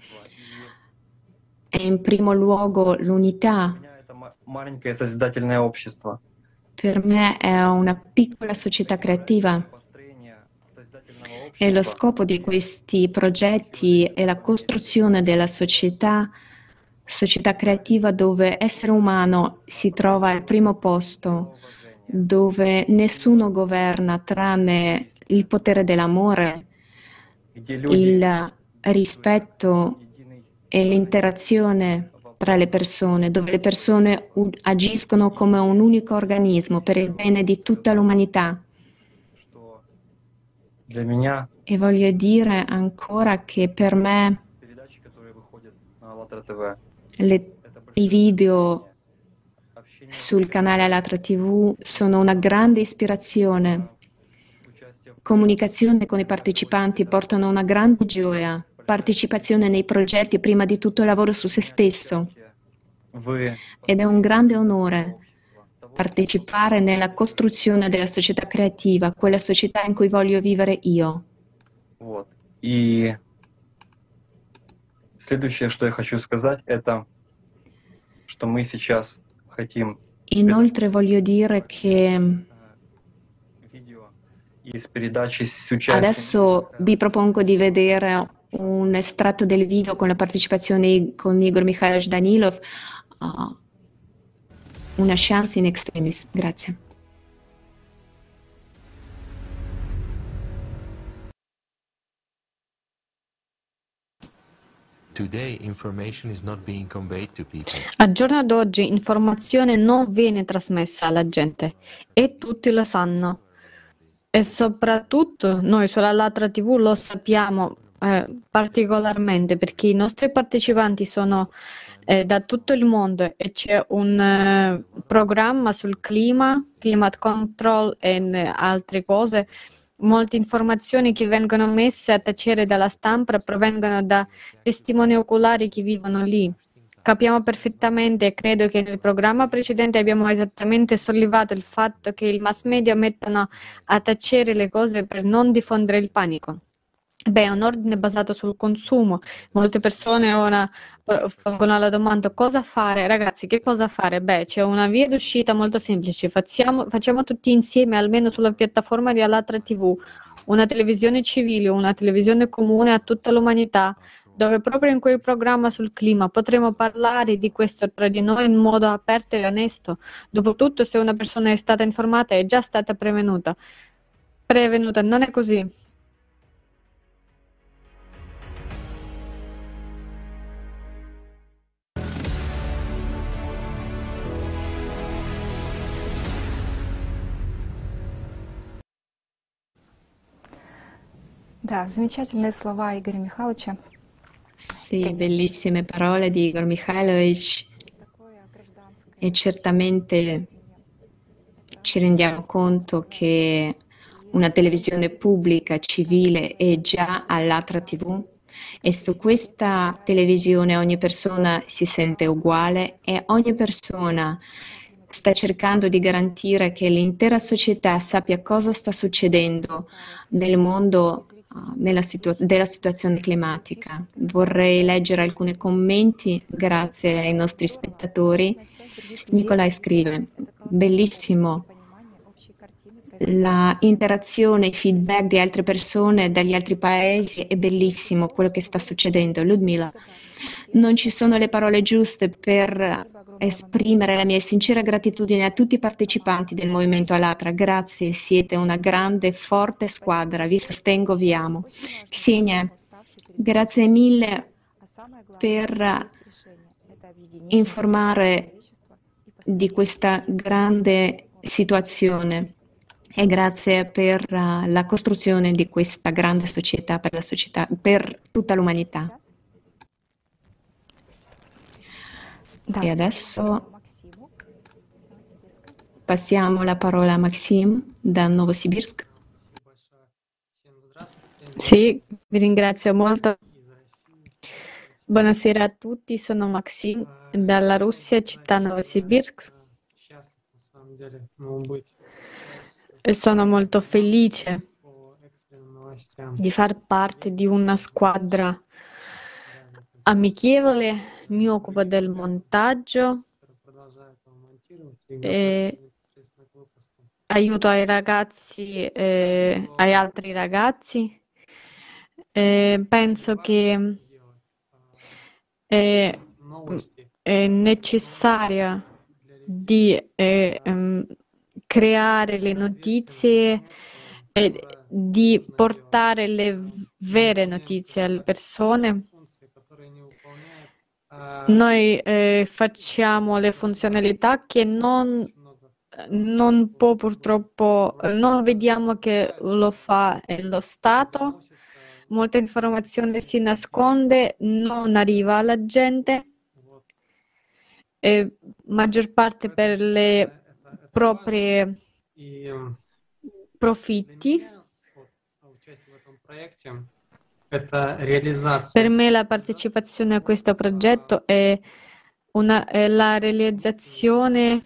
è in primo luogo l'unità. Маленькое созидательное общество. Per me è una piccola società creativa e lo scopo di questi progetti è la costruzione della società creativa dove essere umano si trova al primo posto, dove nessuno governa tranne il potere dell'amore, il rispetto e l'interazione tra le persone, dove le persone agiscono come un unico organismo per il bene di tutta l'umanità. E voglio dire ancora che per me i video sul canale Allatra TV sono una grande ispirazione. Comunicazione con i partecipanti portano una grande gioia. Partecipazione nei progetti, prima di tutto lavoro su se stesso ed è un grande onore partecipare nella costruzione della società creativa, quella società in cui voglio vivere io. Следующее, что я хочу сказать, это, что мы сейчас хотим Inoltre voglio dire che из передачи с участием adesso vi propongo di vedere un estratto del video con la partecipazione con Igor Mikhailovich Danilov, una chance in extremis. Grazie. Al giorno d'oggi informazione non viene trasmessa alla gente e tutti lo sanno. E soprattutto noi sulla Latra TV lo sappiamo particolarmente perché i nostri partecipanti sono da tutto il mondo e c'è un programma sul clima, climate control e altre cose. Molte informazioni che vengono messe a tacere dalla stampa provengono da testimoni oculari che vivono lì. Capiamo perfettamente e credo che nel programma precedente abbiamo esattamente sollevato il fatto che i mass media mettono a tacere le cose per non diffondere il panico. Beh, è un ordine basato sul consumo. Molte persone ora pongono la domanda cosa fare? Ragazzi, che cosa fare? Beh, c'è una via d'uscita molto semplice. Facciamo tutti insieme, almeno sulla piattaforma di Alatra TV, una televisione civile, una televisione comune a tutta l'umanità, dove proprio in quel programma sul clima potremo parlare di questo tra di noi in modo aperto e onesto. Dopotutto, se una persona è stata informata, è già stata prevenuta. Non è così. Да, замечательные слова Игоря Михайловича. Sì, bellissime parole di Igor Mikhailovich e certamente ci rendiamo conto che una televisione pubblica, civile è già all'Altra TV e su questa televisione ogni persona si sente uguale e ogni persona sta cercando di garantire che l'intera società sappia cosa sta succedendo nel mondo della situazione climatica. Vorrei leggere alcuni commenti grazie ai nostri spettatori. Nicolai scrive, bellissimo, la interazione, i feedback di altre persone dagli altri paesi è bellissimo quello che sta succedendo. Ludmila, non ci sono le parole giuste per esprimere la mia sincera gratitudine a tutti i partecipanti del Movimento Alatra. Grazie, siete una grande, forte squadra. Vi sostengo, vi amo. Xenia, grazie mille per informare di questa grande situazione e grazie per la costruzione di questa grande società per la società, per tutta l'umanità. E adesso passiamo la parola a Maxim da Novosibirsk. Sì, vi ringrazio molto. Buonasera a tutti, sono Maxim dalla Russia, città Novosibirsk. E sono molto felice di far parte di una squadra amichevole. Mi occupo del montaggio e aiuto ai ragazzi, ai altri ragazzi. Penso che è necessaria di creare le notizie e di portare le vere notizie alle persone. Noi facciamo le funzionalità che non può purtroppo, non vediamo che lo fa lo Stato. Molta informazione si nasconde, non arriva alla gente, maggior parte per le proprie profitti. Per me la partecipazione a questo progetto è la realizzazione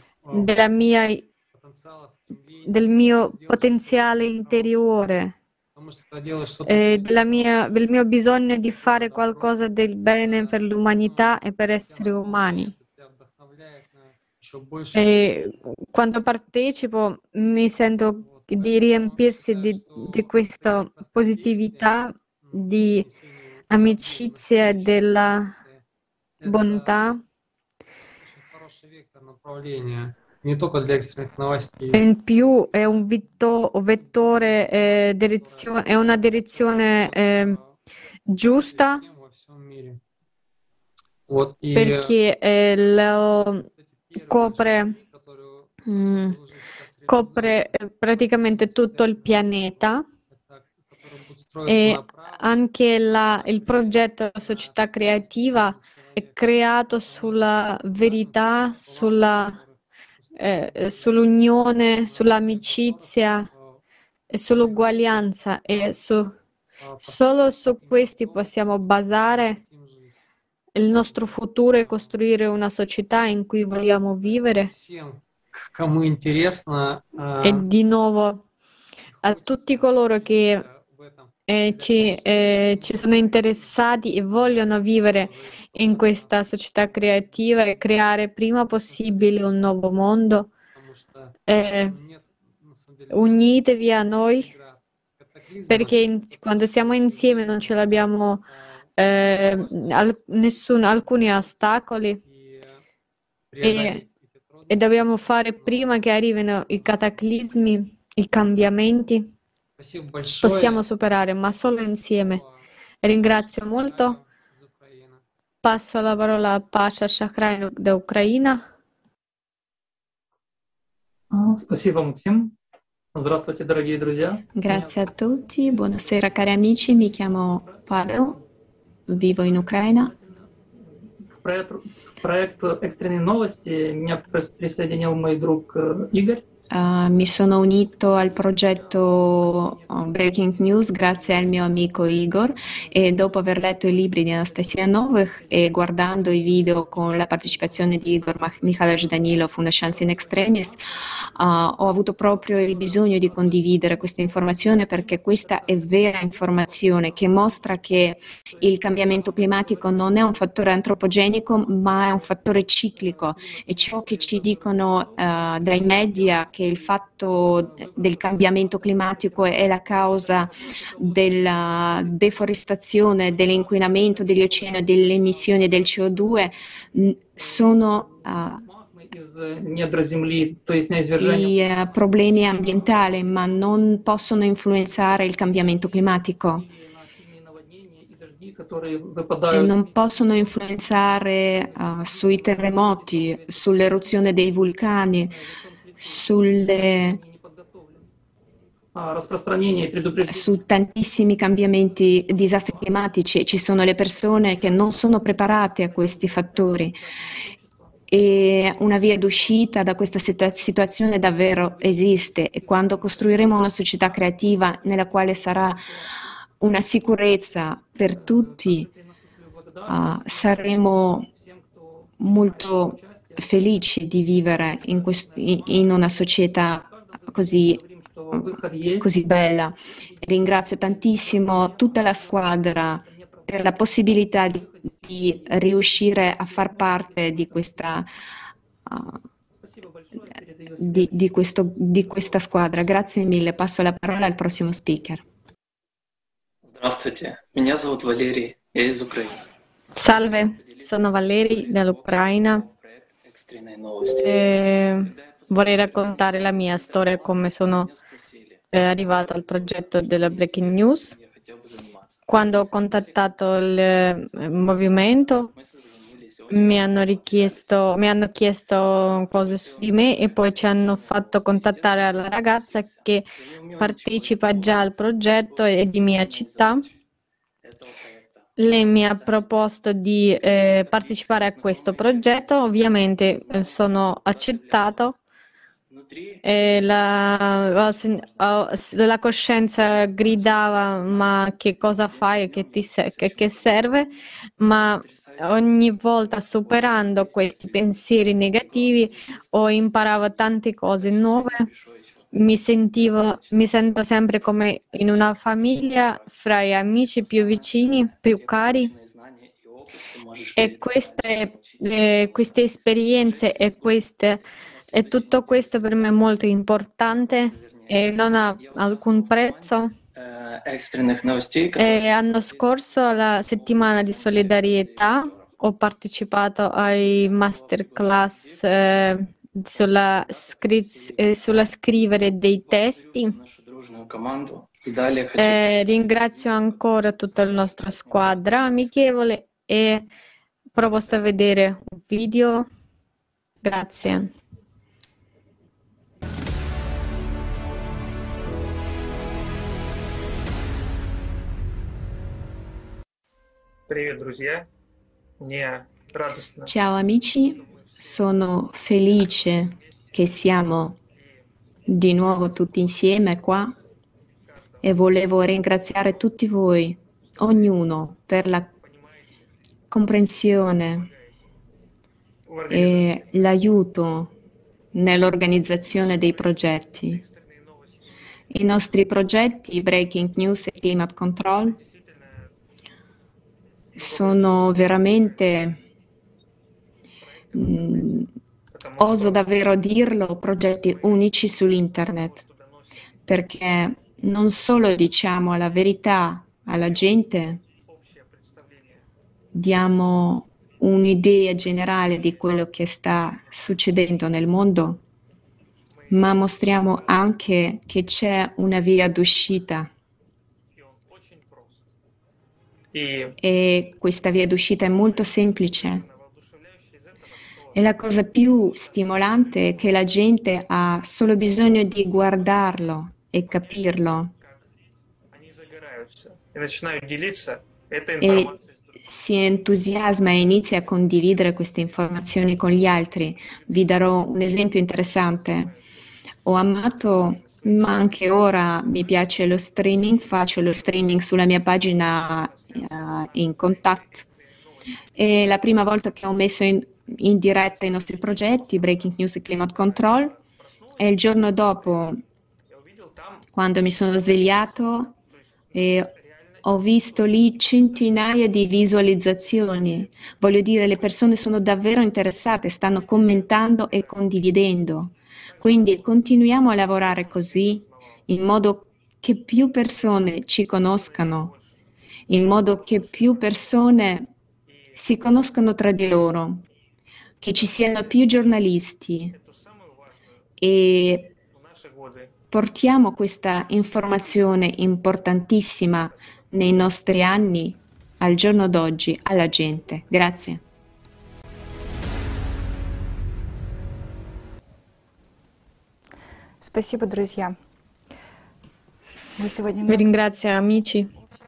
del mio potenziale interiore. del mio bisogno di fare qualcosa del bene per l'umanità e per esseri umani. E quando partecipo mi sento di riempirsi di questa positività, di amicizia e della bontà. E in più è un vettore, è una direzione giusta, perché copre praticamente tutto il pianeta, e anche il progetto della società creativa è creato sulla verità, sull'unione, sull'amicizia e sull'uguaglianza, e solo su questi possiamo basare il nostro futuro e costruire una società in cui vogliamo vivere. E di nuovo a tutti coloro che ci sono interessati e vogliono vivere in questa società creativa e creare prima possibile un nuovo mondo, unitevi a noi, perché quando siamo insieme non ce l'abbiamo alcuni ostacoli, e dobbiamo fare prima che arrivino i cataclismi, i cambiamenti. Possiamo superare, ma solo insieme. Ringrazio molto. Passo la parola a Pasha Shahrain da Ucraina. Спасибо, Максим. Здравствуйте, дорогие друзья. Grazie a tutti, buonasera cari amici, mi chiamo Pavel, vivo in Ucraina. Проект «Экстренные новости» меня присоединил мой друг Игорь. Mi sono unito al progetto Breaking News grazie al mio amico Igor, e dopo aver letto i libri di Anastasia Novych e guardando i video con la partecipazione di Igor Mikhailovich Danilov, Una chance in extremis, ho avuto proprio il bisogno di condividere questa informazione, perché questa è vera informazione che mostra che il cambiamento climatico non è un fattore antropogenico ma è un fattore ciclico, e ciò che ci dicono dai media, che il fatto del cambiamento climatico è la causa della deforestazione, dell'inquinamento degli oceani e delle emissioni del CO2, sono i problemi ambientali, ma non possono influenzare il cambiamento climatico. E non possono influenzare sui terremoti, sull'eruzione dei vulcani, su tantissimi cambiamenti, disastri climatici. Ci sono le persone che non sono preparate a questi fattori, e una via d'uscita da questa situazione davvero esiste, e quando costruiremo una società creativa nella quale sarà una sicurezza per tutti, saremo molto felici di vivere in una società così bella. Ringrazio tantissimo tutta la squadra per la possibilità di riuscire a far parte di questa squadra. Grazie mille. Passo la parola al prossimo speaker. Здравствуйте, меня зовут Валерий, я из Украины. Salve, sono Valeri dall'Ucraina. Vorrei raccontare la mia storia, come sono arrivato al progetto della Breaking News. Quando ho contattato il movimento, mi hanno chiesto cose su di me, e poi ci hanno fatto contattare la ragazza che partecipa già al progetto e di mia città. Lei mi ha proposto di partecipare a questo progetto, ovviamente sono accettato. La coscienza gridava: ma che cosa fai, che serve? Ma ogni volta, superando questi pensieri negativi, ho imparato tante cose nuove, mi sento sempre come in una famiglia fra gli amici più vicini, più cari. E queste esperienze e tutto questo per me è molto importante e non ha alcun prezzo. E l'anno scorso, alla settimana di solidarietà, ho partecipato ai masterclass sulla scrivere dei testi. Ringrazio ancora tutta la nostra squadra amichevole e proposto a vedere un video. Grazie. Ciao amici, sono felice che siamo di nuovo tutti insieme qua e volevo ringraziare tutti voi, ognuno, per la comprensione e l'aiuto nell'organizzazione dei progetti. I nostri progetti Breaking News e Climate Control sono veramente, oso davvero dirlo, progetti unici sull'internet, perché non solo diciamo la verità alla gente, diamo un'idea generale di quello che sta succedendo nel mondo, ma mostriamo anche che c'è una via d'uscita. E questa via d'uscita è molto semplice. E la cosa più stimolante è che la gente ha solo bisogno di guardarlo e capirlo. E si entusiasma e inizia a condividere queste informazioni con gli altri. Vi darò un esempio interessante. Ho amato, ma anche ora mi piace lo streaming, faccio lo streaming sulla mia pagina in Contact. E la prima volta che ho messo in diretta i nostri progetti, Breaking News e Climate Control, e il giorno dopo, quando mi sono svegliato, ho visto lì centinaia di visualizzazioni. Voglio dire, le persone sono davvero interessate, stanno commentando e condividendo. Quindi continuiamo a lavorare così, in modo che più persone ci conoscano, in modo che più persone si conoscano tra di loro, che ci siano più giornalisti e portiamo questa informazione importantissima nei nostri anni, al giorno d'oggi, alla gente. Grazie. Спасибо, друзья. Vi ringrazio amici.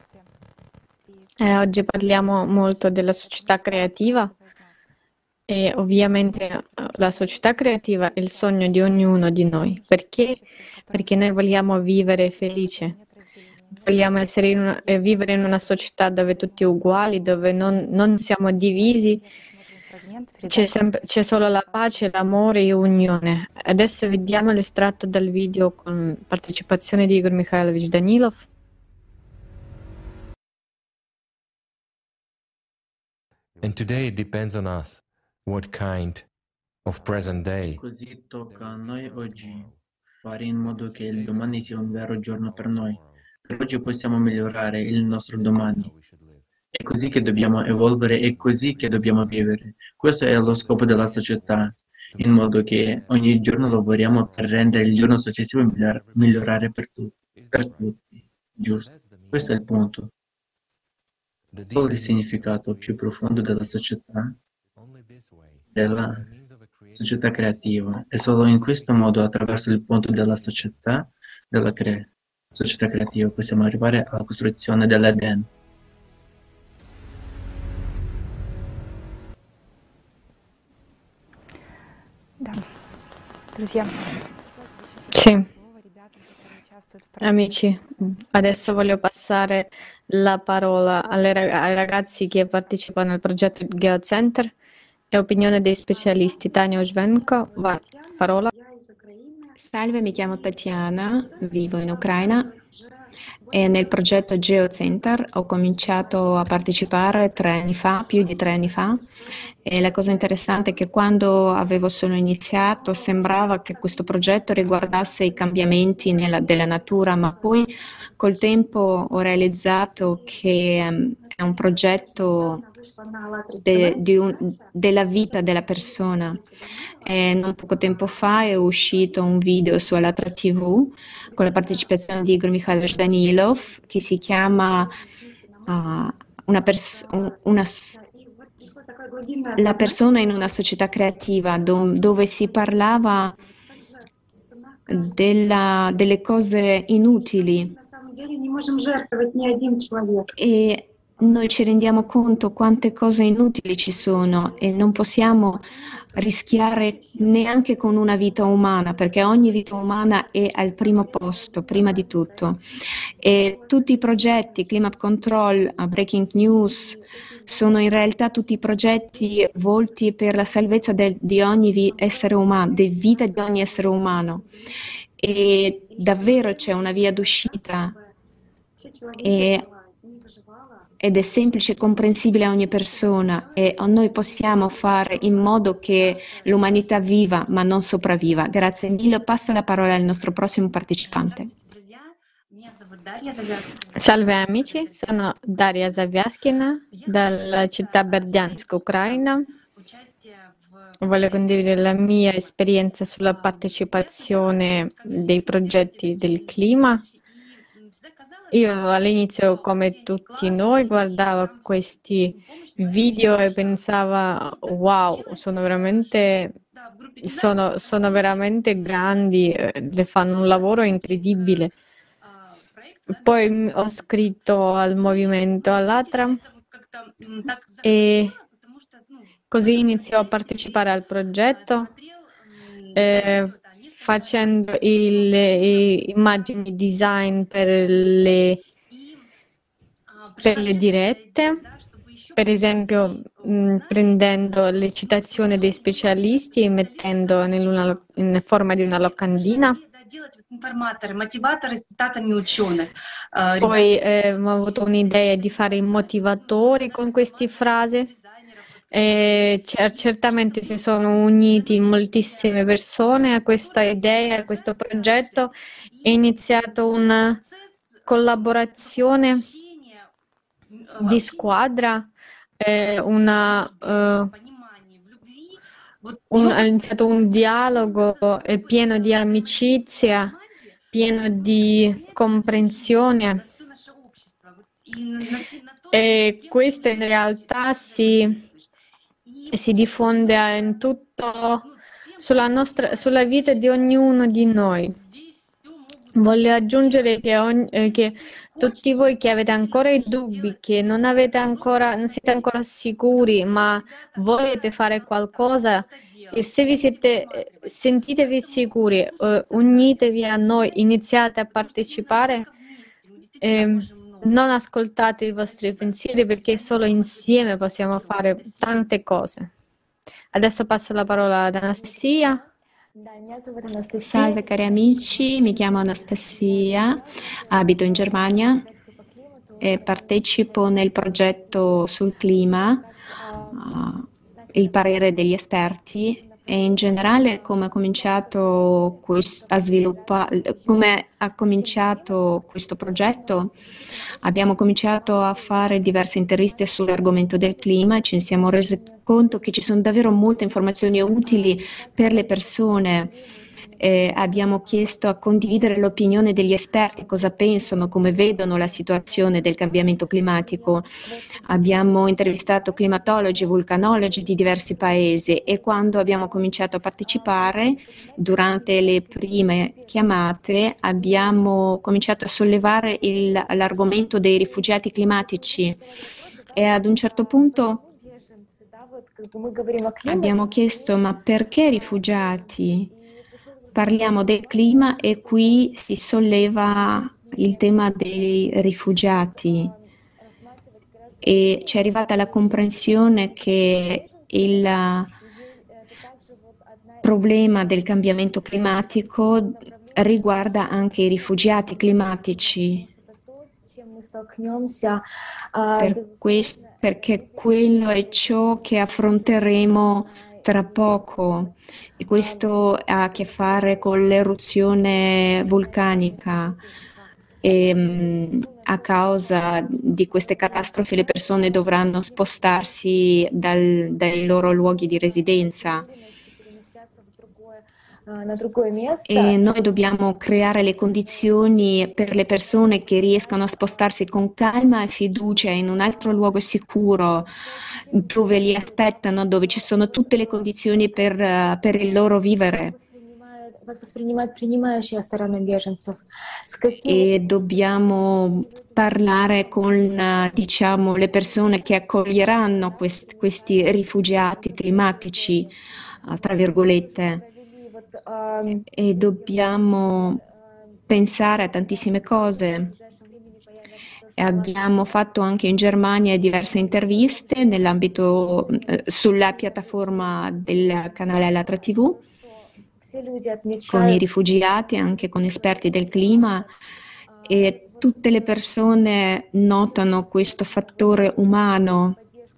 Oggi parliamo molto della società creativa e ovviamente la società creativa è il sogno di ognuno di noi. Perché? Perché noi vogliamo vivere felice. Vogliamo vivere in una società dove tutti uguali, dove non siamo divisi, c'è solo la pace, l'amore e l'unione. Adesso vediamo l'estratto dal video con partecipazione di Igor Mikhailovich Danilov. And today it depends on us what kind of present day. Così tocca a noi oggi fare in modo che il domani sia un vero giorno per noi. Per oggi possiamo migliorare il nostro domani. È così che dobbiamo evolvere, è così che dobbiamo vivere. Questo è lo scopo della società, in modo che ogni giorno lavoriamo per rendere il giorno successivo migliorare per tutti. Giusto? Questo è il punto. Solo il significato più profondo della società creativa. E solo in questo modo, attraverso il punto della società creativa, possiamo arrivare alla costruzione dell'Eden. Sì. Amici, adesso voglio passare la parola ai ragazzi che partecipano al progetto Geocenter e opinione dei specialisti. Tania Ujvenko, parola. Salve, mi chiamo Tatiana, vivo in Ucraina e nel progetto GeoCenter ho cominciato a partecipare 3 anni fa, più di 3 anni fa, e la cosa interessante è che quando avevo solo iniziato sembrava che questo progetto riguardasse i cambiamenti della natura, ma poi col tempo ho realizzato che è un progetto della vita della persona. E non poco tempo fa è uscito un video su Alatra TV con la partecipazione di Igor Mikhailovich Danilov che si chiama La persona in una società creativa, dove si parlava delle cose inutili. E noi ci rendiamo conto quante cose inutili ci sono e non possiamo rischiare neanche con una vita umana, perché ogni vita umana è al primo posto, prima di tutto. E tutti i progetti, Climate Control, Breaking News, sono in realtà tutti progetti volti per la salvezza di ogni essere umano, di vita di ogni essere umano. E davvero c'è una via d'uscita ed è semplice e comprensibile a ogni persona e noi possiamo fare in modo che l'umanità viva ma non sopravviva. Grazie mille, passo la parola al nostro prossimo partecipante. Salve amici, sono Daria Zaviaskina dalla città Berdiansk, Ucraina. Voglio condividere la mia esperienza sulla partecipazione dei progetti del clima. Io all'inizio, come tutti noi, guardavo questi video e pensavo, wow, sono veramente grandi, fanno un lavoro incredibile. Poi ho scritto al movimento Allatra e così iniziò a partecipare al progetto facendo immagini design per le dirette, per esempio prendendo le citazioni dei specialisti e mettendo in forma di una locandina. Poi ho avuto un'idea di fare i motivatori con queste frasi. Certamente si sono uniti moltissime persone a questa idea, a questo progetto. È iniziata una collaborazione di squadra, è iniziato un dialogo pieno di amicizia, pieno di comprensione. E questo in realtà si diffonde in tutto sulla vita di ognuno di noi. Voglio aggiungere che tutti voi che avete ancora i dubbi, che non siete ancora sicuri, ma volete fare qualcosa, e se sentitevi sicuri, unitevi a noi, iniziate a partecipare. Non ascoltate i vostri pensieri perché solo insieme possiamo fare tante cose. Adesso passo la parola ad Anastasia. Salve cari amici, mi chiamo Anastasia, abito in Germania e partecipo nel progetto sul clima, il parere degli esperti. E in generale come ha cominciato questo progetto, abbiamo cominciato a fare diverse interviste sull'argomento del clima e ci siamo resi conto che ci sono davvero molte informazioni utili per le persone. Abbiamo chiesto a condividere l'opinione degli esperti, cosa pensano, come vedono la situazione del cambiamento climatico. Abbiamo intervistato climatologi, vulcanologi di diversi paesi e quando abbiamo cominciato a partecipare, durante le prime chiamate, abbiamo cominciato a sollevare l'argomento dei rifugiati climatici e ad un certo punto abbiamo chiesto: ma perché rifugiati? Parliamo del clima e qui si solleva il tema dei rifugiati e ci è arrivata la comprensione che problema del cambiamento climatico riguarda anche i rifugiati climatici, perché quello è ciò che affronteremo tra poco, e questo ha a che fare con l'eruzione vulcanica. E a causa di queste catastrofi le persone dovranno spostarsi dai loro luoghi di residenza. E noi dobbiamo creare le condizioni per le persone che riescano a spostarsi con calma e fiducia in un altro luogo sicuro, dove li aspettano, dove ci sono tutte le condizioni per il loro vivere. E dobbiamo parlare con, diciamo, le persone che accoglieranno questi rifugiati climatici, tra virgolette. E dobbiamo pensare a tantissime cose. E abbiamo fatto anche in Germania diverse interviste nell'ambito sulla piattaforma del canale Allatra TV con i rifugiati, anche con esperti del clima, e tutte le persone notano questo fattore umano,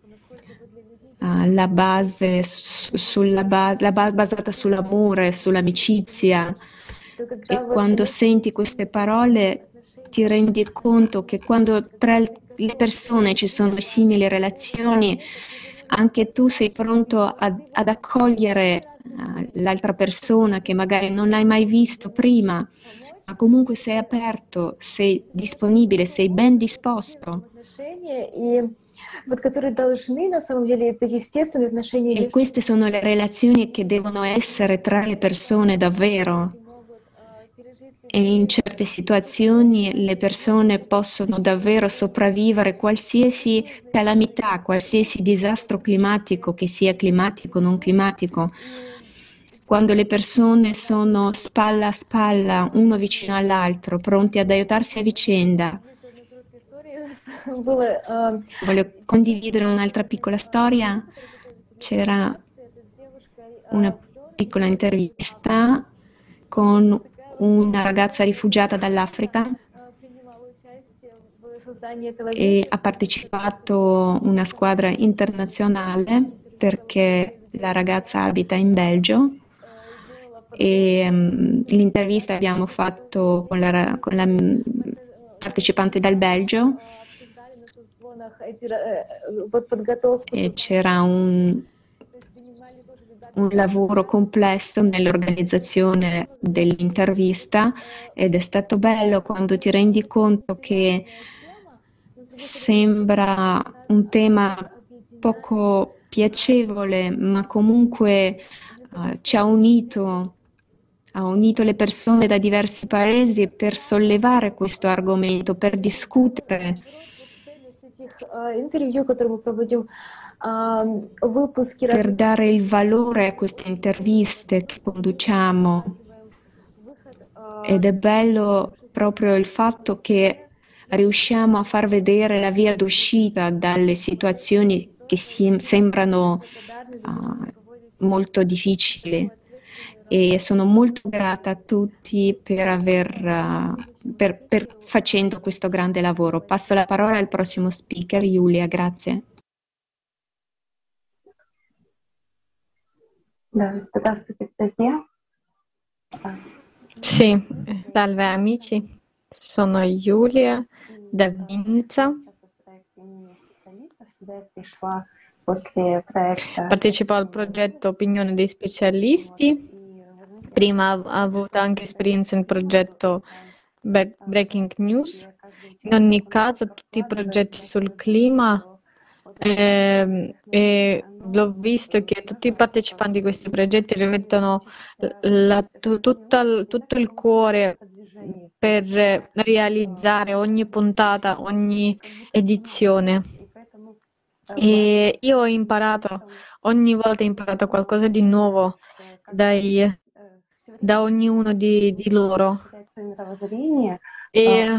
la base basata sull'amore, sull'amicizia. E quando senti queste parole ti rendi conto che quando tra le persone ci sono simili relazioni, anche tu sei pronto ad accogliere l'altra persona che magari non hai mai visto prima, ma comunque sei aperto, sei disponibile, sei ben disposto. E queste sono le relazioni che devono essere tra le persone davvero. E in certe situazioni le persone possono davvero sopravvivere qualsiasi calamità, qualsiasi disastro climatico, che sia climatico o non climatico. Quando le persone sono spalla a spalla, uno vicino all'altro, pronti ad aiutarsi a vicenda. Voglio condividere un'altra piccola storia. C'era una piccola intervista con una ragazza rifugiata dall'Africa e ha partecipato una squadra internazionale perché la ragazza abita in Belgio. E l'intervista abbiamo fatto con la partecipante dal Belgio e c'era un lavoro complesso nell'organizzazione dell'intervista, ed è stato bello quando ti rendi conto che sembra un tema poco piacevole, ma comunque ci ha unito le persone da diversi paesi per sollevare questo argomento, per discutere. Per dare il valore a queste interviste che conduciamo. Ed è bello proprio il fatto che riusciamo a far vedere la via d'uscita dalle situazioni che sembrano molto difficili. E sono molto grata a tutti per facendo questo grande lavoro. Passo la parola al prossimo speaker, Giulia, grazie. Sì, salve amici, sono Giulia da Vinica. Partecipo al progetto Opinione dei specialisti. Prima ho avuto anche esperienza nel progetto Breaking News. In ogni caso, tutti i progetti sul clima, l'ho visto che tutti i partecipanti di questi progetti rimettono tutto il cuore per realizzare ogni puntata, ogni edizione. E io ho imparato, ogni volta ho imparato qualcosa di nuovo da ognuno di loro. E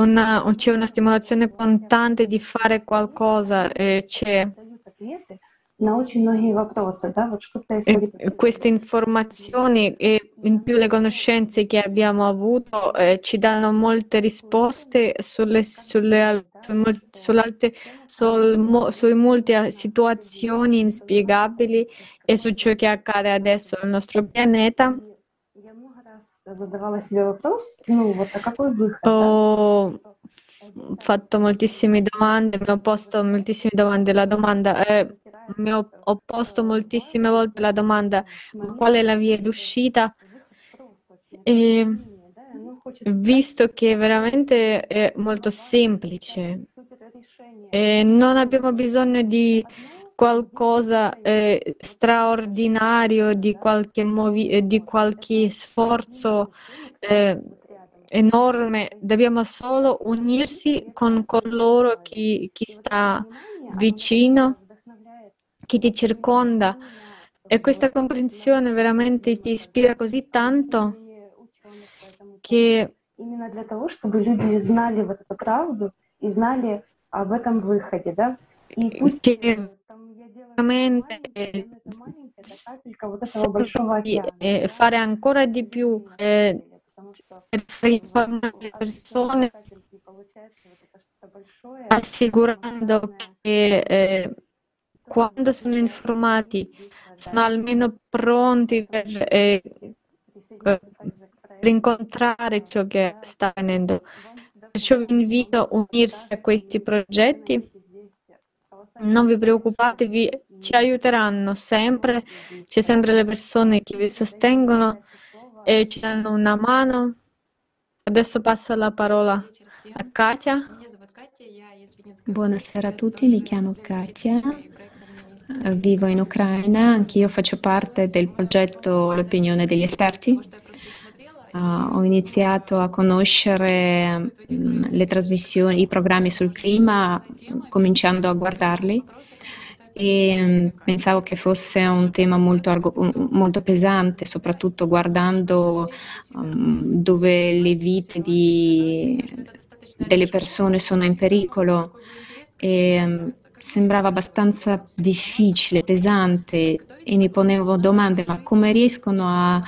c'è una stimolazione costante di fare qualcosa, c'è E queste informazioni e in più le conoscenze che abbiamo avuto ci danno molte risposte su molte situazioni inspiegabili e su ciò che accade adesso nel nostro pianeta. Ho fatto moltissime domande, mi ho posto moltissime domande. Ho posto moltissime volte la domanda: qual è la via d'uscita? E visto che veramente è molto semplice e non abbiamo bisogno di qualcosa straordinario, di qualche sforzo enorme, dobbiamo solo unirsi con coloro chi sta vicino, chi ti circonda, e questa comprensione veramente ti ispira così tanto che fare ancora di più per informare le persone, assicurando che quando sono informati sono almeno pronti per incontrare ciò che sta avvenendo. Perciò vi invito a unirsi a questi progetti. Non vi preoccupatevi, ci aiuteranno sempre, c'è sempre le persone che vi sostengono e ci danno una mano. Adesso passo la parola a Katia. Buonasera a tutti, mi chiamo Katia, vivo in Ucraina, anch'io faccio parte del progetto L'Opinione degli Esperti. Ho iniziato a conoscere le trasmissioni, i programmi sul clima, cominciando a guardarli, e pensavo che fosse un tema molto pesante, soprattutto guardando dove le vite delle persone sono in pericolo, e sembrava abbastanza difficile, pesante, e mi ponevo domande: ma come riescono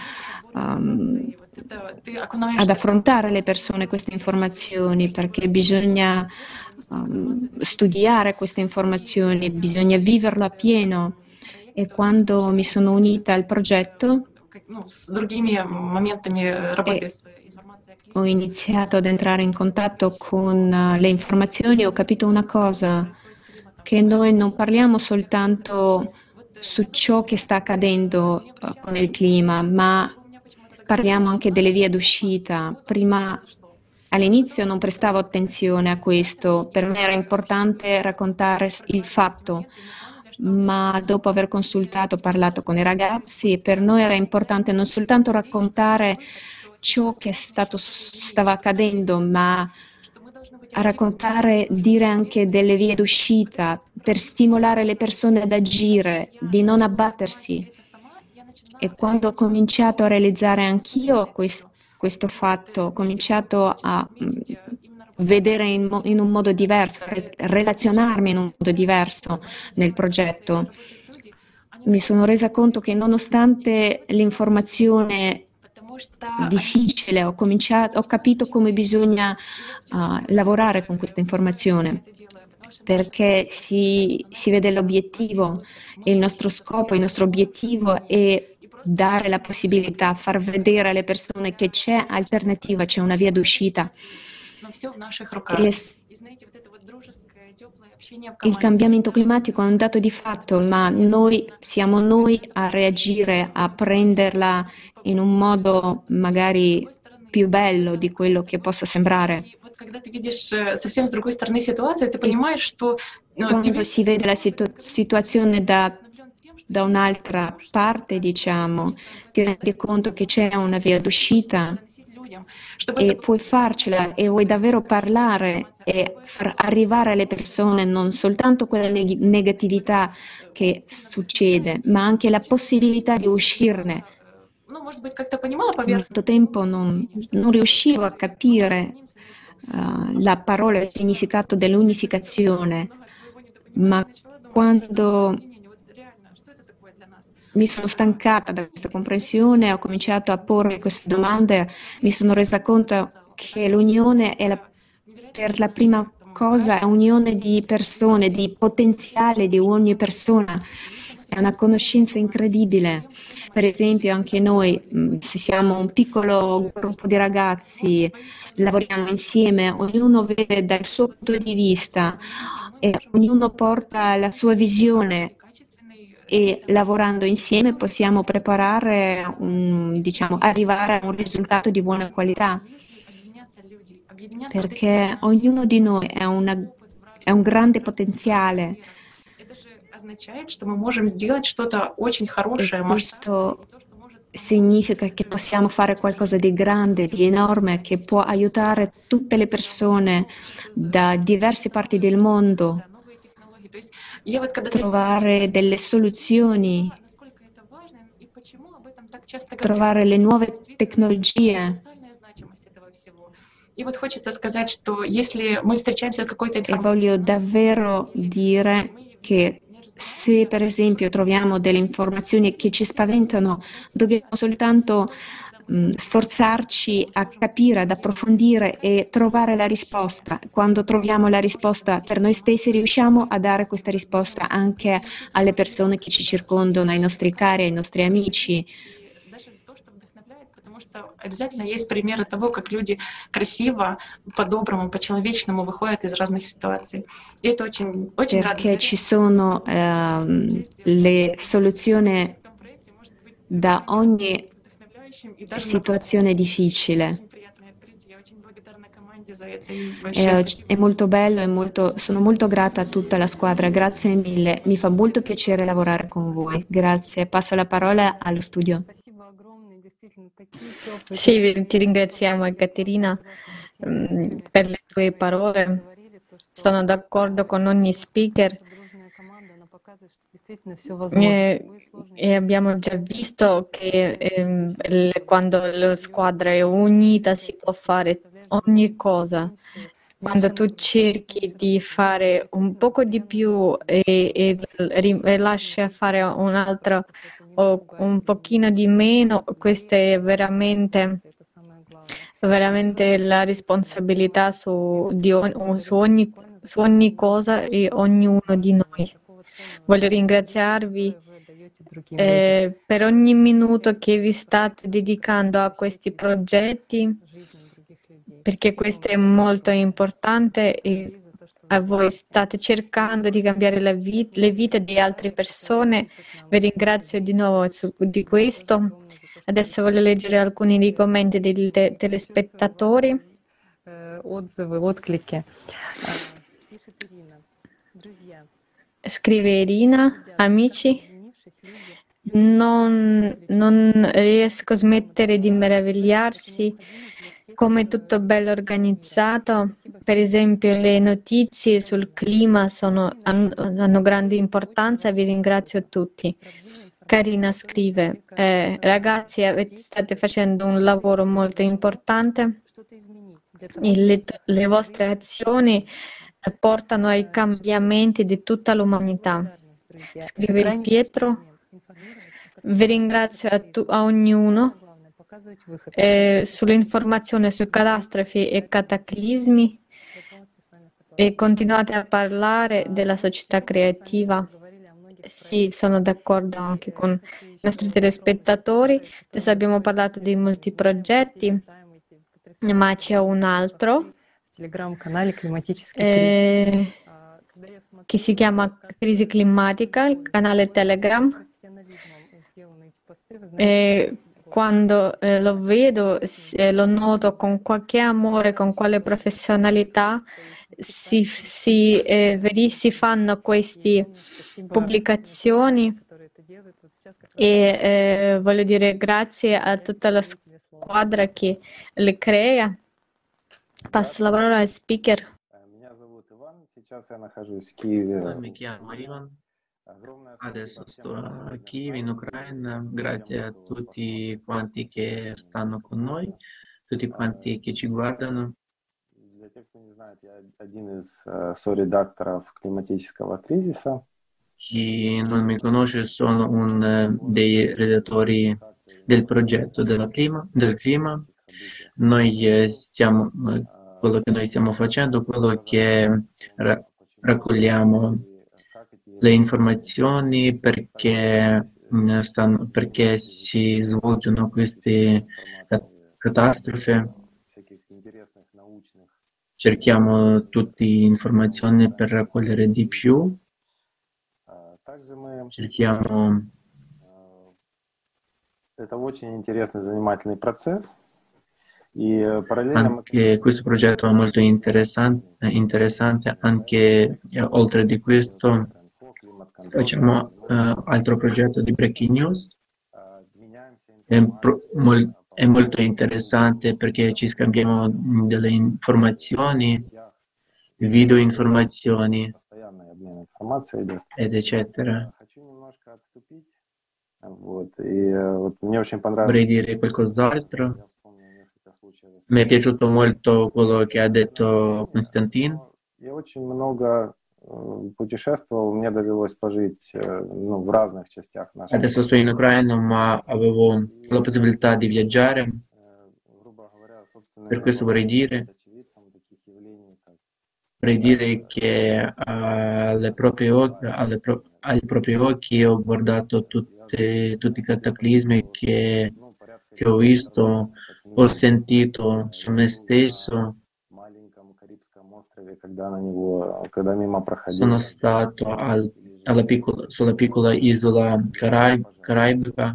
ad affrontare le persone queste informazioni? Perché bisogna studiare queste informazioni, bisogna viverlo appieno. E quando mi sono unita al progetto ho iniziato ad entrare in contatto con le informazioni, ho capito una cosa: che noi non parliamo soltanto su ciò che sta accadendo con il clima, ma parliamo anche delle vie d'uscita. Prima, all'inizio, non prestavo attenzione a questo, per me era importante raccontare il fatto, ma dopo aver parlato con i ragazzi, per noi era importante non soltanto raccontare ciò che stava accadendo, ma a raccontare, dire anche delle vie d'uscita, per stimolare le persone ad agire, di non abbattersi. E quando ho cominciato a realizzare anch'io questo fatto, ho cominciato a vedere in un modo diverso, relazionarmi in un modo diverso nel progetto, mi sono resa conto che nonostante l'informazione difficile, ho capito come bisogna lavorare con questa informazione, perché si vede l'obiettivo, e il nostro scopo, il nostro obiettivo è dare la possibilità, far vedere alle persone che c'è alternativa, c'è una via d'uscita. Il cambiamento climatico è un dato di fatto, ma siamo noi a reagire, a prenderla in un modo magari più bello di quello che possa sembrare. Quando si vede la situazione da un'altra parte, diciamo, ti rendi conto che c'è una via d'uscita e puoi farcela, e vuoi davvero parlare e far arrivare alle persone non soltanto quella negatività che succede, ma anche la possibilità di uscirne. Molto tempo non riuscivo a capire la parola e il significato dell'unificazione, ma quando mi sono stancata da questa comprensione, ho cominciato a porre queste domande, mi sono resa conto che l'unione è per la prima cosa è unione di persone, di potenziale di ogni persona, è una conoscenza incredibile. Per esempio anche noi, se siamo un piccolo gruppo di ragazzi, lavoriamo insieme, ognuno vede dal suo punto di vista e ognuno porta la sua visione e lavorando insieme possiamo preparare, diciamo, arrivare a un risultato di buona qualità, perché ognuno di noi è un grande potenziale. E questo significa che possiamo fare qualcosa di grande, di enorme, che può aiutare tutte le persone da diverse parti del mondo a trovare delle soluzioni, trovare le nuove tecnologie. E voglio davvero dire che se per esempio troviamo delle informazioni che ci spaventano, dobbiamo soltanto sforzarci a capire, ad approfondire e trovare la risposta. Quando troviamo la risposta per noi stessi, riusciamo a dare questa risposta anche alle persone che ci circondano, ai nostri cari, ai nostri amici. Обязательно есть примеры того, как люди красиво, по-доброму, по-человечному выходят из разных ситуаций. И это очень Perché ci sono le soluzioni da ogni situazione difficile. È molto bello e sono molto grata a tutta la squadra, grazie mille, mi fa molto piacere lavorare con voi. Grazie, passo la parola allo studio. Sì, ti ringraziamo Ekaterina per le tue parole. Sono d'accordo con ogni speaker e abbiamo già visto che quando la squadra è unita si può fare ogni cosa. Quando tu cerchi di fare un poco di più e lasci fare un altro o un pochino di meno, questa è veramente la responsabilità su ogni cosa e ognuno di noi. Voglio ringraziarvi per ogni minuto che vi state dedicando a questi progetti, perché questo è molto importante e voi state cercando di cambiare le vite di altre persone. Vi ringrazio di nuovo di questo. Adesso voglio leggere alcuni dei commenti dei telespettatori. Scrive Irina, amici, non riesco a smettere di meravigliarsi come è tutto bello organizzato. Per esempio le notizie sul clima hanno grande importanza, vi ringrazio tutti. Karina scrive, ragazzi, state facendo un lavoro molto importante e le vostre azioni portano ai cambiamenti di tutta l'umanità. Scrive Pietro, vi ringrazio a ognuno sull'informazione su catastrofi e cataclismi e continuate a parlare della società creativa. Sì, sono d'accordo anche con i nostri telespettatori. Adesso abbiamo parlato di molti progetti, ma c'è un altro che si chiama Crisi climatica, il canale Telegram. Quando lo vedo, lo noto con qualche amore, con quale professionalità si fanno queste pubblicazioni e voglio dire grazie a tutta la squadra che le crea. Passo la parola al speaker. Mi chiamo Ivan, adesso sto a Kiev in Ucraina, grazie a tutti quanti che stanno con noi, tutti quanti che ci guardano. Для тех, кто не знает, я один из соредакторов климатического кризиса. chi non mi conosce, sono uno dei redattori del progetto del clima. Quello che noi stiamo facendo, quello che raccogliamo le informazioni perché si svolgono queste catastrofi. Cerchiamo tutte informazioni per raccogliere di più. Cerchiamo. Это очень интересный, занимательный процесс. Anche questo progetto è molto interessante. Anche oltre di questo facciamo altro progetto di Breaking News. È molto interessante perché ci scambiamo delle informazioni, video informazioni ed eccetera. Vorrei dire qualcos'altro. Mi è piaciuto molto quello che ha detto Konstantin. Я очень много путешествовал, мне довелось пожить в разных частях нашей. Adesso sto in Ucraina, ma avevo la possibilità di viaggiare. Per questo vorrei dire che ai propri occhi ho guardato tutti i cataclismi che ho visto, ho sentito su me stesso. Sono stato sulla piccola isola caraibica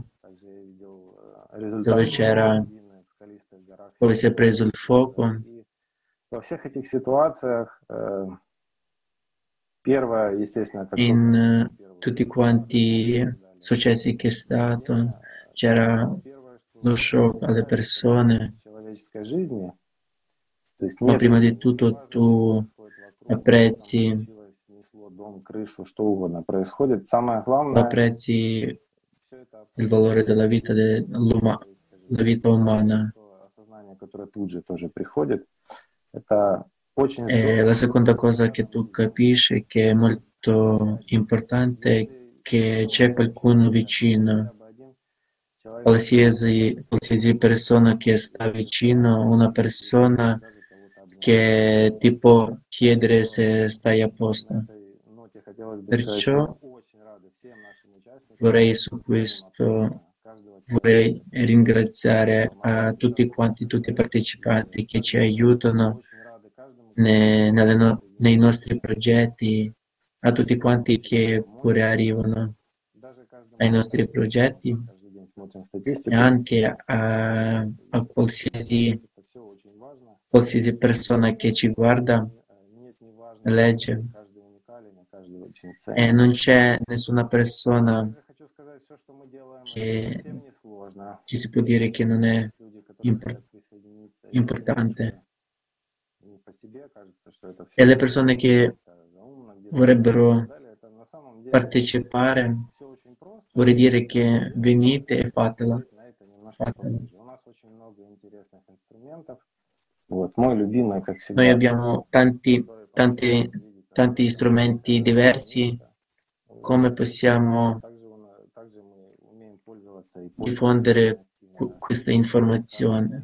dove si è preso il fuoco. In tutti quanti successi che è stato, c'era lo shock alle persone, ma prima di tutto tu apprezzi il valore della vita, la vita umana. E la seconda cosa che tu capisci che è molto importante è che c'è qualcuno vicino. Qualsiasi persona che sta vicino, una persona che ti può chiedere se stai a posto. Perciò vorrei ringraziare a tutti i partecipanti che ci aiutano nei nostri progetti, a tutti quanti che pure arrivano ai nostri progetti e anche a qualsiasi persona che ci guarda, legge. E non c'è nessuna persona che si può dire che non è importante. E le persone che vorrebbero partecipare, vorrei dire che venite e fatela. Noi abbiamo tanti strumenti diversi. Come possiamo diffondere queste informazioni?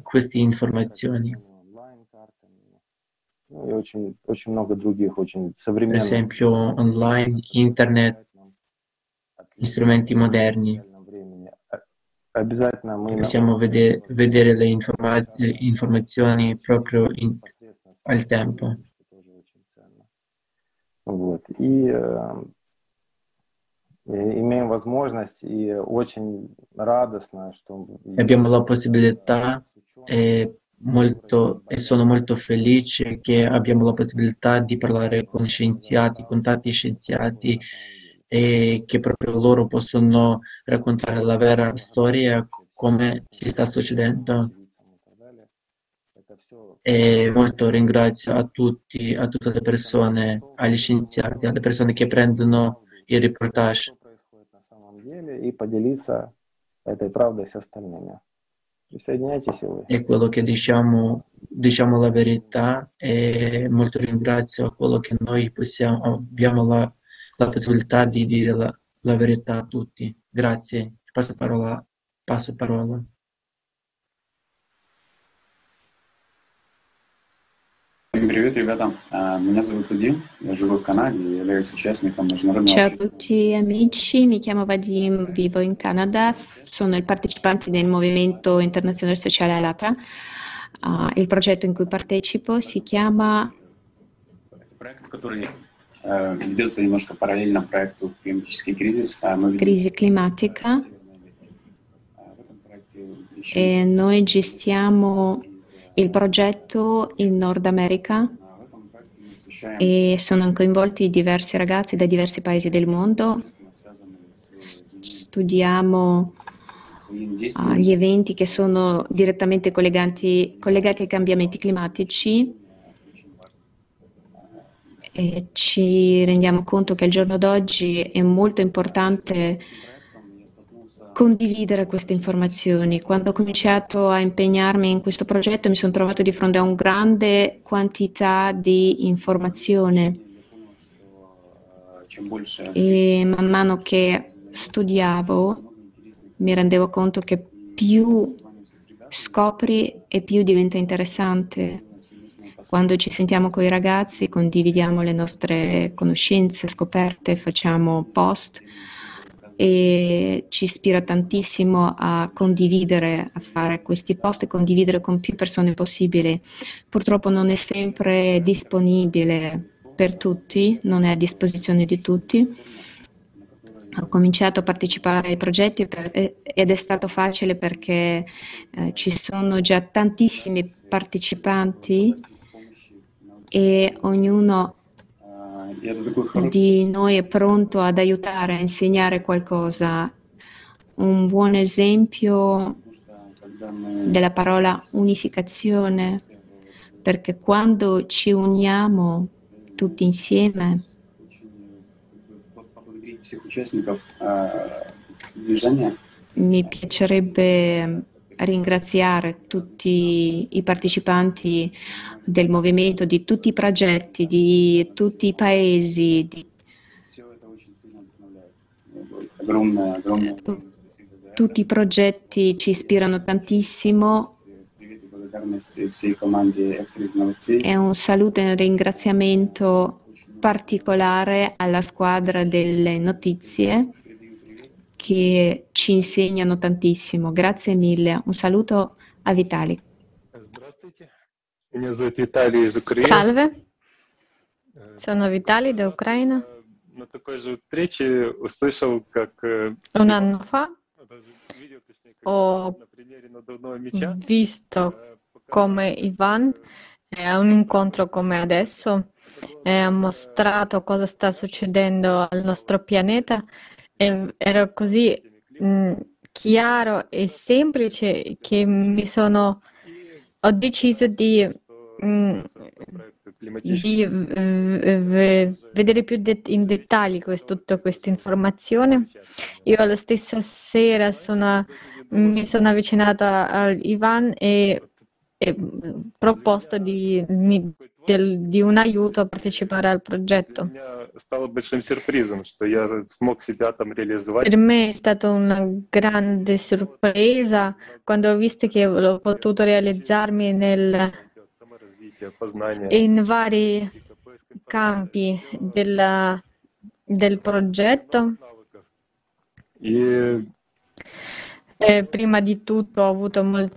Per esempio online, internet, strumenti moderni. Possiamo vedere le informazioni proprio al tempo. Abbiamo la possibilità e sono molto felice che abbiamo la possibilità di parlare con scienziati, con tanti scienziati, e che proprio loro possono raccontare la vera storia come si sta succedendo. E molto ringrazio a tutte le persone, agli scienziati, alle persone che prendono i reportage. E quello che diciamo la verità, e molto ringrazio a quello che noi abbiamo la possibilità di dire la verità a tutti. Grazie. Passo parola. Привет, ребята. Меня зовут Вадим, я живу в Канаде и являюсь участником международного Ciao a общества. tutti amici, mi chiamo Vadim, vivo in Canada, sono il partecipante del Movimento Internazionale Sociale Allatra. Il progetto in cui partecipo si chiama Проект, который ведется немножко параллельно проекту «Климатический кризис». Crisi climatica e noi gestiamo il progetto in Nord America e sono coinvolti diversi ragazzi da diversi paesi del mondo. Studiamo gli eventi che sono direttamente collegati ai cambiamenti climatici e ci rendiamo conto che al giorno d'oggi è molto importante condividere queste informazioni. Quando ho cominciato a impegnarmi in questo progetto mi sono trovato di fronte a una grande quantità di informazione e man mano che studiavo mi rendevo conto che più scopri e più diventa interessante. Quando ci sentiamo con i ragazzi condividiamo le nostre conoscenze, scoperte, facciamo post e ci ispira tantissimo a condividere, a fare questi post e condividere con più persone possibile. Purtroppo non è sempre disponibile per tutti, non è a disposizione di tutti. Ho cominciato a partecipare ai progetti ed è stato facile perché ci sono già tantissimi partecipanti e ognuno di noi è pronto ad aiutare, a insegnare qualcosa. Un buon esempio della parola unificazione, perché quando ci uniamo tutti insieme mi piacerebbe ringraziare tutti i partecipanti del movimento, di tutti i progetti, di tutti i paesi. Tutti i progetti ci ispirano tantissimo. E un saluto e un ringraziamento particolare alla squadra delle notizie che ci insegnano tantissimo. Grazie mille. Un saluto a Vitali. Salve, sono Vitali da Ucraina. Un anno fa ho visto come Ivan a un incontro come adesso ha mostrato cosa sta succedendo al nostro pianeta e era così chiaro e semplice che ho deciso di vedere più in dettaglio tutta questa informazione. Io la stessa sera mi sono avvicinata a Ivan e proposto di un aiuto a partecipare al progetto. Per me è stata una grande sorpresa quando ho visto che ho potuto realizzarmi in vari campi del progetto. Prima di tutto ho avuto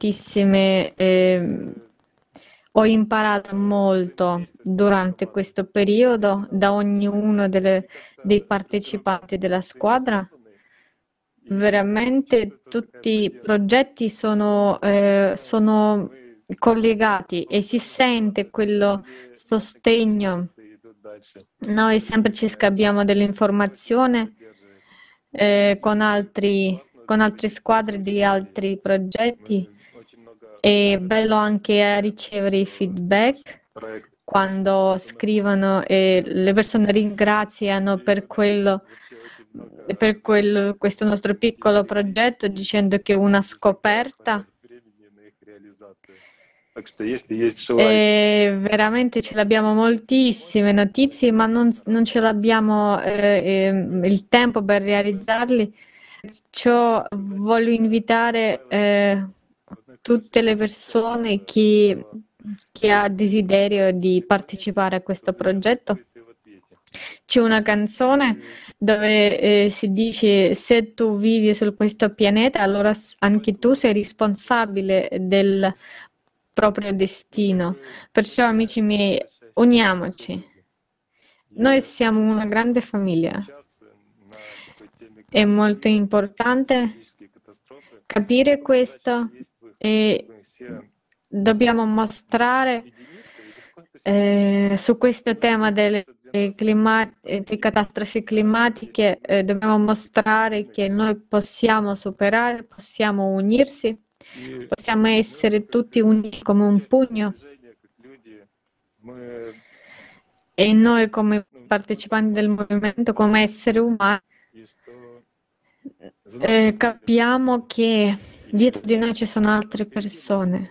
ho imparato molto durante questo periodo da ognuno dei partecipanti della squadra. Veramente tutti i progetti sono collegati e si sente quello sostegno. Noi sempre ci scambiamo dell'informazione con altre squadre di altri progetti. È bello anche ricevere i feedback quando scrivono e le persone ringraziano per questo nostro piccolo progetto dicendo che è una scoperta E veramente ce l'abbiamo moltissime notizie, ma non ce l'abbiamo il tempo per realizzarli. Perciò voglio invitare tutte le persone chi ha desiderio di partecipare a questo progetto. C'è una canzone dove si dice: se tu vivi su questo pianeta, allora anche tu sei responsabile del proprio destino. Perciò, amici miei, uniamoci. Noi siamo una grande famiglia. È molto importante capire questo e dobbiamo mostrare su questo tema delle catastrofi climatiche, dobbiamo mostrare che noi possiamo superare, possiamo unirsi, possiamo essere tutti uniti come un pugno. E noi come partecipanti del movimento, come esseri umani, capiamo che dietro di noi ci sono altre persone.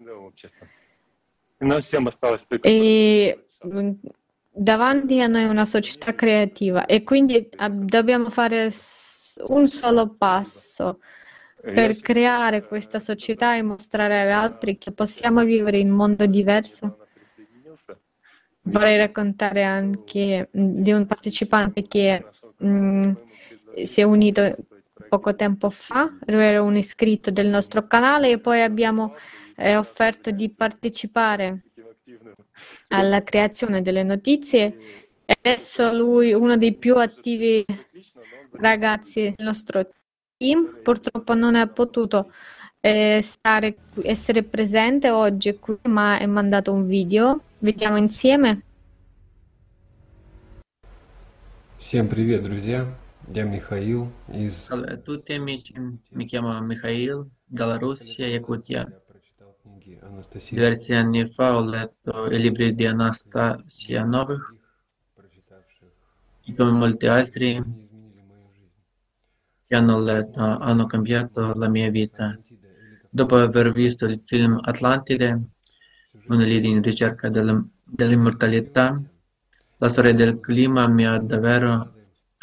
E davanti a noi una società creativa e quindi dobbiamo fare un solo passo per creare questa società e mostrare agli altri che possiamo vivere in un mondo diverso. Vorrei raccontare anche di un partecipante che si è unito poco tempo fa, lui era un iscritto del nostro canale e poi abbiamo offerto di partecipare alla creazione delle notizie e adesso lui è uno dei più attivi ragazzi del nostro team. Purtroppo non è potuto essere presente oggi qui, ma è mandato un video. Vediamo insieme. Всем привет, друзья! Я Михаил из... Salve a tutti amici, mi chiamo Mikhail, dalla Russia, Yakutia. Diversi anni fa ho letto i libri di Anastasia Novych e come molti altri che hanno letto hanno cambiato la mia vita. Dopo aver visto il film Atlantide, una linea in ricerca dell'immortalità, la storia del clima mi ha davvero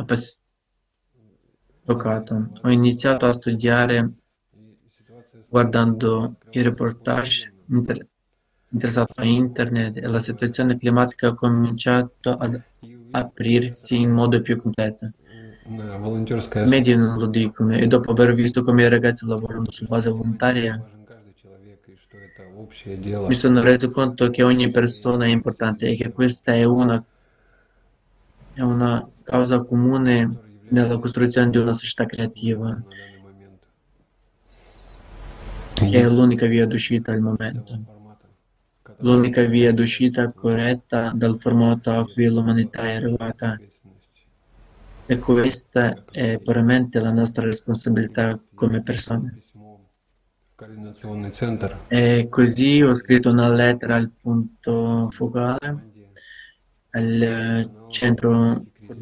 toccato. Ho iniziato a studiare guardando i reportage interessato a internet e la situazione climatica ha cominciato ad aprirsi in modo più completo. I media non lo dicono e dopo aver visto come i ragazzi lavorano su base volontaria mi sono reso conto che ogni persona è importante e che questa è una causa comune nella costruzione di una società creativa. È l'unica via d'uscita al momento, l'unica via d'uscita corretta dal formato a cui l'umanità è arrivata. E questa è puramente la nostra responsabilità come persone. E così ho scritto una lettera al punto focale, al centro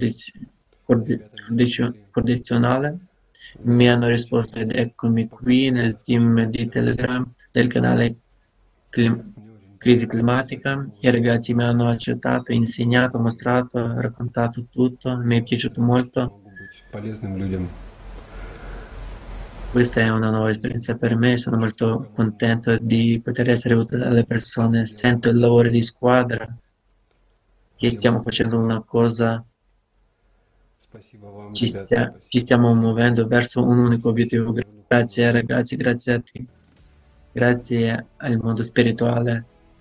coordinazionale. Mi hanno risposto ed eccomi qui nel team di Telegram del canale Crisi Climatica. I ragazzi mi hanno accettato, insegnato, mostrato, raccontato tutto, mi è piaciuto molto. Questa è una nuova esperienza per me, sono molto contento di poter essere utile alle persone, sento il lavoro di squadra, che stiamo facendo una cosa, ci stiamo muovendo verso un unico obiettivo. Grazie ragazzi, grazie a tutti, grazie al mondo spirituale.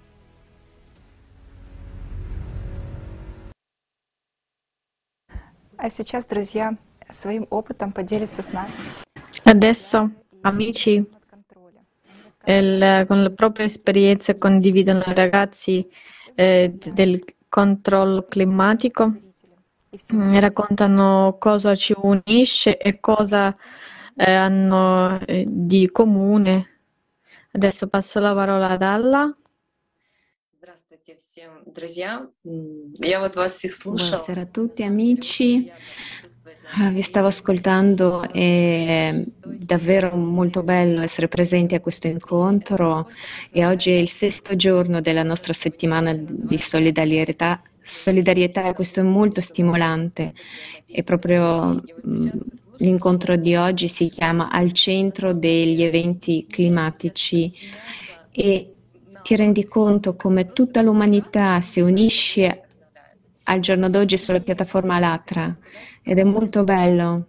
А сейчас, друзья, своим опытом поделится с нами. Adesso, amici, con le proprie esperienze condividono i ragazzi del controllo climatico, raccontano cosa ci unisce e cosa hanno di comune. Adesso passo la parola ad Alla. Здравствуйте всем, друзья. Я вот вас всех слушала. Buonasera a tutti amici, Vi stavo ascoltando, è davvero molto bello essere presenti a questo incontro e oggi è il 6° giorno della nostra settimana di solidarietà. Solidarietà, e questo è molto stimolante. E proprio l'incontro di oggi si chiama Al centro degli eventi climatici e ti rendi conto come tutta l'umanità si unisce al giorno d'oggi sulla piattaforma Allatra ed è molto bello.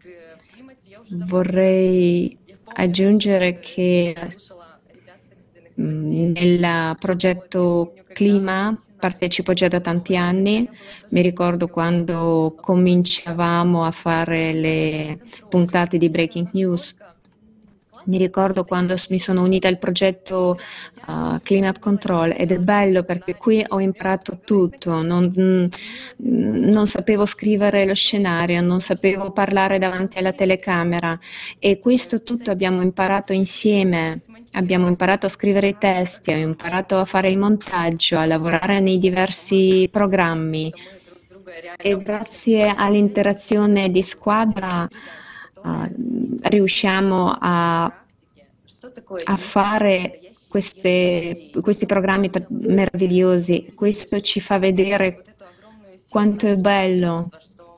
Vorrei aggiungere che nel progetto Clima partecipo già da tanti anni. Mi ricordo quando cominciavamo a fare le puntate di Breaking News. Mi ricordo quando mi sono unita al progetto Climate Control ed è bello perché qui ho imparato tutto, non sapevo scrivere lo scenario, non sapevo parlare davanti alla telecamera e questo tutto abbiamo imparato insieme, abbiamo imparato a scrivere i testi, ho imparato a fare il montaggio, a lavorare nei diversi programmi e grazie all'interazione di squadra riusciamo a fare questi programmi meravigliosi. Questo ci fa vedere quanto è bello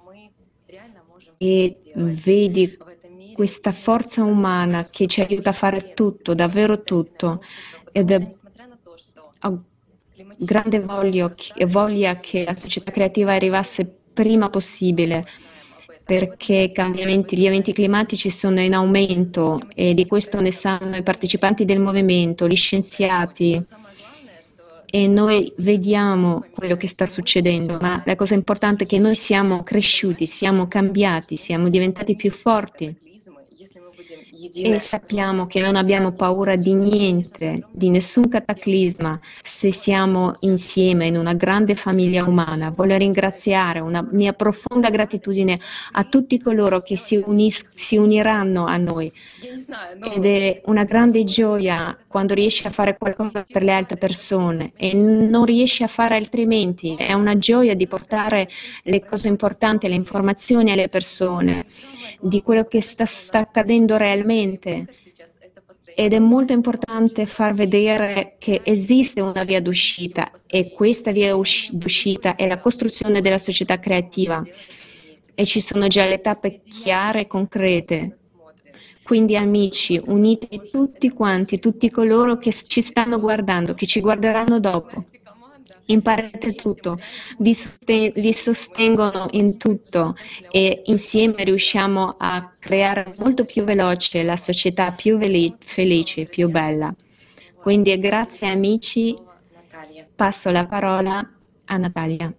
e vedi questa forza umana che ci aiuta a fare tutto, davvero tutto, ed ho grande voglia che la società creativa arrivasse prima possibile, perché gli eventi climatici sono in aumento e di questo ne sanno i partecipanti del movimento, gli scienziati, e noi vediamo quello che sta succedendo, ma la cosa importante è che noi siamo cresciuti, siamo cambiati, siamo diventati più forti e sappiamo che non abbiamo paura di niente, di nessun cataclisma, se siamo insieme in una grande famiglia umana. Voglio ringraziare una mia profonda gratitudine a tutti coloro che si uniranno a noi ed è una grande gioia quando riesci a fare qualcosa per le altre persone e non riesci a fare altrimenti. È una gioia di portare le cose importanti, le informazioni alle persone di quello che sta accadendo realmente, ed è molto importante far vedere che esiste una via d'uscita e questa via d'uscita è la costruzione della società creativa e ci sono già le tappe chiare e concrete. Quindi amici, unite tutti quanti, tutti coloro che ci stanno guardando, che ci guarderanno dopo. Imparate tutto, vi sostengono in tutto e insieme riusciamo a creare molto più veloce la società più felice, più bella. Quindi grazie amici, passo la parola a Natalia.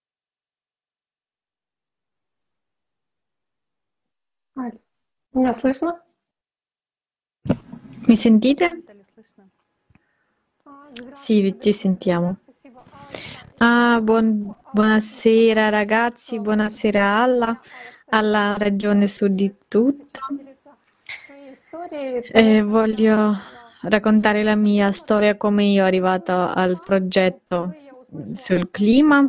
Меня слышно? Mi sentite? Sì, ci sentiamo. Buonasera ragazzi, buonasera alla regione sud di tutto. Voglio raccontare la mia storia, come io arrivato al progetto sul clima.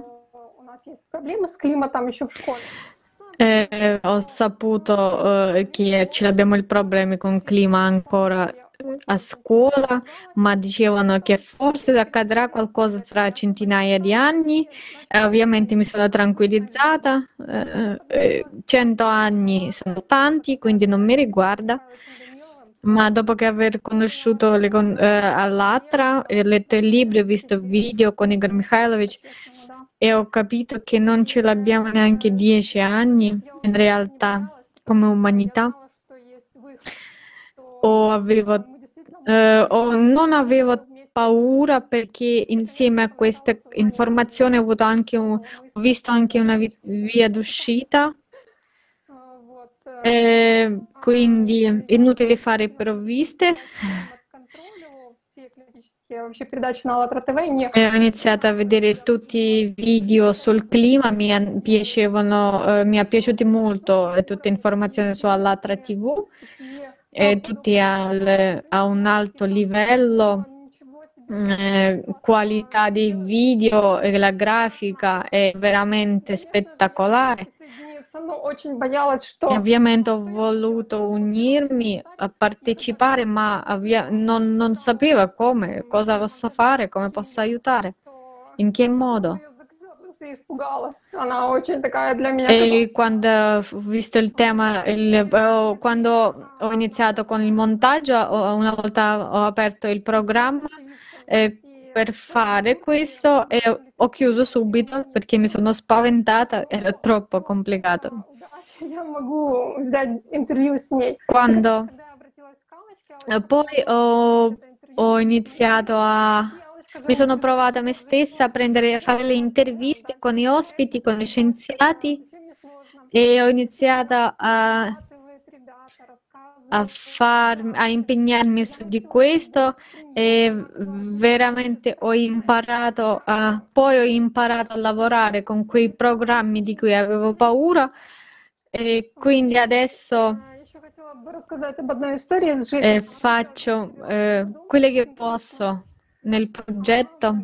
Ho saputo che ce l'abbiamo il problema con il clima ancora a scuola, ma dicevano che forse accadrà qualcosa fra centinaia di anni. Ovviamente mi sono tranquillizzata, 100 anni sono tanti, quindi non mi riguarda, ma dopo che aver conosciuto Allatra, ho letto il libro, ho visto video con Igor Mikhailovich e ho capito che non ce l'abbiamo neanche 10 anni in realtà come umanità. Non avevo paura perché insieme a questa informazione ho visto anche una via d'uscita, quindi inutile fare provviste. Ho iniziato a vedere tutti i video sul clima, mi è piaciuto molto tutte informazioni su Allatra TV. Tutti a un alto livello, qualità dei video e la grafica è veramente spettacolare. E ovviamente ho voluto unirmi a partecipare, ma non sapevo come, cosa posso fare, come posso aiutare, in che modo. E quando ho visto il tema, quando ho iniziato con il montaggio, una volta ho aperto il programma per fare questo e ho chiuso subito perché mi sono spaventata, era troppo complicato. Quando poi ho iniziato mi sono provata me stessa a fare le interviste con i ospiti, con gli scienziati e ho iniziato a impegnarmi su di questo e veramente poi ho imparato a lavorare con quei programmi di cui avevo paura e quindi adesso faccio quello che posso nel progetto.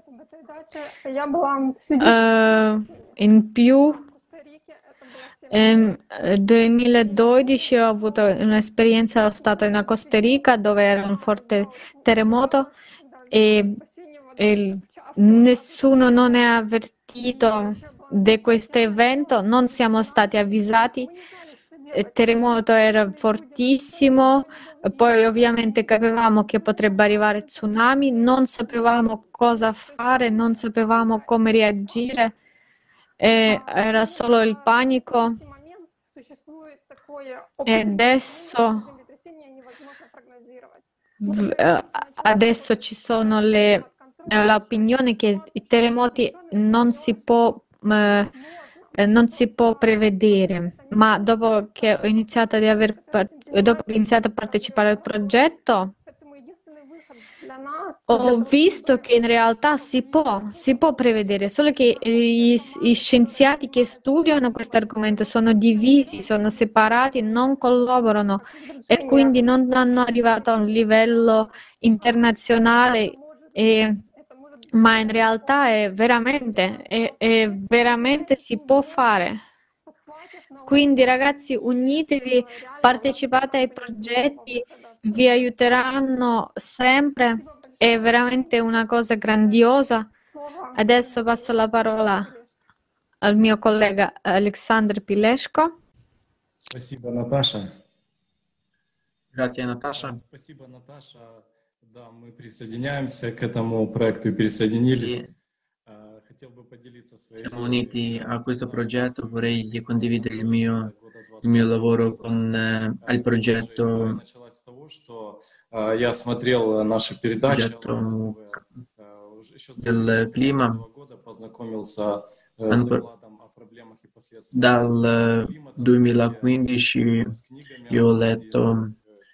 In più, nel 2012 ho avuto un'esperienza, sono stata in Costa Rica dove era un forte terremoto e nessuno non è avvertito di questo evento, non siamo stati avvisati. Il terremoto era fortissimo, poi ovviamente capivamo che potrebbe arrivare tsunami, non sapevamo cosa fare, non sapevamo come reagire, era solo il panico. E adesso ci sono l'opinione che i terremoti non si può prevedere, ma dopo che ho iniziato a partecipare al progetto, ho visto che in realtà si può prevedere, solo che gli scienziati che studiano questo argomento sono divisi, sono separati, non collaborano e quindi non hanno arrivato a un livello internazionale. Ma in realtà è veramente si può fare. Quindi ragazzi, unitevi, partecipate ai progetti, vi aiuteranno sempre, è veramente una cosa grandiosa. Adesso passo la parola al mio collega Alexandr Pileshko. Спасибо, Наташа. Grazie Natasha. Спасибо, Наташа. Да, мы присоединяемся к этому проекту и присоединились. Хотел бы поделиться своей Siamo uniti a questo progetto, vorrei condividere il mio lavoro al progetto Я смотрел наши передачи del clima. познакомился Dal 2015 io ho letto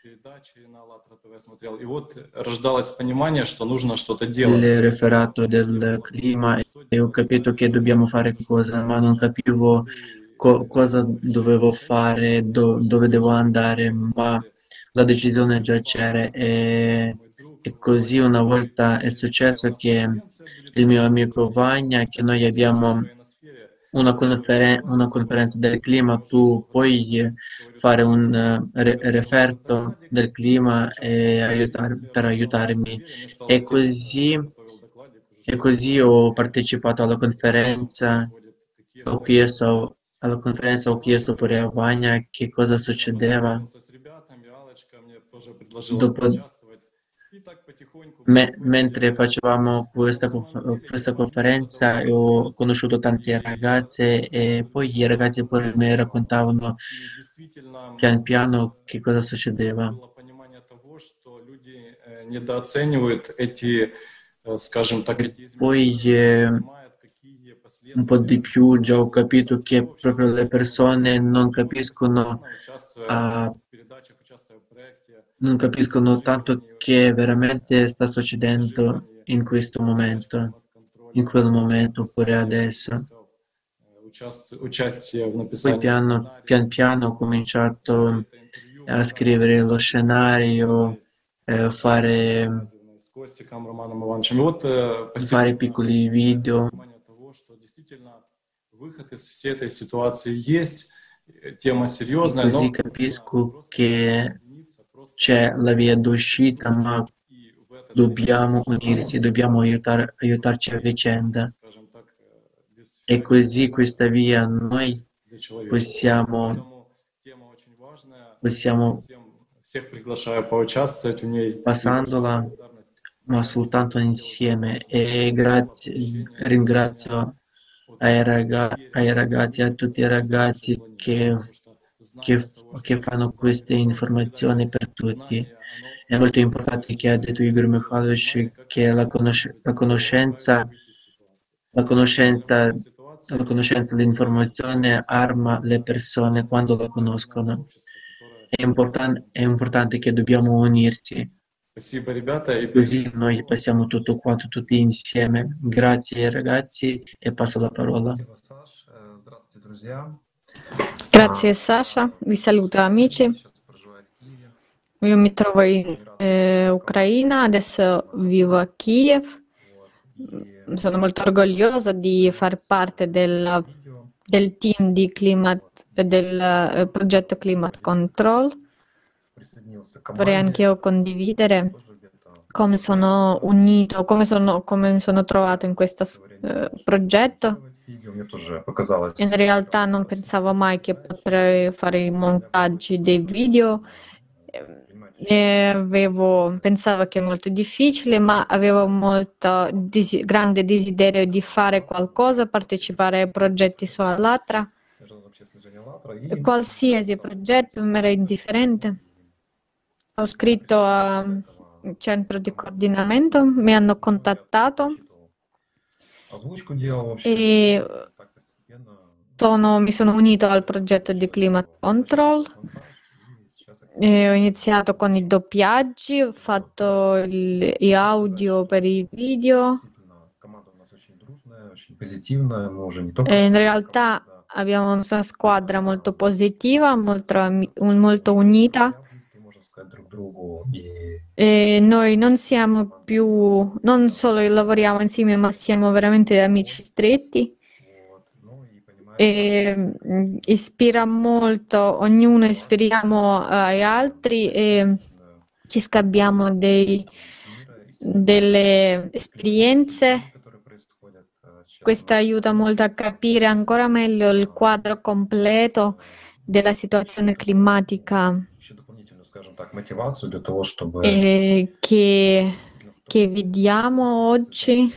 И вот рождалось понимание, что нужно что-то делать. il referato del clima e ho capito che dobbiamo fare qualcosa, ma non capivo cosa dovevo fare, dove devo andare, ma la decisione già c'era e così una volta è successo che il mio amico Vagna, che noi abbiamo una conferenza del clima, tu puoi fare un referto del clima per aiutarmi. E così ho partecipato alla conferenza, ho chiesto pure a Vagna che cosa succedeva. Mentre facevamo questa conferenza ho conosciuto tante ragazze e poi i ragazzi pure mi raccontavano pian piano che cosa succedeva. Poi un po' di più già ho capito che proprio le persone non capiscono tanto che veramente sta succedendo in questo momento, in quel momento oppure adesso. Poi pian piano ho cominciato a scrivere lo scenario, fare piccoli video. выход из всей этой ситуации есть, тема серьезная, Così capisco che c'è la via d'uscita, ma dobbiamo unirsi, dobbiamo aiutarci a vicenda. E così questa via noi possiamo всех приглашаю поучаствовать в ней. passandola, ma soltanto insieme. E ringrazio ai ragazzi, a tutti i ragazzi che fanno queste informazioni per tutti. È molto importante che ha detto Igor Mikhailovich che la conoscenza, l'informazione arma le persone quando la conoscono. È importante che dobbiamo unirsi. Così noi passiamo tutto quanto, tutti insieme. Grazie ragazzi e passo la parola. Grazie Sasha, vi saluto amici. Io mi trovo in Ucraina, adesso vivo a Kiev. Sono molto orgogliosa di far parte del team di del progetto Climate Control. Vorrei anche io condividere come sono unito, come mi sono trovato in questo progetto. In realtà non pensavo mai che potrei fare i montaggi dei video. Pensavo che è molto difficile, ma avevo molto grande desiderio di fare qualcosa, partecipare ai progetti su Allatra. Qualsiasi progetto mi era indifferente. Ho scritto al centro di coordinamento, mi hanno contattato e mi sono unito al progetto di Climate Control. E ho iniziato con i doppiaggi, ho fatto gli audio per i video. E in realtà abbiamo una squadra molto positiva, molto unita. E noi non solo lavoriamo insieme, ma siamo veramente amici stretti. E ispira molto, ognuno ispiriamo agli altri e ci scambiamo delle esperienze. Questo aiuta molto a capire ancora meglio il quadro completo della situazione climatica che vediamo oggi.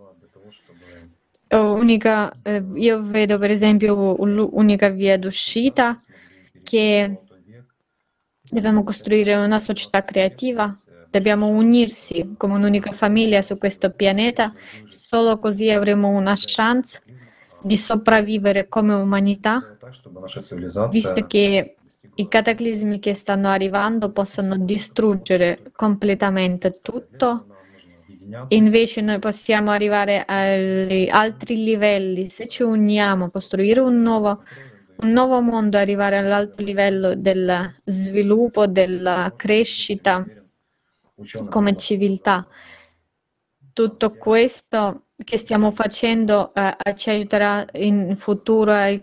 Io vedo per esempio l'unica via d'uscita che dobbiamo costruire una società creativa, dobbiamo unirsi come un'unica famiglia su questo pianeta, solo così avremo una chance di sopravvivere come umanità, visto che i cataclismi che stanno arrivando possono distruggere completamente tutto. Invece noi possiamo arrivare agli altri livelli se ci uniamo, costruire un nuovo mondo, arrivare all'altro livello del sviluppo, della crescita come civiltà. Tutto questo che stiamo facendo ci aiuterà in futuro ai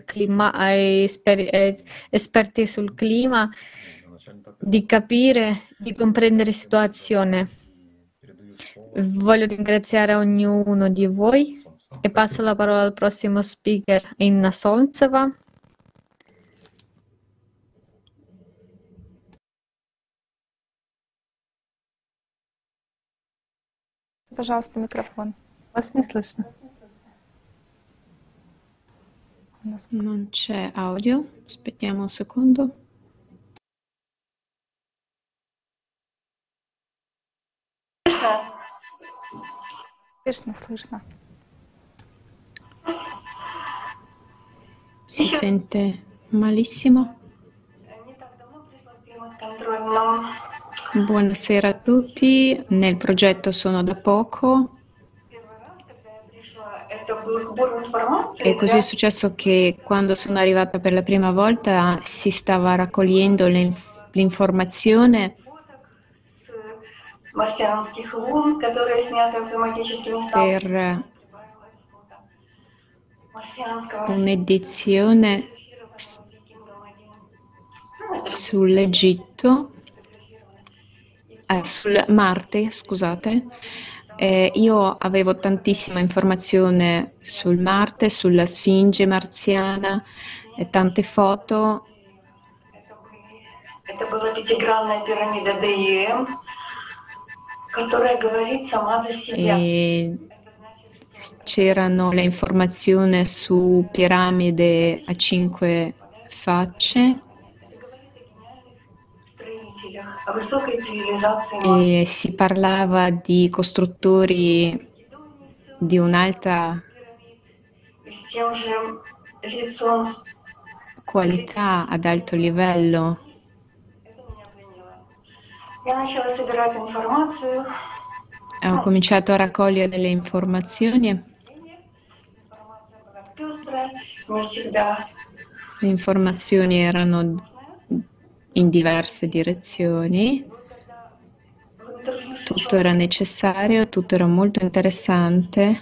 esperti sul clima di capire, di comprendere la situazione. Voglio ringraziare ognuno di voi e passo la parola al prossimo speaker, Inna Solntseva. Пожалуйста, микрофон. Вас не слышно. Non c'è audio, aspettiamo un secondo. Слышно. Si sente malissimo. Buonasera a tutti, nel progetto sono da poco e così è successo che quando sono arrivata per la prima volta si stava raccogliendo l'informazione per un'edizione sull'Egitto, sul Marte, scusate. Io avevo tantissima informazione sul Marte, sulla Sfinge marziana e tante foto. Это была пятигранная пирамида ДИМ, которая говорит сама за себя. E c'erano le informazioni su piramide a 5 facce e si parlava di costruttori di un'alta qualità, ad alto livello. Ho cominciato a raccogliere le informazioni. Le informazioni erano in diverse direzioni. Tutto era necessario, tutto era molto interessante.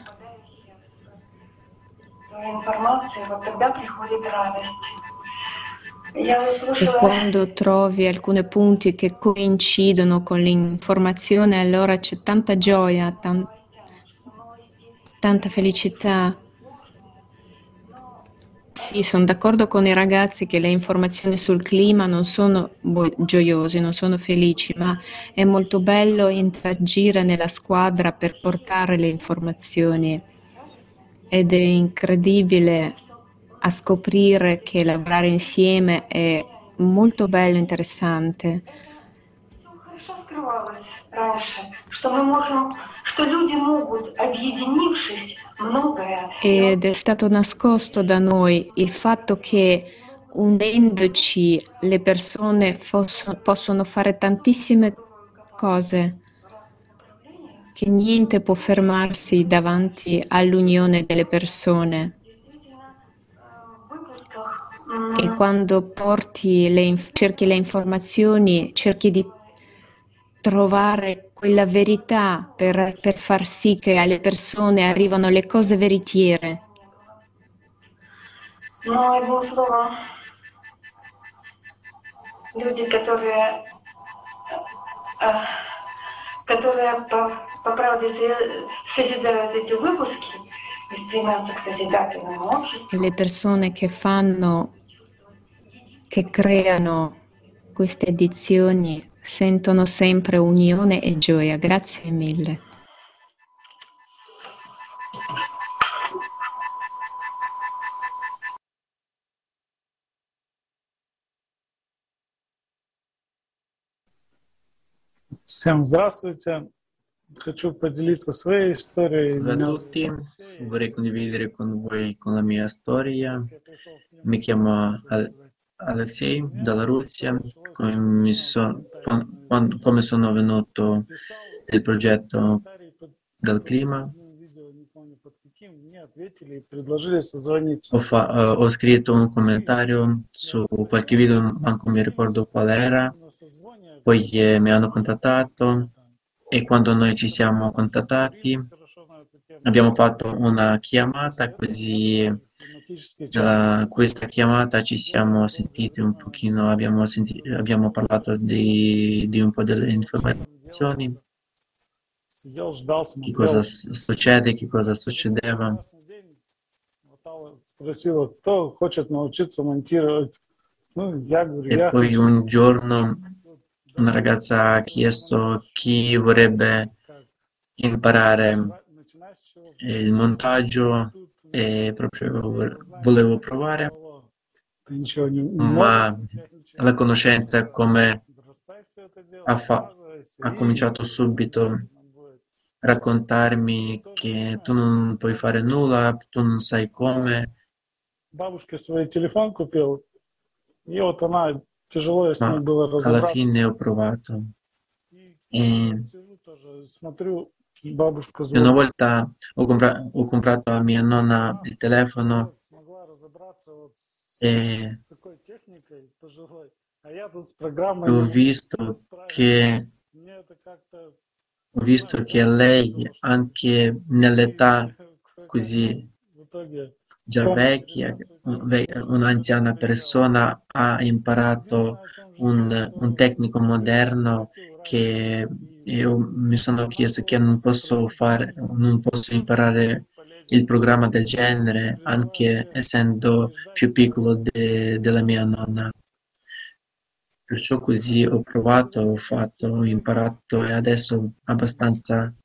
E quando trovi alcuni punti che coincidono con l'informazione, allora c'è tanta gioia, tanta felicità. Sì, sono d'accordo con i ragazzi che le informazioni sul clima non sono gioiose, non sono felici, ma è molto bello interagire nella squadra per portare le informazioni ed è incredibile a scoprire che lavorare insieme è molto bello e interessante. Ed è stato nascosto da noi il fatto che unendoci le persone possono fare tantissime cose, che niente può fermarsi davanti all'unione delle persone. E quando cerchi le informazioni, cerchi di trovare quella verità per far sì che alle persone arrivano le cose veritiere. Но одним словом, люди, которые по правде созидают эти выпуски и стремятся к созидательному обществу. Le persone che creano queste edizioni sentono sempre unione e gioia. Grazie mille. Всем здравствуйте. Хочу поделиться своей историей. Salve a tutti, vorrei condividere con voi con la mia storia. Mi chiamo Alexei dalla Russia, come sono venuto nel progetto del clima. Ho scritto un commentario su qualche video, manco mi ricordo qual era, poi mi hanno contattato e quando noi ci siamo contattati abbiamo fatto una chiamata, così da questa chiamata ci siamo sentiti un pochino, abbiamo parlato di un po' delle informazioni, che cosa succede, che cosa succedeva. E poi un giorno una ragazza ha chiesto chi vorrebbe imparare il montaggio e proprio volevo provare, ma la conoscenza come ha cominciato subito a raccontarmi che tu non puoi fare nulla, tu non sai come. Ma alla fine ho provato e una volta ho comprato a mia nonna il telefono e ho visto che lei, anche nell'età così già vecchia, un'anziana persona ha imparato un tecnico moderno che io mi sono chiesto che non posso imparare il programma del genere, anche essendo più piccolo della mia nonna. Perciò così ho provato, ho fatto, ho imparato e adesso abbastanza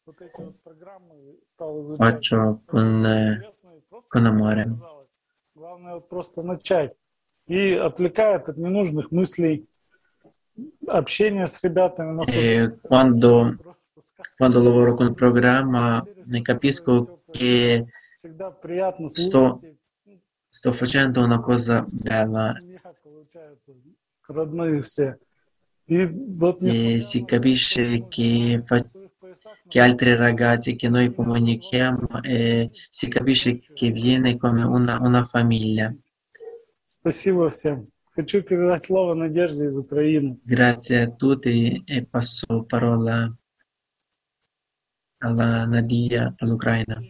faccio con amore. Главное вот просто начать. И отвлекает от ненужных мыслей, общение с ребятами. Quando lavoro con il programma ne capisco che sto facendo una cosa bella e si capisce che altri ragazzi che noi comunichiamo e si capisce che viene come una famiglia. Спасибо всем. Хочу передать слово Надежде из Украины. Grazie a tutti e passo parola alla Nadia, all'Ucraina.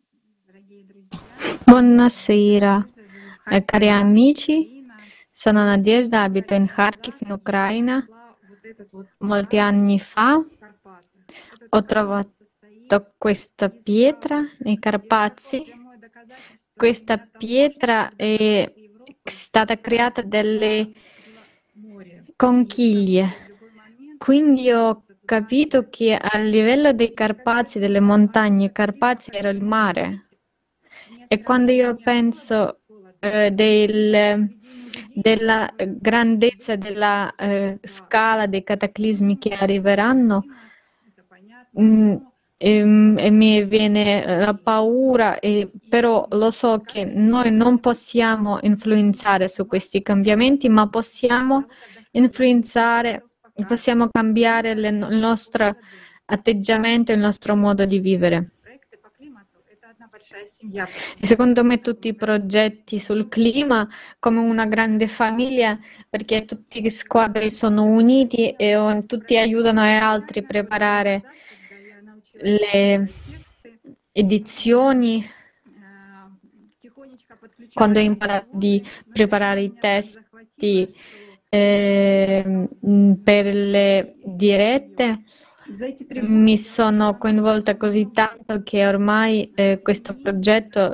Buonasera, cari amici. Sono Nadezhda, abito in Kharkiv, in Ucraina. Molti anni fa ho trovato questa pietra nei Carpazi. Questa pietra è stata creata dalle conchiglie. Quindi ho capito che a livello dei Carpazi, delle montagne Carpazi, era il mare. E quando io penso della grandezza della scala dei cataclismi che arriveranno, e mi viene la paura, però lo so che noi non possiamo influenzare su questi cambiamenti, ma possiamo influenzare, possiamo cambiare il nostro atteggiamento, il nostro modo di vivere. E secondo me tutti i progetti sul clima come una grande famiglia, perché tutti gli squadri sono uniti e tutti aiutano gli altri a preparare le edizioni. Quando ho imparato di preparare i testi per le dirette, mi sono coinvolta così tanto che ormai questo progetto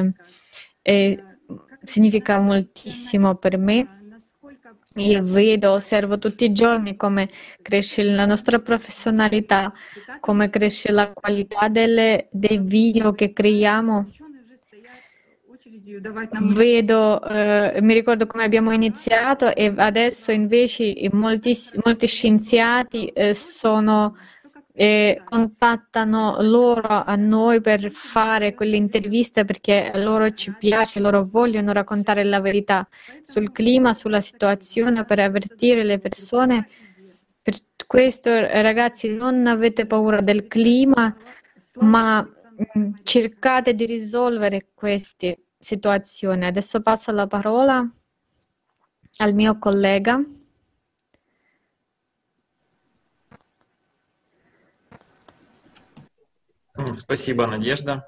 significa moltissimo per me. Io vedo, osservo tutti i giorni come cresce la nostra professionalità, come cresce la qualità dei video che creiamo. Vedo, mi ricordo come abbiamo iniziato e adesso invece molti scienziati contattano loro a noi per fare quelle interviste perché a loro ci piace, loro vogliono raccontare la verità sul clima, sulla situazione, per avvertire le persone. Per questo, ragazzi, non avete paura del clima, ma cercate di risolvere queste situazioni. Adesso passo la parola al mio collega. Спасибо, Надежда.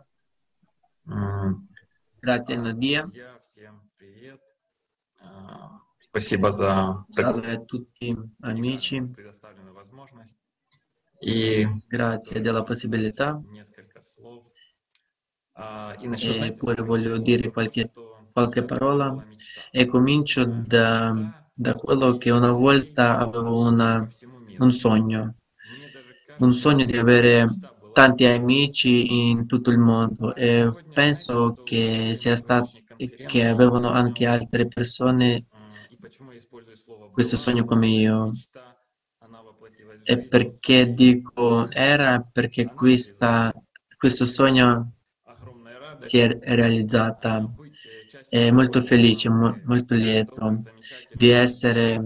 Grazie, Nadia. Всем привет. Спасибо за Salve a tutti amici. предоставленную возможность. И Grazie della possibilità. несколько слов. И начну с E poi voglio dire qualche parola e comincio da quello che una volta avevo un sogno di avere tanti amici in tutto il mondo e penso che sia stato che avevano anche altre persone questo sogno come io. E perché dico era? Perché questo sogno si è realizzata. E molto felice, molto lieto di essere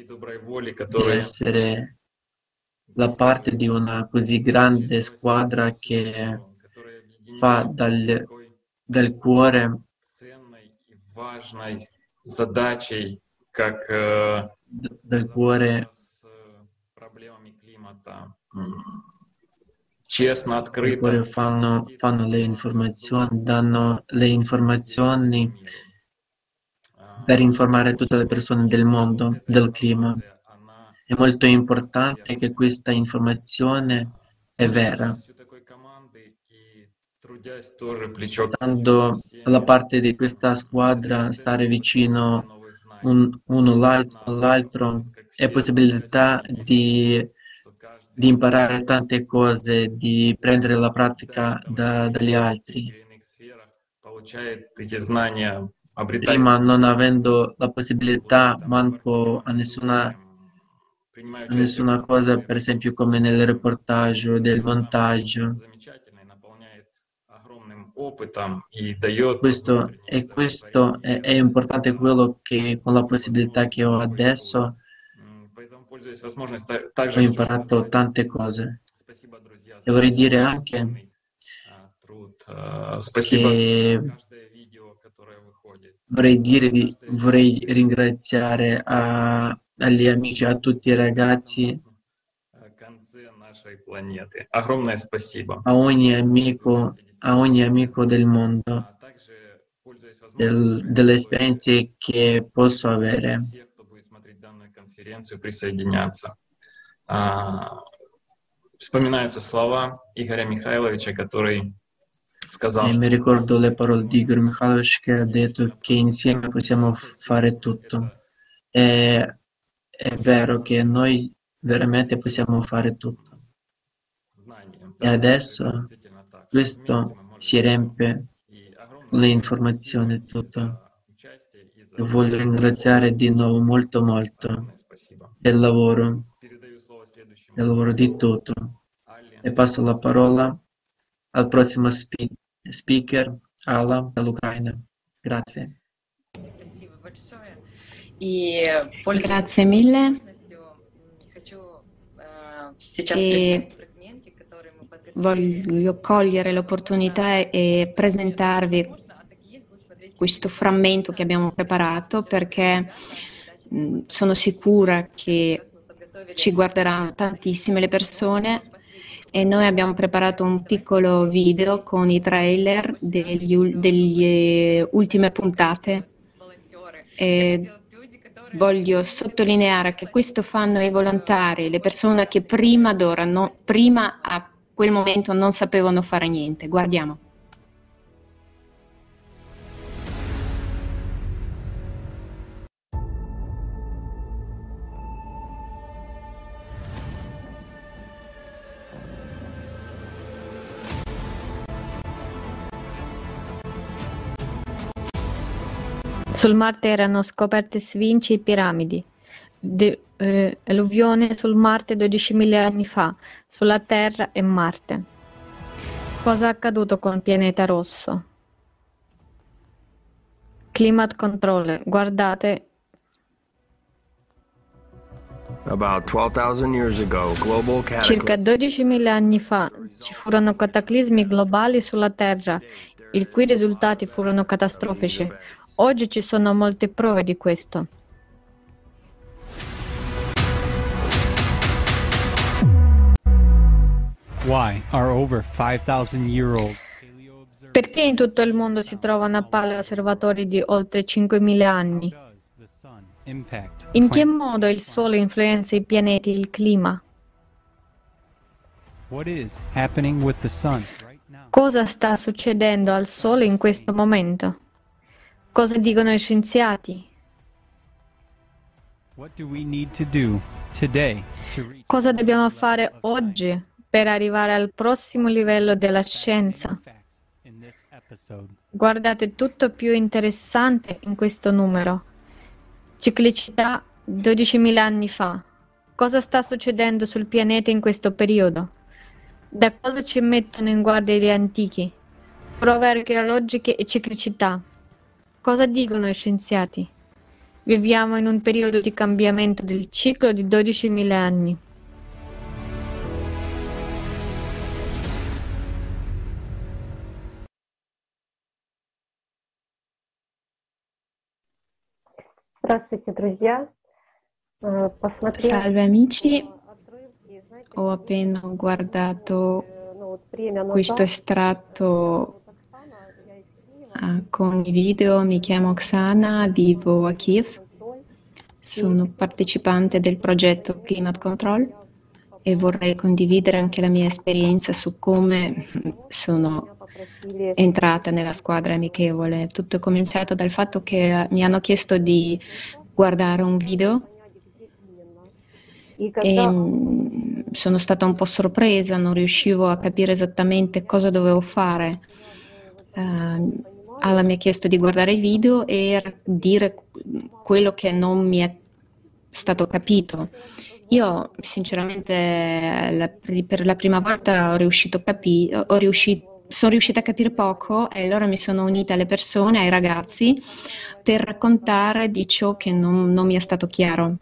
la parte di una così grande squadra che fa dal cuore важной задачей, как dal cuore с проблемами климата честно, oppure открыто. fanno le informazioni, danno le informazioni per informare tutte le persone del mondo del clima. È molto importante che questa informazione è vera. Stando alla parte di questa squadra, stare vicino uno all'altro è possibilità di imparare tante cose, di prendere la pratica dagli altri. Prima, non avendo la possibilità manco a nessuna cosa, per esempio come nel reportage, del montaggio. Questo è importante, quello che con la possibilità che ho adesso ho imparato tante cose. E vorrei dire anche che vorrei ringraziare agli amici, a tutti i ragazzi, a ogni amico del mondo, delle esperienze che posso avere. Вспоминаются слова Игоря Михайловича, который сказал, E mi ricordo le parole di Igor Mikhailovich che ha detto che insieme possiamo fare tutto. È vero che noi veramente possiamo fare tutto. E adesso questo si riempie con le informazioni e tutto. E voglio ringraziare di nuovo molto del lavoro di tutto. E passo la parola al prossimo speaker, Alla, dall'Ucraina. Grazie. Grazie mille. E voglio cogliere l'opportunità e presentarvi questo frammento che abbiamo preparato, perché sono sicura che ci guarderanno tantissime le persone, e noi abbiamo preparato un piccolo video con i trailer delle ultime puntate. E voglio sottolineare che questo fanno i volontari, le persone che prima a quel momento non sapevano fare niente. Guardiamo. Sul Marte erano scoperte sfinci e piramidi. Alluvione sul Marte 12.000 anni fa, sulla Terra e Marte. Cosa è accaduto con il pianeta rosso? Climate controller, guardate. About 12,000 years ago, global Circa 12.000 anni fa ci furono cataclismi globali sulla Terra, i cui risultati furono catastrofici. Oggi ci sono molte prove di questo. Why are over 5,000-year-old Perché in tutto il mondo si trovano paleosservatori di oltre 5.000 anni? In che modo il Sole influenza i pianeti e il clima? What is happening with the sun? Cosa sta succedendo al Sole in questo momento? Cosa dicono i scienziati? What do we need to do today to reach Cosa dobbiamo fare oggi per arrivare al prossimo livello della scienza? in this episode? Guardate tutto più interessante in questo numero. Ciclicità 12.000 anni fa. Cosa sta succedendo sul pianeta in questo periodo? Da cosa ci mettono in guardia gli antichi? Prove archeologiche e ciclicità. Cosa dicono i scienziati? Viviamo in un periodo di cambiamento del ciclo di 12.000 anni. Здравствуйте, друзья. Salve amici, ho appena guardato questo estratto con i video. Mi chiamo Oksana, vivo a Kiev, sono partecipante del progetto Climate Control e vorrei condividere anche la mia esperienza su come sono entrata nella squadra amichevole. Tutto è cominciato dal fatto che mi hanno chiesto di guardare un video e sono stata un po' sorpresa, non riuscivo a capire esattamente cosa dovevo fare. Alla mi ha chiesto di guardare il video e dire quello che non mi è stato capito. Io sinceramente per la prima volta sono riuscita a capire poco e allora mi sono unita alle persone, ai ragazzi, per raccontare di ciò che non mi è stato chiaro.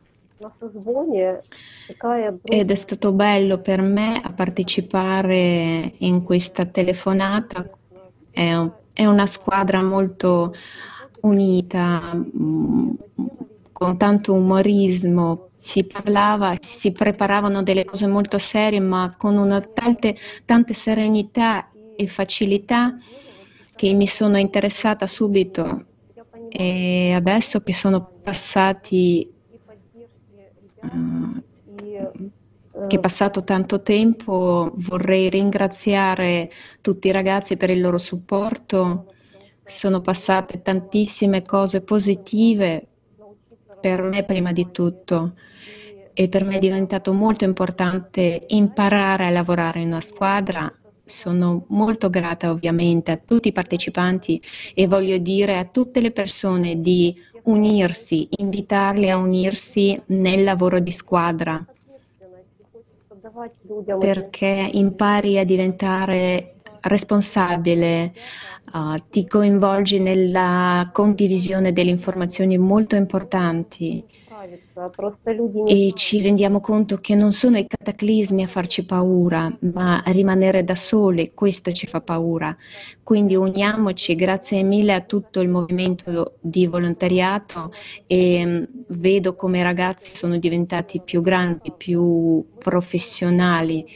Ed è stato bello per me a partecipare in questa telefonata. È una squadra molto unita, con tanto umorismo. Si parlava, si preparavano delle cose molto serie, ma con una tante serenità e facilità che mi sono interessata subito. E adesso che sono passati che è passato tanto tempo, vorrei ringraziare tutti i ragazzi per il loro supporto. Sono passate tantissime cose positive per me prima di tutto e per me è diventato molto importante imparare a lavorare in una squadra. Sono molto grata ovviamente a tutti i partecipanti e voglio dire a tutte le persone di unirsi, invitarli a unirsi nel lavoro di squadra, perché impari a diventare responsabile, ti coinvolgi nella condivisione delle informazioni molto importanti e ci rendiamo conto che non sono i cataclismi a farci paura, ma rimanere da soli, questo ci fa paura. Quindi uniamoci, grazie mille a tutto il movimento di volontariato e vedo come i ragazzi sono diventati più grandi, più professionali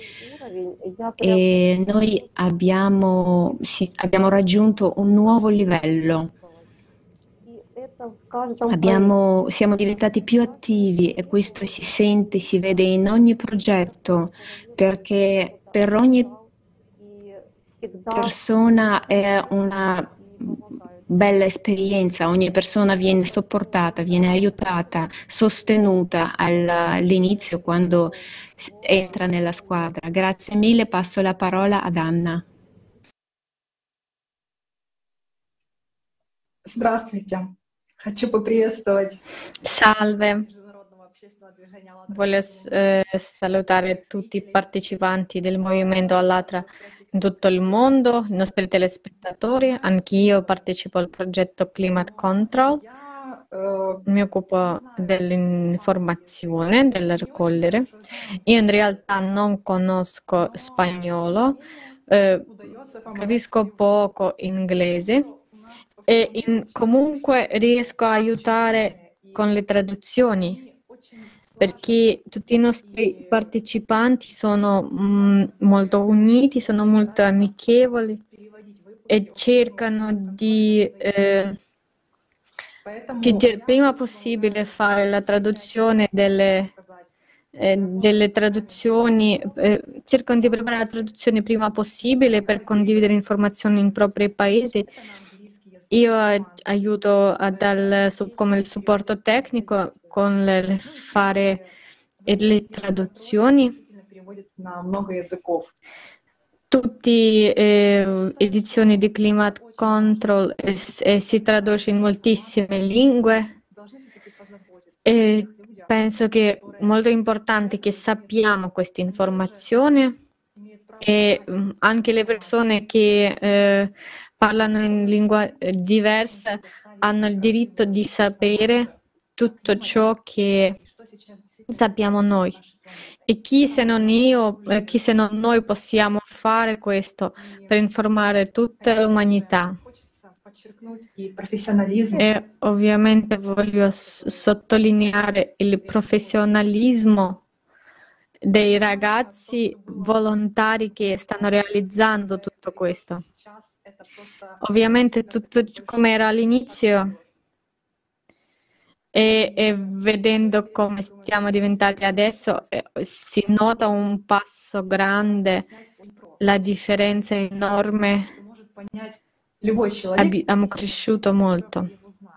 e noi abbiamo raggiunto un nuovo livello. Siamo diventati più attivi e questo si sente, si vede in ogni progetto, perché per ogni persona è una bella esperienza, ogni persona viene sopportata, viene aiutata, sostenuta all'inizio quando entra nella squadra. Grazie mille, passo la parola ad Anna. Здравствуйте. Хочу поприветствовать. Salve, voglio salutare tutti i partecipanti del movimento Allatra in tutto il mondo, i nostri telespettatori. Anch'io partecipo al progetto Climate Control, mi occupo dell'informazione, del raccogliere. Io in realtà non conosco spagnolo, capisco poco inglese. E comunque riesco a aiutare con le traduzioni perché tutti i nostri partecipanti sono molto uniti, sono molto amichevoli e cercano di il prima possibile fare la traduzione delle traduzioni, cercano di preparare la traduzione prima possibile per condividere informazioni in propri paesi. Io aiuto come il supporto tecnico con fare le traduzioni. Tutte edizioni di Climate Control si traduce in moltissime lingue e penso che è molto importante che sappiamo questa informazione e anche le persone che parlano in lingua diversa hanno il diritto di sapere tutto ciò che sappiamo noi. E chi se non noi possiamo fare questo per informare tutta l'umanità. E ovviamente voglio sottolineare il professionalismo dei ragazzi volontari che stanno realizzando tutto questo. Ovviamente tutto come era all'inizio e vedendo come stiamo diventati adesso, si nota un passo grande, la differenza è enorme, abbiamo cresciuto molto.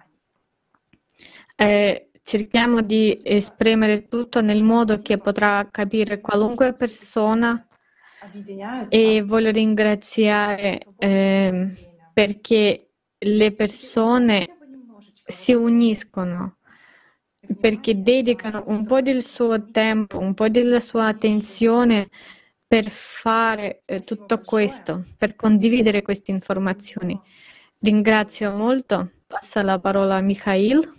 Cerchiamo di esprimere tutto nel modo che potrà capire qualunque persona e voglio ringraziare perché le persone si uniscono, perché dedicano un po' del suo tempo, un po' della sua attenzione per fare tutto questo, per condividere queste informazioni. Ringrazio molto. Passa la parola a Mikhail.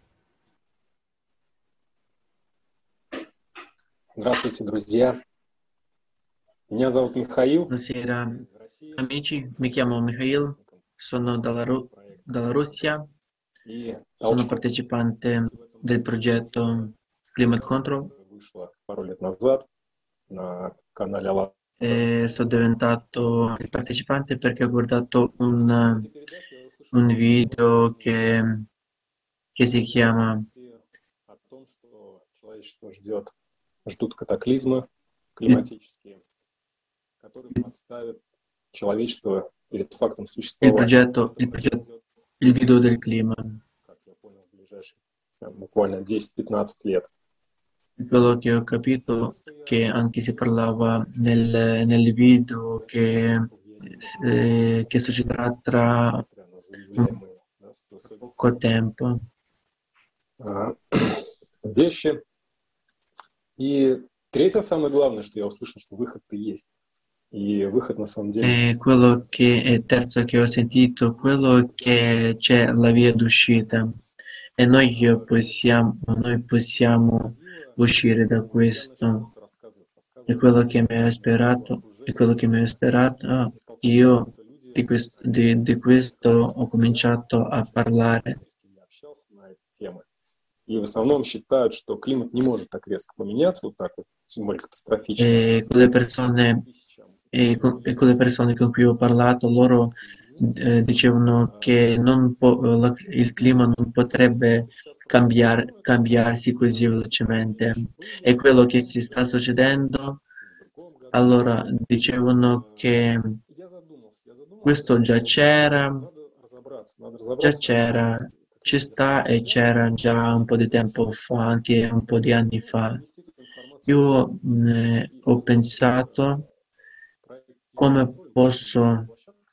Здравствуйте, друзья. Меня зовут Михаил. Buonasera amici, mi chiamo Mikhail, sono dalla Russia, sono partecipante del progetto Climate Control. Пару лет назад на канале Алла. Sono diventato il partecipante perché ho guardato un video che si chiama О том, что человечество ждут катаклизмы климатические, которые подставят человечество перед фактом существования. il video del clima. Как я понял, в ближайшие буквально 10-15 лет. Quello che ho capito che anche si parlava nel video che succederà tra poco tempo. Вещи. И третье, самое главное, что я услышал, что выход-то есть. И выход на самом деле... Quello che è terzo che ho sentito, quello che c'è la via d'uscita e noi possiamo uscire da questo. E quello che mi ha ispirato, io di questo ho cominciato a parlare. И в основном считают, что климат не может так резко поменяться, вот так вот, тем более катастрофично. E con le persone con cui ho parlato, loro dicevano che il clima non potrebbe cambiarsi così velocemente. E quello che si sta succedendo, allora dicevano che questo già c'era, ci sta e c'era già un po' di tempo fa, anche un po' di anni fa. Io ho pensato come posso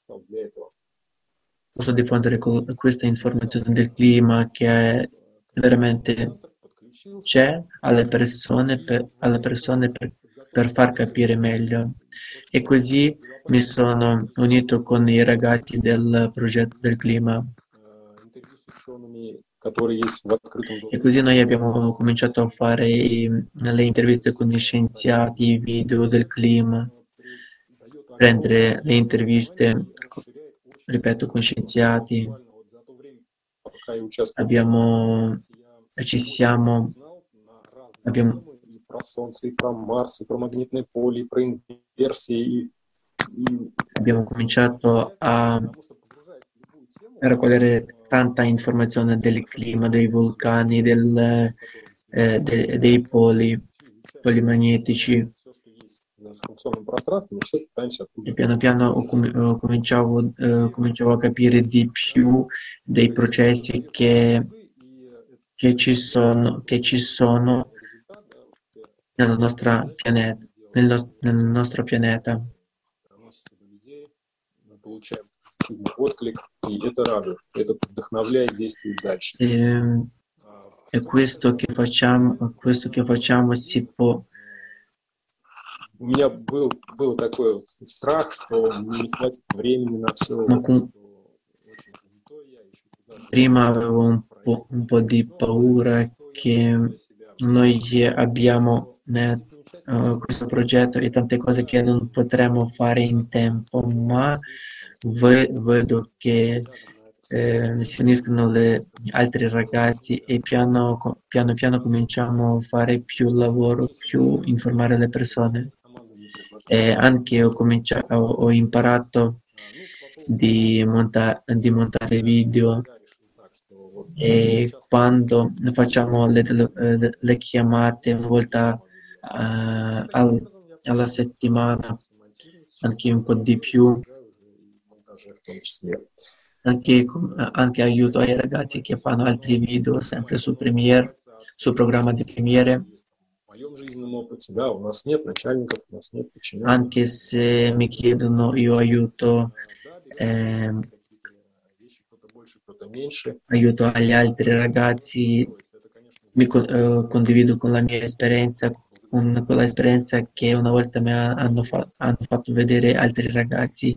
diffondere questa informazione del clima che veramente c'è alle persone per far capire meglio. E così mi sono unito con i ragazzi del progetto del clima. E così noi abbiamo cominciato a fare le interviste con gli scienziati, i video del clima, prendere le interviste, ripeto, con scienziati. Abbiamo cominciato a raccogliere tanta informazione del clima, dei vulcani, dei poli magnetici. E piano piano cominciavo a capire di più dei processi che ci sono nel nostro pianeta. E questo che facciamo si può. У меня был такой страх, что не хватит времени на все. Prima avevo un po' di paura che noi abbiamo questo progetto e tante cose che non potremo fare in tempo, ma vedo che si uniscono altri ragazzi e piano piano cominciamo a fare più lavoro, più informare le persone. E anche ho imparato di montare video, e quando facciamo le chiamate una volta alla settimana, anche un po' di più, anche aiuto ai ragazzi che fanno altri video sempre su Premiere, sul programma di Premiere. Anche se mi chiedono, io aiuto agli altri ragazzi, condivido con la mia esperienza, con quella esperienza che una volta mi hanno fatto vedere altri ragazzi.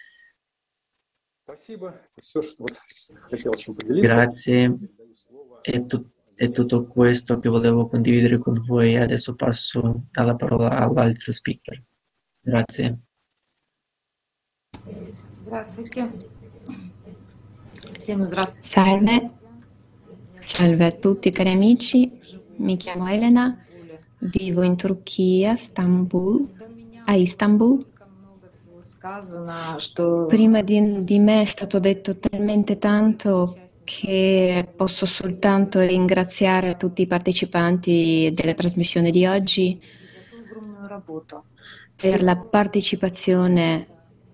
Grazie, è tutto questo che volevo condividere con voi. Adesso passo la parola all'altro speaker. Grazie. Salve a tutti cari amici, mi chiamo Elena, vivo in Turchia, a Istanbul. Prima di me è stato detto talmente tanto che posso soltanto ringraziare tutti i partecipanti della trasmissione di oggi per la partecipazione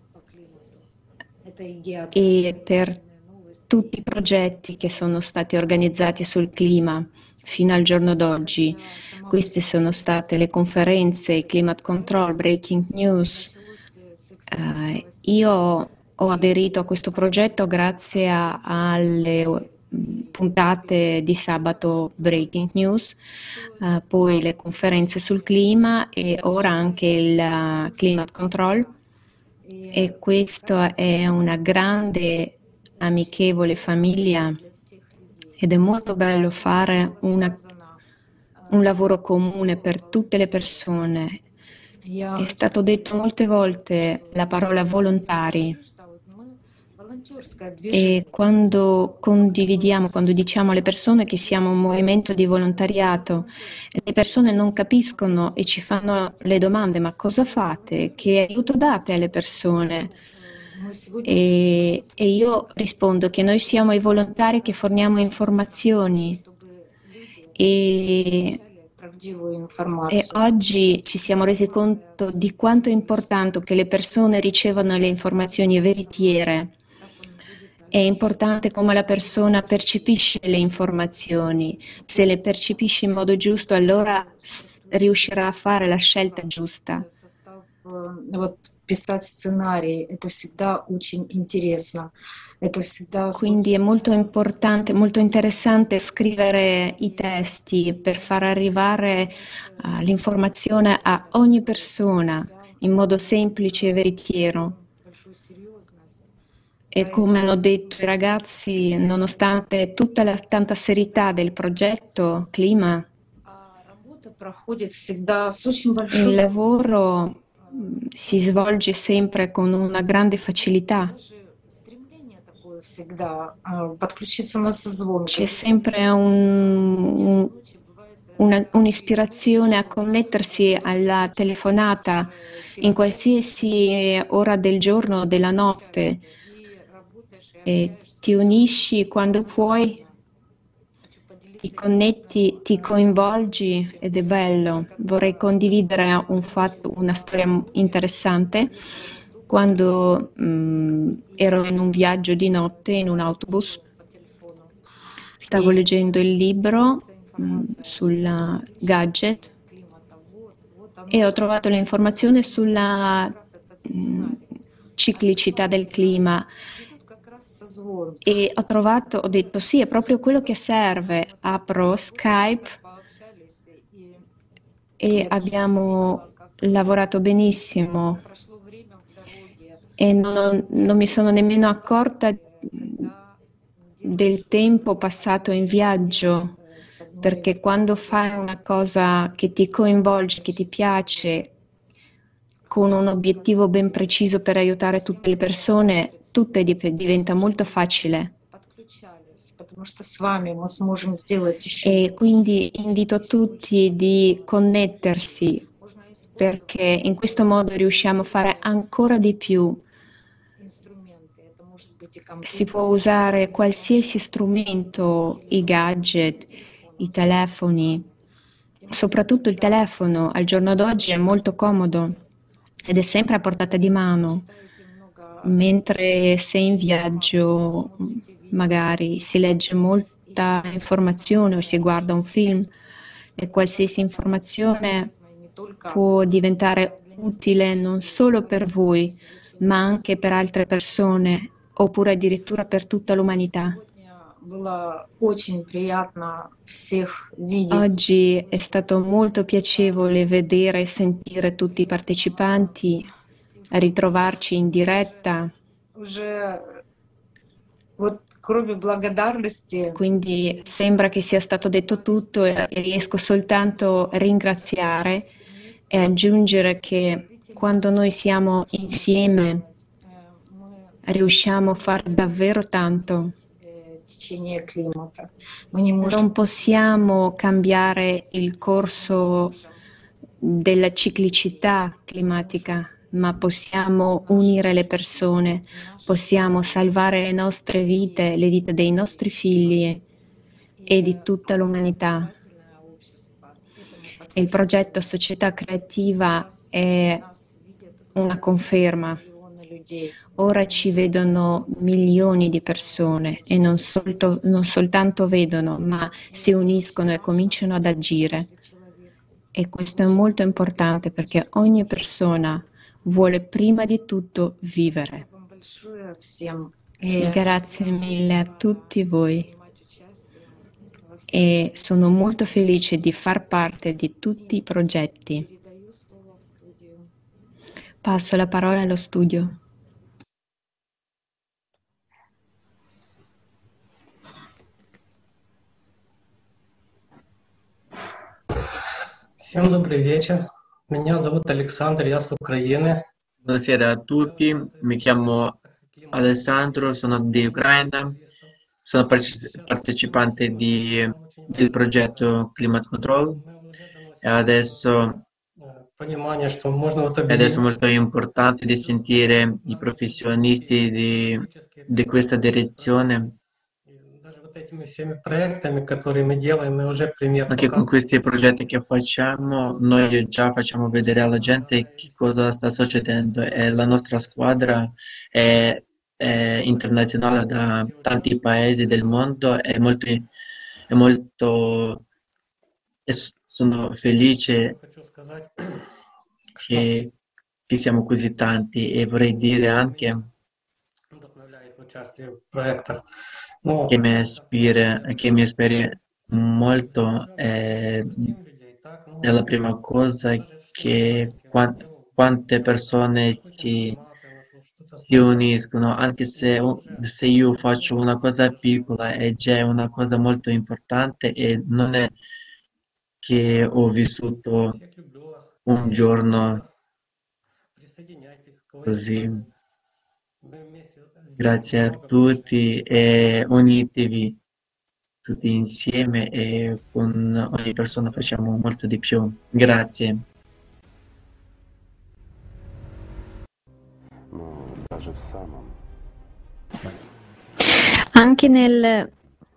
e per tutti i progetti che sono stati organizzati sul clima fino al giorno d'oggi. Queste sono state le conferenze, Climate Control, Breaking News. Io ho aderito a questo progetto grazie alle puntate di sabato Breaking News, poi le conferenze sul clima e ora anche il Climate Control. E questa è una grande amichevole famiglia ed è molto bello fare un lavoro comune per tutte le persone. È stato detto molte volte la parola volontari, e quando condividiamo, quando diciamo alle persone che siamo un movimento di volontariato, le persone non capiscono e ci fanno le domande: ma cosa fate? Che aiuto date alle persone? E io rispondo che noi siamo i volontari che forniamo informazioni e oggi ci siamo resi conto di quanto è importante che le persone ricevano le informazioni veritiere. È importante come la persona percepisce le informazioni. Se le percepisce in modo giusto, allora riuscirà a fare la scelta giusta. Quindi è molto importante, molto interessante scrivere i testi per far arrivare l'informazione a ogni persona in modo semplice e veritiero. E come hanno detto i ragazzi, nonostante tutta la tanta serietà del progetto Clima, il lavoro si svolge sempre con una grande facilità. C'è sempre un'ispirazione a connettersi alla telefonata in qualsiasi ora del giorno o della notte. E ti unisci quando puoi, ti connetti, ti coinvolgi ed è bello. Vorrei condividere una storia interessante. Quando ero in un viaggio di notte in un autobus, stavo leggendo il libro sul gadget e ho trovato l'informazione sulla ciclicità del clima. E ho detto sì, è proprio quello che serve. Apro Skype e abbiamo lavorato benissimo e non mi sono nemmeno accorta del tempo passato in viaggio, perché quando fai una cosa che ti coinvolge, che ti piace, con un obiettivo ben preciso per aiutare tutte le persone, tutto diventa molto facile. E quindi invito tutti di connettersi, perché in questo modo riusciamo a fare ancora di più. Si può usare qualsiasi strumento, i gadget, i telefoni, soprattutto il telefono al giorno d'oggi è molto comodo ed è sempre a portata di mano. Mentre sei in viaggio, magari si legge molta informazione o si guarda un film e qualsiasi informazione può diventare utile non solo per voi, ma anche per altre persone, oppure addirittura per tutta l'umanità. Oggi è stato molto piacevole vedere e sentire tutti i partecipanti, ritrovarci in diretta. Quindi sembra che sia stato detto tutto e riesco soltanto a ringraziare e aggiungere che quando noi siamo insieme riusciamo a fare davvero tanto. Non possiamo cambiare il corso della ciclicità climatica, ma possiamo unire le persone, possiamo salvare le nostre vite, le vite dei nostri figli e di tutta l'umanità. Il progetto Società Creativa è una conferma. Ora ci vedono milioni di persone e non soltanto vedono, ma si uniscono e cominciano ad agire. E questo è molto importante perché ogni persona vuole prima di tutto vivere. Grazie mille a tutti voi e sono molto felice di far parte di tutti i progetti. Passo la parola allo studio. Всем добрый вечер. Меня зовут Александр, я с Украины. Buonasera a tutti, mi chiamo Alessandro, sono di Ucraina, sono partecipante del progetto Climate Control e adesso Понимание, что можно вот è molto importante di sentire i professionisti di questa direzione. этими всеми проектами, которые мы делаем, мы уже пример Anche con показываем. questi progetti che facciamo, noi già facciamo vedere alla gente che cosa sta succedendo e la nostra squadra è internazionale da tanti paesi del mondo, e sono felice Хочу сказать, che siamo così tanti e vorrei dire anche вдохновляет участие в проектах. Ну, che mi ispira molto è la prima cosa che quante persone si uniscono, anche se io faccio una cosa piccola è già una cosa molto importante e non è che ho vissuto un giorno così. Grazie a tutti e unitevi tutti insieme e con ogni persona facciamo molto di più. Grazie. Anche nel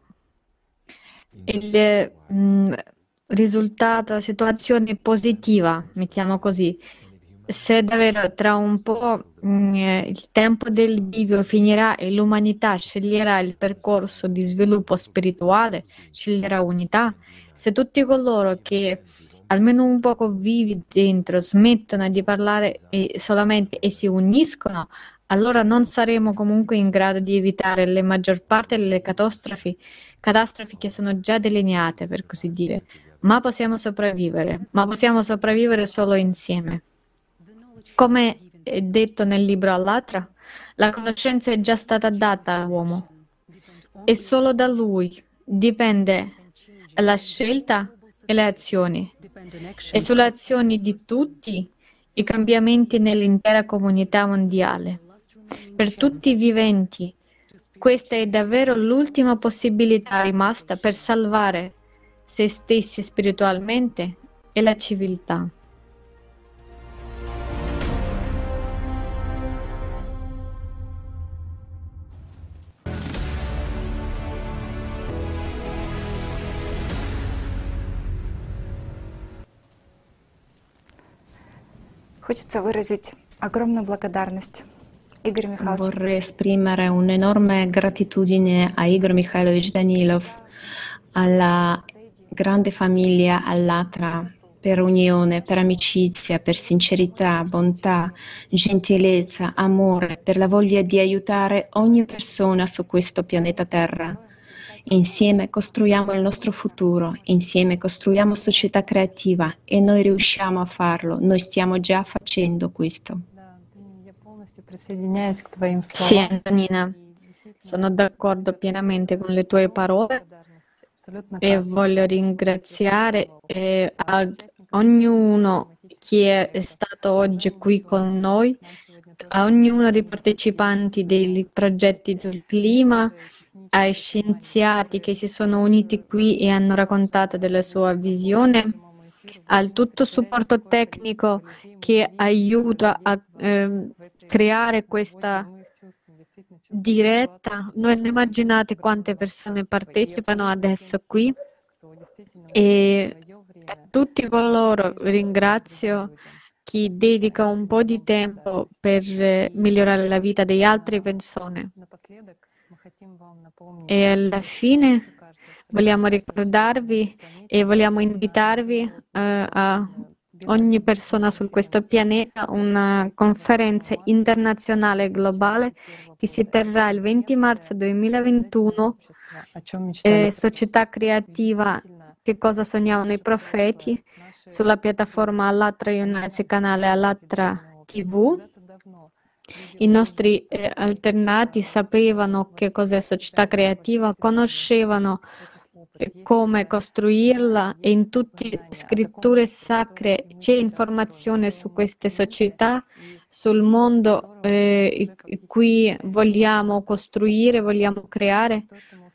risultato, situazione positiva, mettiamo così, se davvero tra un po' il tempo del bivio finirà e l'umanità sceglierà il percorso di sviluppo spirituale, sceglierà unità, se tutti coloro che almeno un poco vivi dentro smettono di parlare solamente e si uniscono, allora non saremo comunque in grado di evitare la maggior parte delle catastrofi che sono già delineate, per così dire. Ma possiamo sopravvivere solo insieme. Come è detto nel libro Allatra, la conoscenza è già stata data all'uomo e solo da lui dipende la scelta e le azioni. E sulle azioni di tutti i cambiamenti nell'intera comunità mondiale. Per tutti i viventi, questa è davvero l'ultima possibilità rimasta per salvare se stessi spiritualmente e la civiltà. Хочется выразить огромную благодарность Игорю Михайловичу. Vorrei esprimere un'enorme gratitudine a Igor Mikhailovich Danilov, alla grande famiglia Allatra, per unione, per amicizia, per sincerità, bontà, gentilezza, amore, per la voglia di aiutare ogni persona su questo pianeta Terra. Insieme costruiamo il nostro futuro, insieme costruiamo società creativa e noi riusciamo a farlo, noi stiamo già facendo questo. Sì, Antonina, sono d'accordo pienamente con le tue parole e voglio ringraziare ognuno che è stato oggi qui con noi, a ognuno dei partecipanti dei progetti sul clima, ai scienziati che si sono uniti qui e hanno raccontato della sua visione, al tutto supporto tecnico che aiuta a creare questa diretta. Non immaginate quante persone partecipano adesso qui e a tutti coloro ringrazio chi dedica un po' di tempo per migliorare la vita di altre persone. E alla fine vogliamo ricordarvi e vogliamo invitarvi a ogni persona su questo pianeta una conferenza internazionale globale che si terrà il 20 marzo 2021, Società creativa, che cosa sognavano i profeti, sulla piattaforma Allatra United, canale Allatra TV. I nostri alternati sapevano che cos'è società creativa, conoscevano come costruirla e in tutte le scritture sacre c'è informazione su queste società, sul mondo in cui vogliamo costruire, vogliamo creare,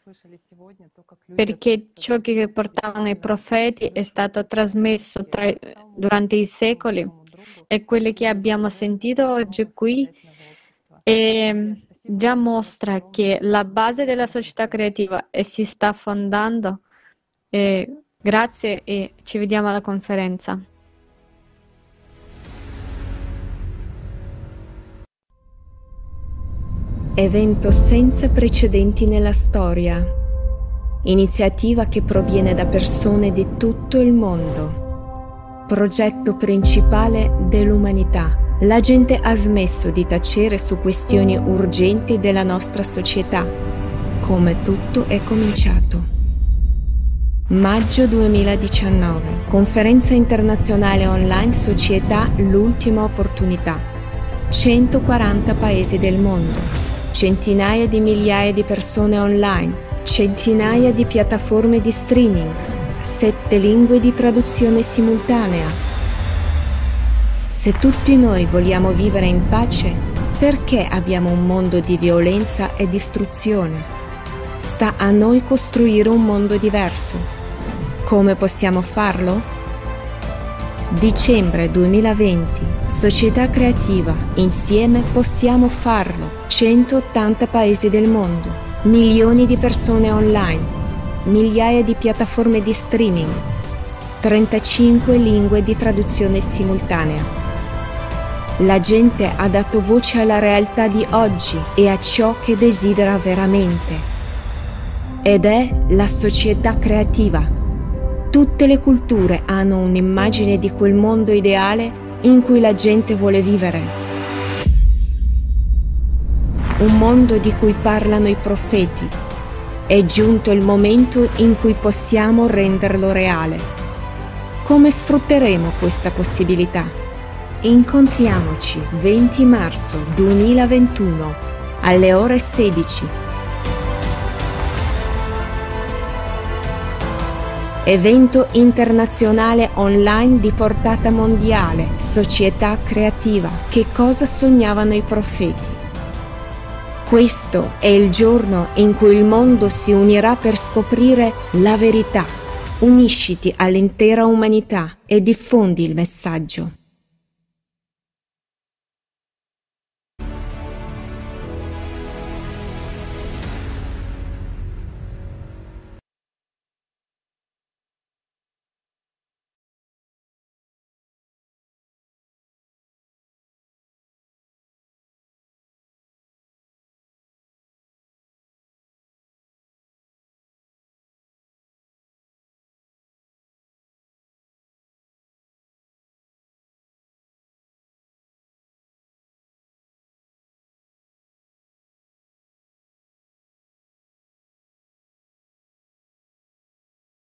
perché ciò che portavano i profeti è stato trasmesso durante i secoli e quello che abbiamo sentito oggi qui già mostra che la base della società creativa si sta fondando. Grazie e ci vediamo alla conferenza. Evento senza precedenti nella storia. Iniziativa che proviene da persone di tutto il mondo. Progetto principale dell'umanità. La gente ha smesso di tacere su questioni urgenti della nostra società. Come tutto è cominciato. Maggio 2019. Conferenza internazionale online Società L'ultima opportunità. 140 paesi del mondo. Centinaia di migliaia di persone online. Centinaia di piattaforme di streaming. 7 lingue di traduzione simultanea. Se tutti noi vogliamo vivere in pace, perché abbiamo un mondo di violenza e distruzione? Sta a noi costruire un mondo diverso. Come possiamo farlo? Dicembre 2020, Società creativa, insieme possiamo farlo. 180 paesi del mondo, milioni di persone online, migliaia di piattaforme di streaming, 35 lingue di traduzione simultanea. La gente ha dato voce alla realtà di oggi e a ciò che desidera veramente. Ed è la società creativa. Tutte le culture hanno un'immagine di quel mondo ideale in cui la gente vuole vivere. Un mondo di cui parlano i profeti. È giunto il momento in cui possiamo renderlo reale. Come sfrutteremo questa possibilità? Incontriamoci 20 marzo 2021 alle ore 16. Evento internazionale online di portata mondiale, Società creativa. Che cosa sognavano i profeti? Questo è il giorno in cui il mondo si unirà per scoprire la verità. Unisciti all'intera umanità e diffondi il messaggio.